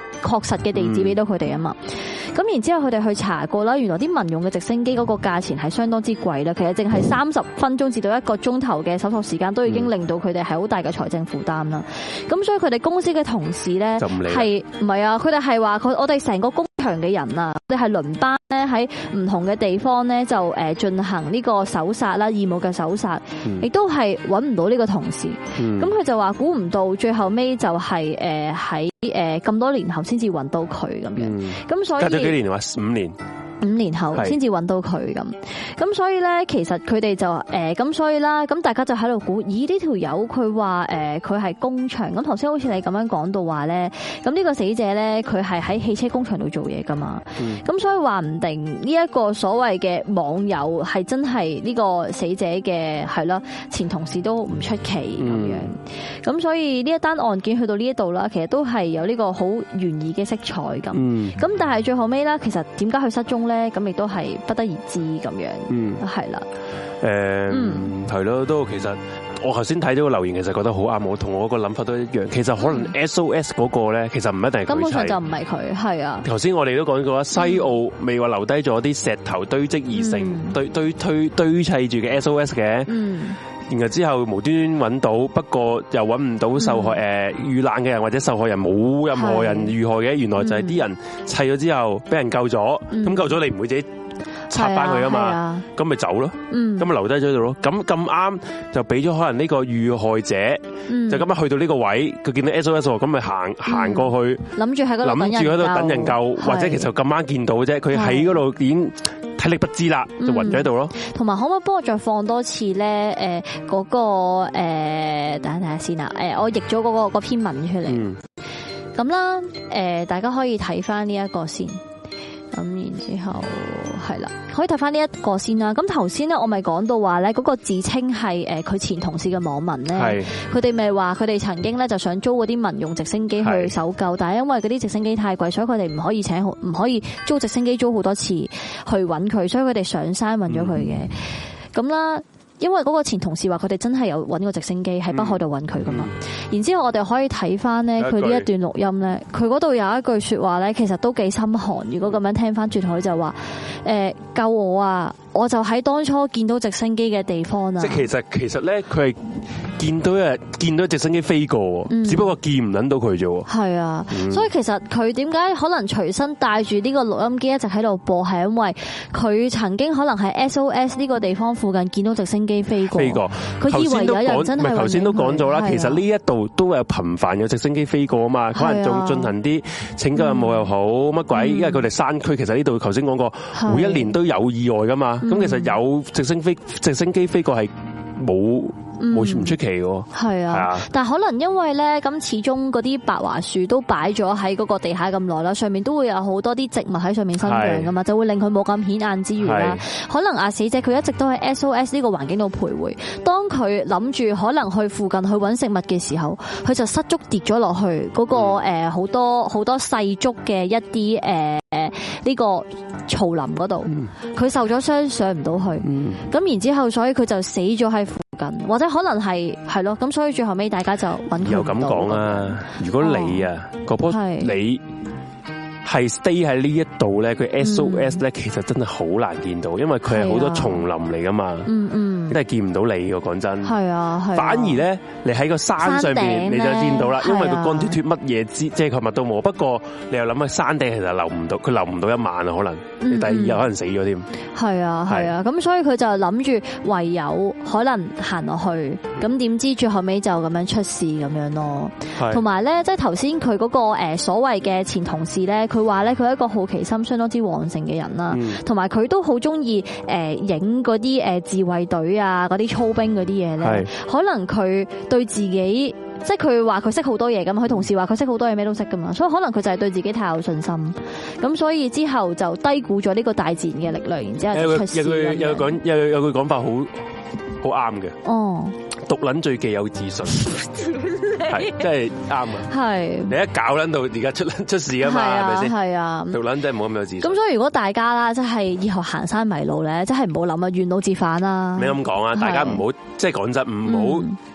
確實嘅地址俾到佢哋啊嘛。咁、嗯、然之後佢哋去查過啦，原來啲民用嘅直升機嗰個價錢係相當之貴啦。其實淨係三十分鐘至到一個鐘頭嘅搜索時間，都已經令到佢哋係好大嘅財政負擔啦。咁所以佢哋公司嘅同事咧係唔係啊？佢哋係話佢我哋成個工場嘅人啊，我哋係輪班咧喺唔同嘅地方咧就誒進行呢個搜殺啦，義務嘅搜殺，亦都係揾唔到呢個同事。咁佢、嗯、就話估唔到最後尾就係誒喺誒咁多年後先至揾到佢咁樣。咁、嗯、所以隔咗幾年話五年。五年後先至揾到佢咁，咁所以咧，其實佢哋就誒咁，所以啦，咁大家就喺度估，咦呢條友佢話誒佢係工場，咁頭先好似你咁樣講到話咧，咁呢個死者咧佢係喺汽車工場度做嘢噶嘛，咁、嗯、所以話唔定呢一個所謂嘅網友係真係呢個死者嘅係啦前同事都唔出奇咁樣，咁、嗯、所以呢一單案件去到呢一度啦，其實都係有呢個好懸疑嘅色彩咁，咁、嗯、但係最後尾咧，其實點解佢失蹤？咧咁亦都係不得而知咁樣，嗯，係啦，誒，係咯，都其實我頭先睇咗個留言，其實覺得好啱我，同我個諗法都一樣。其實可能 S O S 嗰個咧，其實唔一定係佢，根本上就唔係佢，係啊。頭先我哋都講過啦，西澳未話留低咗啲石頭堆積而成、嗯、堆堆堆堆砌住嘅 S O S 嘅，嗯。然後之後無端端揾到，不過又揾唔到受害誒遇難嘅人或者受害人，冇任何人遇害嘅，原來就係啲人砌咗之後俾人救咗，咁、嗯、救咗你唔會自己拆翻佢啊嘛，咁咪走咯，咁咪留低咗度咯。咁咁啱就俾咗可能呢個遇害者，嗯、就咁樣去到呢個位，佢見到 S O S 咁咪行行過去，諗住喺嗰度諗住喺度等人救，或者其實咁啱見到啫，佢喺嗰度已經體力不支啦，就暈咗喺度咯。同埋可唔可以幫我再放多次咧？誒，嗰個誒，等下睇下先啊。誒，我譯咗嗰個篇文出嚟。咁啦，誒，大家可以睇翻呢一個先。咁然之後係啦，可以睇翻呢一個先啦。咁頭先咧，我咪講到話咧，嗰個自稱係誒佢前同事嘅網民咧，佢哋咪話佢哋曾經咧就想租嗰啲民用直升機去搜救，但係因為嗰啲直升機太貴，所以佢哋唔可以請唔可以租直升機租好多次去揾佢，所以佢哋上山揾咗佢嘅。咁啦。因為嗰個前同事話佢哋真係有揾個直升機喺北海度揾佢噶嘛，然之後我哋可以睇翻咧佢呢一段錄音咧，佢嗰度有一句說話咧，其實都幾心寒。如果咁樣聽翻轉頭，佢就話誒救我啊！我就喺當初見到直升機嘅地方啊！即係其實其實咧，佢係見到誒見到直升機飛過，嗯、只不過見唔撚到佢啫。係啊，嗯、所以其實佢點解可能隨身帶住呢個錄音機一直喺度播，係因為佢曾經可能喺 S O S 呢個地方附近見到直升機飛過。飛過，佢以為有人真係。唔係頭先都講咗啦，其實呢一度都有頻繁有直升機飛過啊嘛，可能仲進行啲拯救任務又好乜鬼，嗯、因為佢哋山區其實呢度頭先講過，每一年都有意外噶嘛。咁其實有直升飛直升機飛過係冇冇唔出奇喎。係啊，但係可能因為咧，咁始終嗰啲白樺樹都擺咗喺嗰個地下咁耐啦，上面都會有好多啲植物喺上面生長噶嘛，就會令佢冇咁顯眼之餘啦。可能啊死者佢一直都喺 S O S 呢個環境度徘徊，當佢諗住可能去附近去揾食物嘅時候，佢就失足跌咗落去嗰個誒好多好多細竹嘅一啲誒誒呢個草林嗰度，佢受咗傷上唔到去，咁、嗯、然之後所以佢就死咗喺附近，或者可能係係咯，咁所以最後尾大家就揾佢。又咁講啊，如果你啊嗰棵、哦、你係 stay 喺呢一度咧，佢 S O S 咧，其實真係好難見到，因為佢係好多叢林嚟噶嘛，嗯嗯，真係見唔到你嘅，講真。係啊，係。反而咧，你喺個山上邊你就見到啦，因為佢乾脫脫乜嘢之遮蓋物都冇。不過你又諗下山頂其實留唔到，佢留唔到一晚啊，可能你第二日可能死咗添。係啊，係啊，咁所以佢就諗住唯有可能行落去，咁點知最後尾就咁樣出事咁樣咯。同埋咧，即係頭先佢嗰個誒所謂嘅前同事咧。佢話咧，佢係一個好奇心相當之旺盛嘅人啦，同埋佢都好中意誒影嗰啲誒自衛隊啊，嗰啲操兵嗰啲嘢咧。可能佢對自己，即係佢話佢識好多嘢咁，佢同事話佢識好多嘢，咩都識噶嘛，所以可能佢就係對自己太有信心，咁所以之後就低估咗呢個大自然嘅力量，然之後就出事。有句有句講有有句講法好好啱嘅。哦，毒撚最忌有自信。係，真係啱啊！係你一搞捻到而家出出事啊嘛，係咪先？係啊，毒捻真係冇咁有自信。咁所以如果大家啦，即係以後行山迷路咧，真係唔好諗啊，沿路折返啦。你咁講啊，大家唔好即係講真，唔好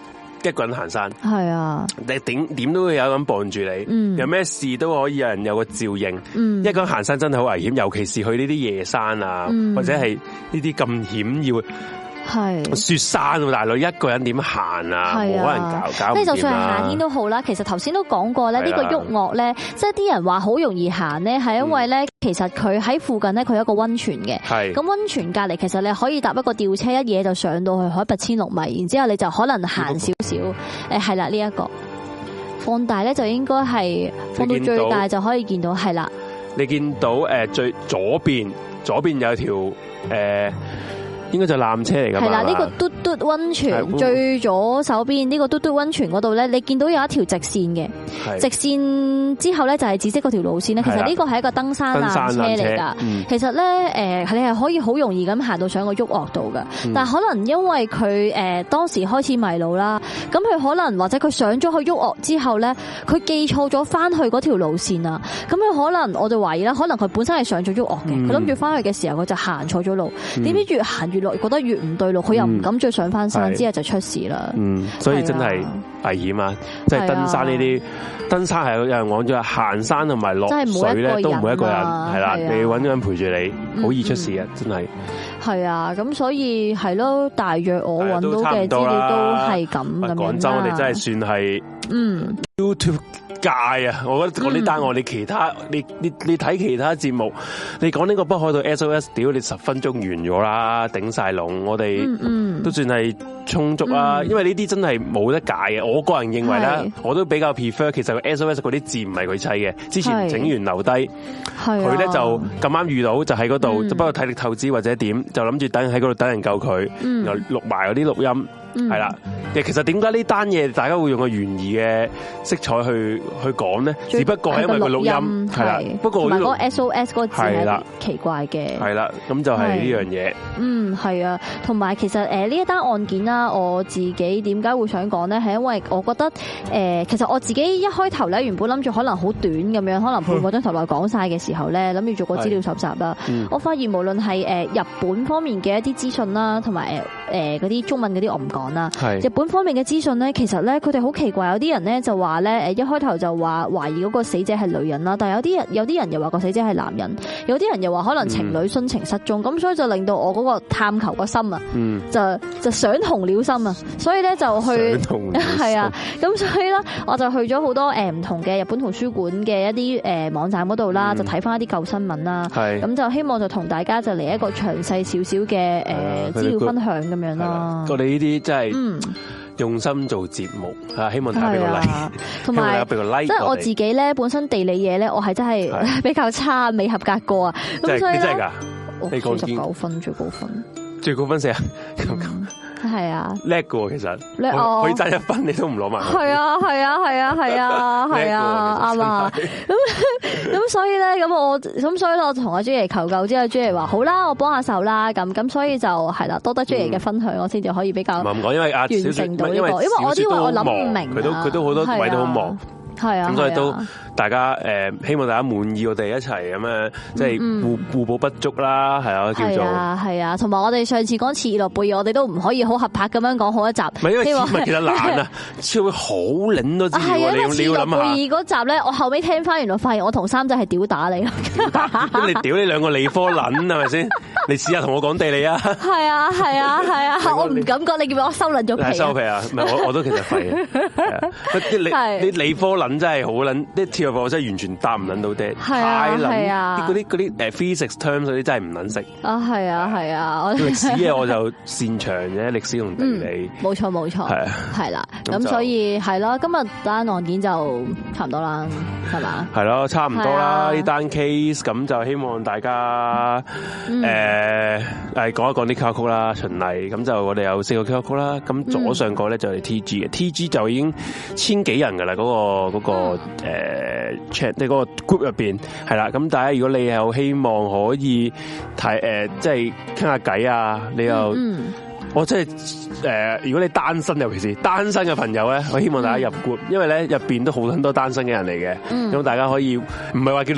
一個人行山， 係啊， 你點點都會有人傍住你，嗯、有咩事都可以有人有個照應。嗯、一個人行山真係好危險，尤其是去呢啲夜山啊，嗯、或者係呢啲咁險要。係雪山喎，大佬一個人點行啊？冇可能搞搞唔掂啦。即係就算係夏天都好啦，其實頭先都講過咧，呢個鬱岳咧，即係啲人話好容易行咧，係因為咧，其實佢喺附近咧，佢有一個溫泉嘅。係咁溫泉隔離，其實你可以搭一個吊車，一嘢就上到去海拔千六米，然之後你就可能行少少。誒係啦，呢一個放大咧就應該係放到最大就可以見到係啦。 你見到誒最左邊，左邊有條誒。應該就纜車嚟㗎嘛？係啦，呢個嘟嘟溫泉最左手邊呢個嘟嘟溫泉嗰度咧，你見到有一條直線嘅，直線之後咧就係紫色嗰條路線咧。其實呢個係一個登山纜車嚟㗎。其實咧誒，你係可以好容易咁行到上個鬱岳度㗎。但係可能因為佢誒當時開始迷路啦，咁佢可能或者佢上咗去鬱岳之後咧，佢記錯咗翻去嗰條路線啊。咁佢可能我就懷疑啦，可能佢本身係上咗鬱岳嘅，佢諗住翻去嘅時候佢就行錯咗路，點知越行越覺得越唔對路，佢又唔敢再上翻山，之後就出事啦。嗯， 所以真係危險啊！即係登山呢啲，登山係有人講咗，行山同埋落水咧都唔會一個人，係啦，你揾個人陪住你，好易出事啊！真係。 係啊，咁所以係咯，大約我揾到嘅資料都係咁咁樣。 廣州我哋真係算係嗯 YouTube。界啊！我覺得講呢單我你其他你你你睇其他節目，你講呢個北海道 S O S， 屌你十分鐘完咗啦，頂晒籠，我哋都算係充足啦。嗯、因為呢啲真係冇得解嘅。我個人認為咧，我都比較 prefer。其實個 S O S 嗰啲字唔係佢砌嘅，之前整完留低，佢咧就咁啱遇到就喺嗰度，不過體力透支或者點，就諗住等喺嗰度等人救佢，然後錄埋嗰啲錄音。係啦，其實點解呢單嘢大家會用個懸疑嘅色彩去去講咧？只不過係因為個錄音係啦，不過嗰個 S O S 嗰個字係奇怪嘅。 係啦，咁就係呢樣嘢。 嗯，係啊，同埋其實誒呢一單案件啦，我自己點解會想講咧？係因為我覺得誒，其實我自己一開頭咧，原本諗住可能好短咁樣，可能半個鐘頭內講晒嘅時候咧，諗住做個資料搜集啦。我發現無論係誒日本方面嘅一啲資訊啦，同埋誒誒嗰啲中文嗰啲我唔講啦。日本方面嘅資訊咧，其實咧佢哋好奇怪，有啲人咧就話咧，誒一開頭就話懷疑嗰個死者係女人啦，但係有啲人有啲人又話個死者係男人，有啲人又話可能情侶殉情失蹤，咁、嗯、所以就令到我嗰個探求個心啊，嗯、就就想同了心啊，所以咧就去係啊，咁所以咧我就去咗好多誒唔同嘅日本圖書館嘅一啲誒網站嗰度啦，就睇翻一啲舊新聞啦，咁就希望就同大家就嚟一個詳細少少嘅誒資料分享咁樣啦。 我哋呢啲真係用心做節目，啊，希望大家俾個 like， 同埋俾個 like。即係我自己咧，本身地理嘢咧，我係真係比較差，未合格過啊。咁所以咧，我四十九分最高分， 最高分四啊。 係啊， 叻嘅喎，其實可以爭一分，你都唔攞埋。 係啊，係啊，係啊，係啊，係啊，啱啊。咁咁所以咧，咁我咁所以咧，我同阿朱爺求救之後，朱爺話好啦，我幫下手啦。咁咁所以就係啦，多得朱爺嘅分享，我先至可以比較唔講，因為阿完成到呢個，因為我啲話我諗唔明， 佢都佢都好多位都好忙。係啊，咁所以都大家誒，希望大家滿意我哋一齊咁樣，即係互互補不足啦，係啊，叫做係啊，同埋我哋上次講切爾諾貝爾，我哋都唔可以好合拍咁樣講好一集， 唔係因為唔係其實難啊，超會好領多啲， 係啊，因為切爾諾貝爾嗰集咧，我後尾聽翻，原來發現我同三仔係屌打你， 咁你屌你兩個理科撚係咪先？你試下同我講地理啊！係啊係啊係啊，我唔敢講，你叫我收撚咗皮， 收皮啊！唔係我我都其實廢嘅，你你理科撚真係好撚，啲鐵路課真係完全答唔撚到爹，太撚啲嗰啲嗰啲誒 physics terms 嗰啲真係唔撚識啊！係啊係啊， 歷史嘢我就擅長嘅，歷史同地理， 冇錯冇錯，係係啦，咁所以係咯，今日單案件就差唔多啦，係嘛？係咯，差唔多啦，呢單 case 咁就希望大家誒。誒，誒，講一講啲 Q R code 啦，循例咁就我哋有四個 Q R code 啦，咁左上角咧就係 T G 嘅，T G 就已經千幾人噶啦，嗰個嗰個誒 chat，即係嗰個 group 入邊係啦，咁大家如果你有希望可以睇誒，即係傾下偈啊，你又。嗯我真係誒，如果你單身，尤其是單身嘅朋友咧，我希望大家入 group，因為咧入邊都好很多單身嘅人嚟嘅，咁、嗯、大家可以唔係話叫你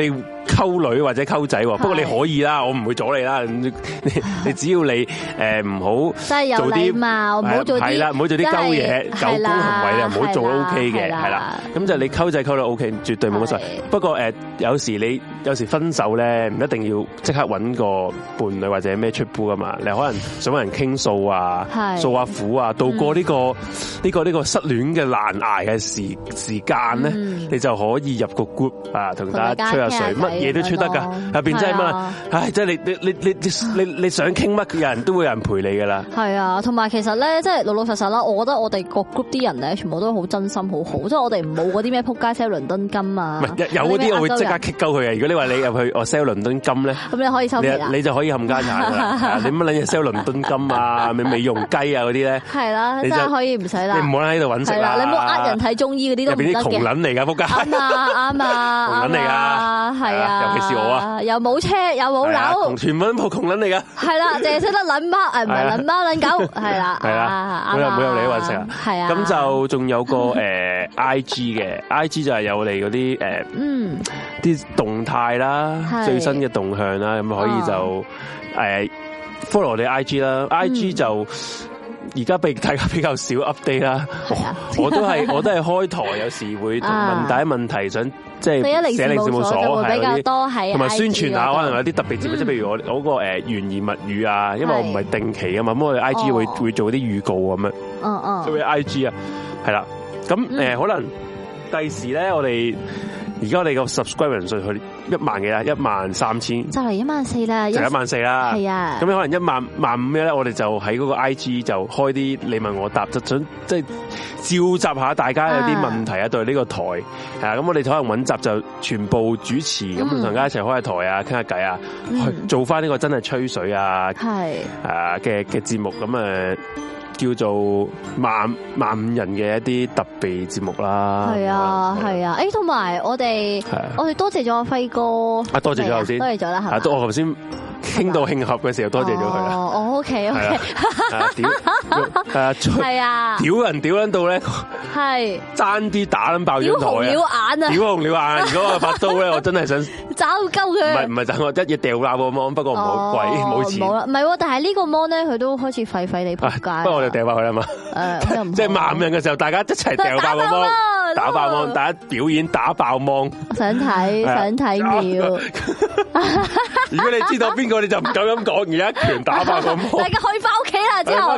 溝女或者溝仔，不過你可以啦，我唔會阻你啦。你你只要你誒唔好做啲貌，唔好做係啦，唔好做啲鳩嘢、狗公行為啊，唔好做 O K 嘅，係啦。咁就你溝仔溝女 O K，絕對冇乜所謂。不過誒，有時你有時分手咧，唔一定要即刻揾個伴侶或者咩出鋪噶嘛。你可能想揾人傾訴啊，訴下苦啊，度過呢個呢個呢個失戀嘅難捱嘅時時間咧，你就可以入個 group 啊，同大家吹下水，乜嘢都吹得噶，入邊真係乜，唉，即係你你你你你你想傾乜，有人都會有人陪你噶啦。係啊，同埋其實咧，即係老老實實啦，我覺得我哋個 group 啲人咧，全部都好真心，好好，即係我哋冇嗰啲咩撲街 sell 倫敦金啊。唔係有嗰啲我會即刻 kick 鳩佢嘅。如果你話你入去我 sell 倫敦金咧，咁你可以收皮啦，你就可以冚家產噶啦。你乜撚嘢 sell 倫敦金啊？美美容雞啊嗰啲咧，係啦，真係可以唔使啦。你唔好喺度揾食啦，你唔好呃人睇中醫嗰啲都唔得嘅。入邊啲窮撚嚟噶撲街。啱啊啱啊，窮撚嚟噶，係啊，尤其是我啊，又冇車又冇樓，全部都窮撚嚟噶。係啦，淨係識得撚貓，誒唔係撚貓撚狗，係啦，係啦，冇有冇有你揾食啊？係啊，咁就仲有個誒 I G 嘅 I G 就係有我哋嗰啲誒嗯啲動態啦，最新嘅動向啦，咁可以就誒 follow 我哋 I G 啦 ，I G 就。而家被大家比較少 update 啦，我都係我都係開台，有時會問大家問題，想即係寫零事務所係比較多係，同埋宣傳下可能有啲特別節目，即係譬如我嗰個誒懸疑物語啊，因為我唔係定期啊嘛，咁我哋 I G 會會做啲預告咁樣，嗯嗯，做啲 I G 啊，係啦，咁誒可能第時咧我哋。而家我哋個 subscriber 人數去一萬幾啦，一萬三千，就嚟一萬四啦，就一萬四啦，係啊。咁可能一萬萬五咩咧？我哋就喺嗰個 I G 就開啲你問我答，就想即係召集下大家有啲問題啊，對呢個台係啊。咁我哋可能揾集就全部主持，咁同大家一齊開下台啊，傾下偈啊，去做翻呢個真係吹水啊，係啊嘅嘅節目咁誒。叫做萬萬五人嘅一啲特別節目啦，係啊係啊，誒同埋我哋我哋多謝咗阿輝哥，啊多謝咗頭先，多謝咗啦，係嘛，我頭先傾到慶合嘅時候多謝咗佢啦，哦 OK OK，屌係啊，屌人屌撚到咧，係爭啲打撚爆咗台啊，屌紅了眼啊，屌紅了眼，如果我把刀咧，我真係想抓鳩佢，唔係唔係，我一嘢掉爛個 mon，不過唔好貴，冇錢，冇啦，唔係，但係呢個 mon 咧，佢都開始廢廢地仆街，不過我哋掉爆佢啦嘛，誒，即係萬五人嘅時候，大家一齊掉爆個 mon，打爆 mon，大家表演打爆 mon，想睇想睇秒，如果你知道邊個，你就唔夠咁講，而家一拳打爆個 mon，大家可以翻屋企啦之後，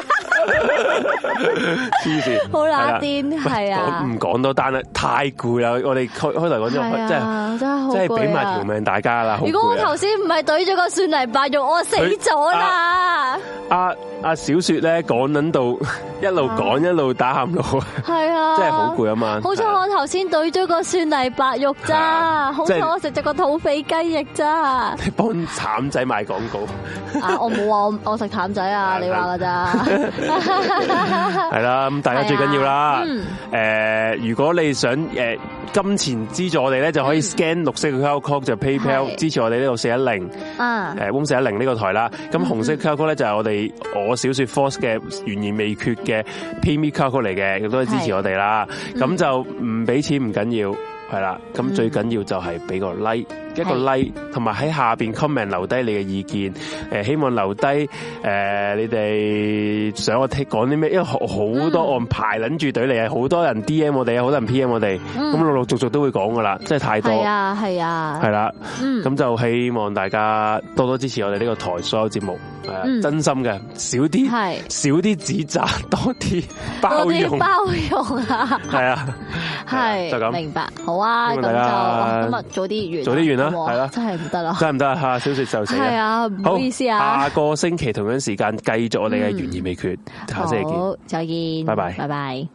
黐線，好乸癲，係啊，唔講多單啦，太攰啦，我哋開開頭講咗，真係真係好，真係俾埋條命大家啦。如果我頭先唔係懟咗個蒜泥白肉，我死咗啦。阿阿小雪咧講緊到一路講一路打喊路，係啊，真係好攰啊嘛。好彩我頭先懟咗個蒜泥白肉咋，好彩我食咗個土匪雞翼咋。你幫譚仔賣廣告啊？我冇話我我食譚仔啊，你話噶咋？係啦，咁大家最緊要啦。誒，如果你想誒金錢資助我哋咧，就可以 scan 綠色嘅 Q R code 就 PayPal 支持我哋呢度四一零啊，誒 Room 四一零呢個台啦。咁紅色 Q R code 咧就係我哋我小說 Force 嘅懸而未決嘅 PayMe Q R code 嚟嘅，亦都可以支持我哋啦。咁就唔俾錢唔緊要，係啦。咁最緊要就係俾個 like。一個 like， 同埋喺下邊 comment 留低你嘅意見，誒希望留低誒、呃、你哋想我聽講啲咩，因為好多案排撚住隊嚟啊，好多人 D M 我哋啊，好多人 P M 我哋，咁陸陸續續都會講噶啦，真係太多。係啊，係啊，係啦，咁就希望大家多多支持我哋呢個台所有節目，係啊，真心嘅，少啲少啲指責，多啲包容，包容啊，係啊，係就咁明白，好啊，咁就今日早啲完，早啲完啦。係啦，真係唔得啦，真係唔得啊！吓，小雪就死啦。係啊，唔好意思啊。下個星期同樣時間繼續我哋嘅懸而未決，下星期見，好，再見，拜拜，拜拜。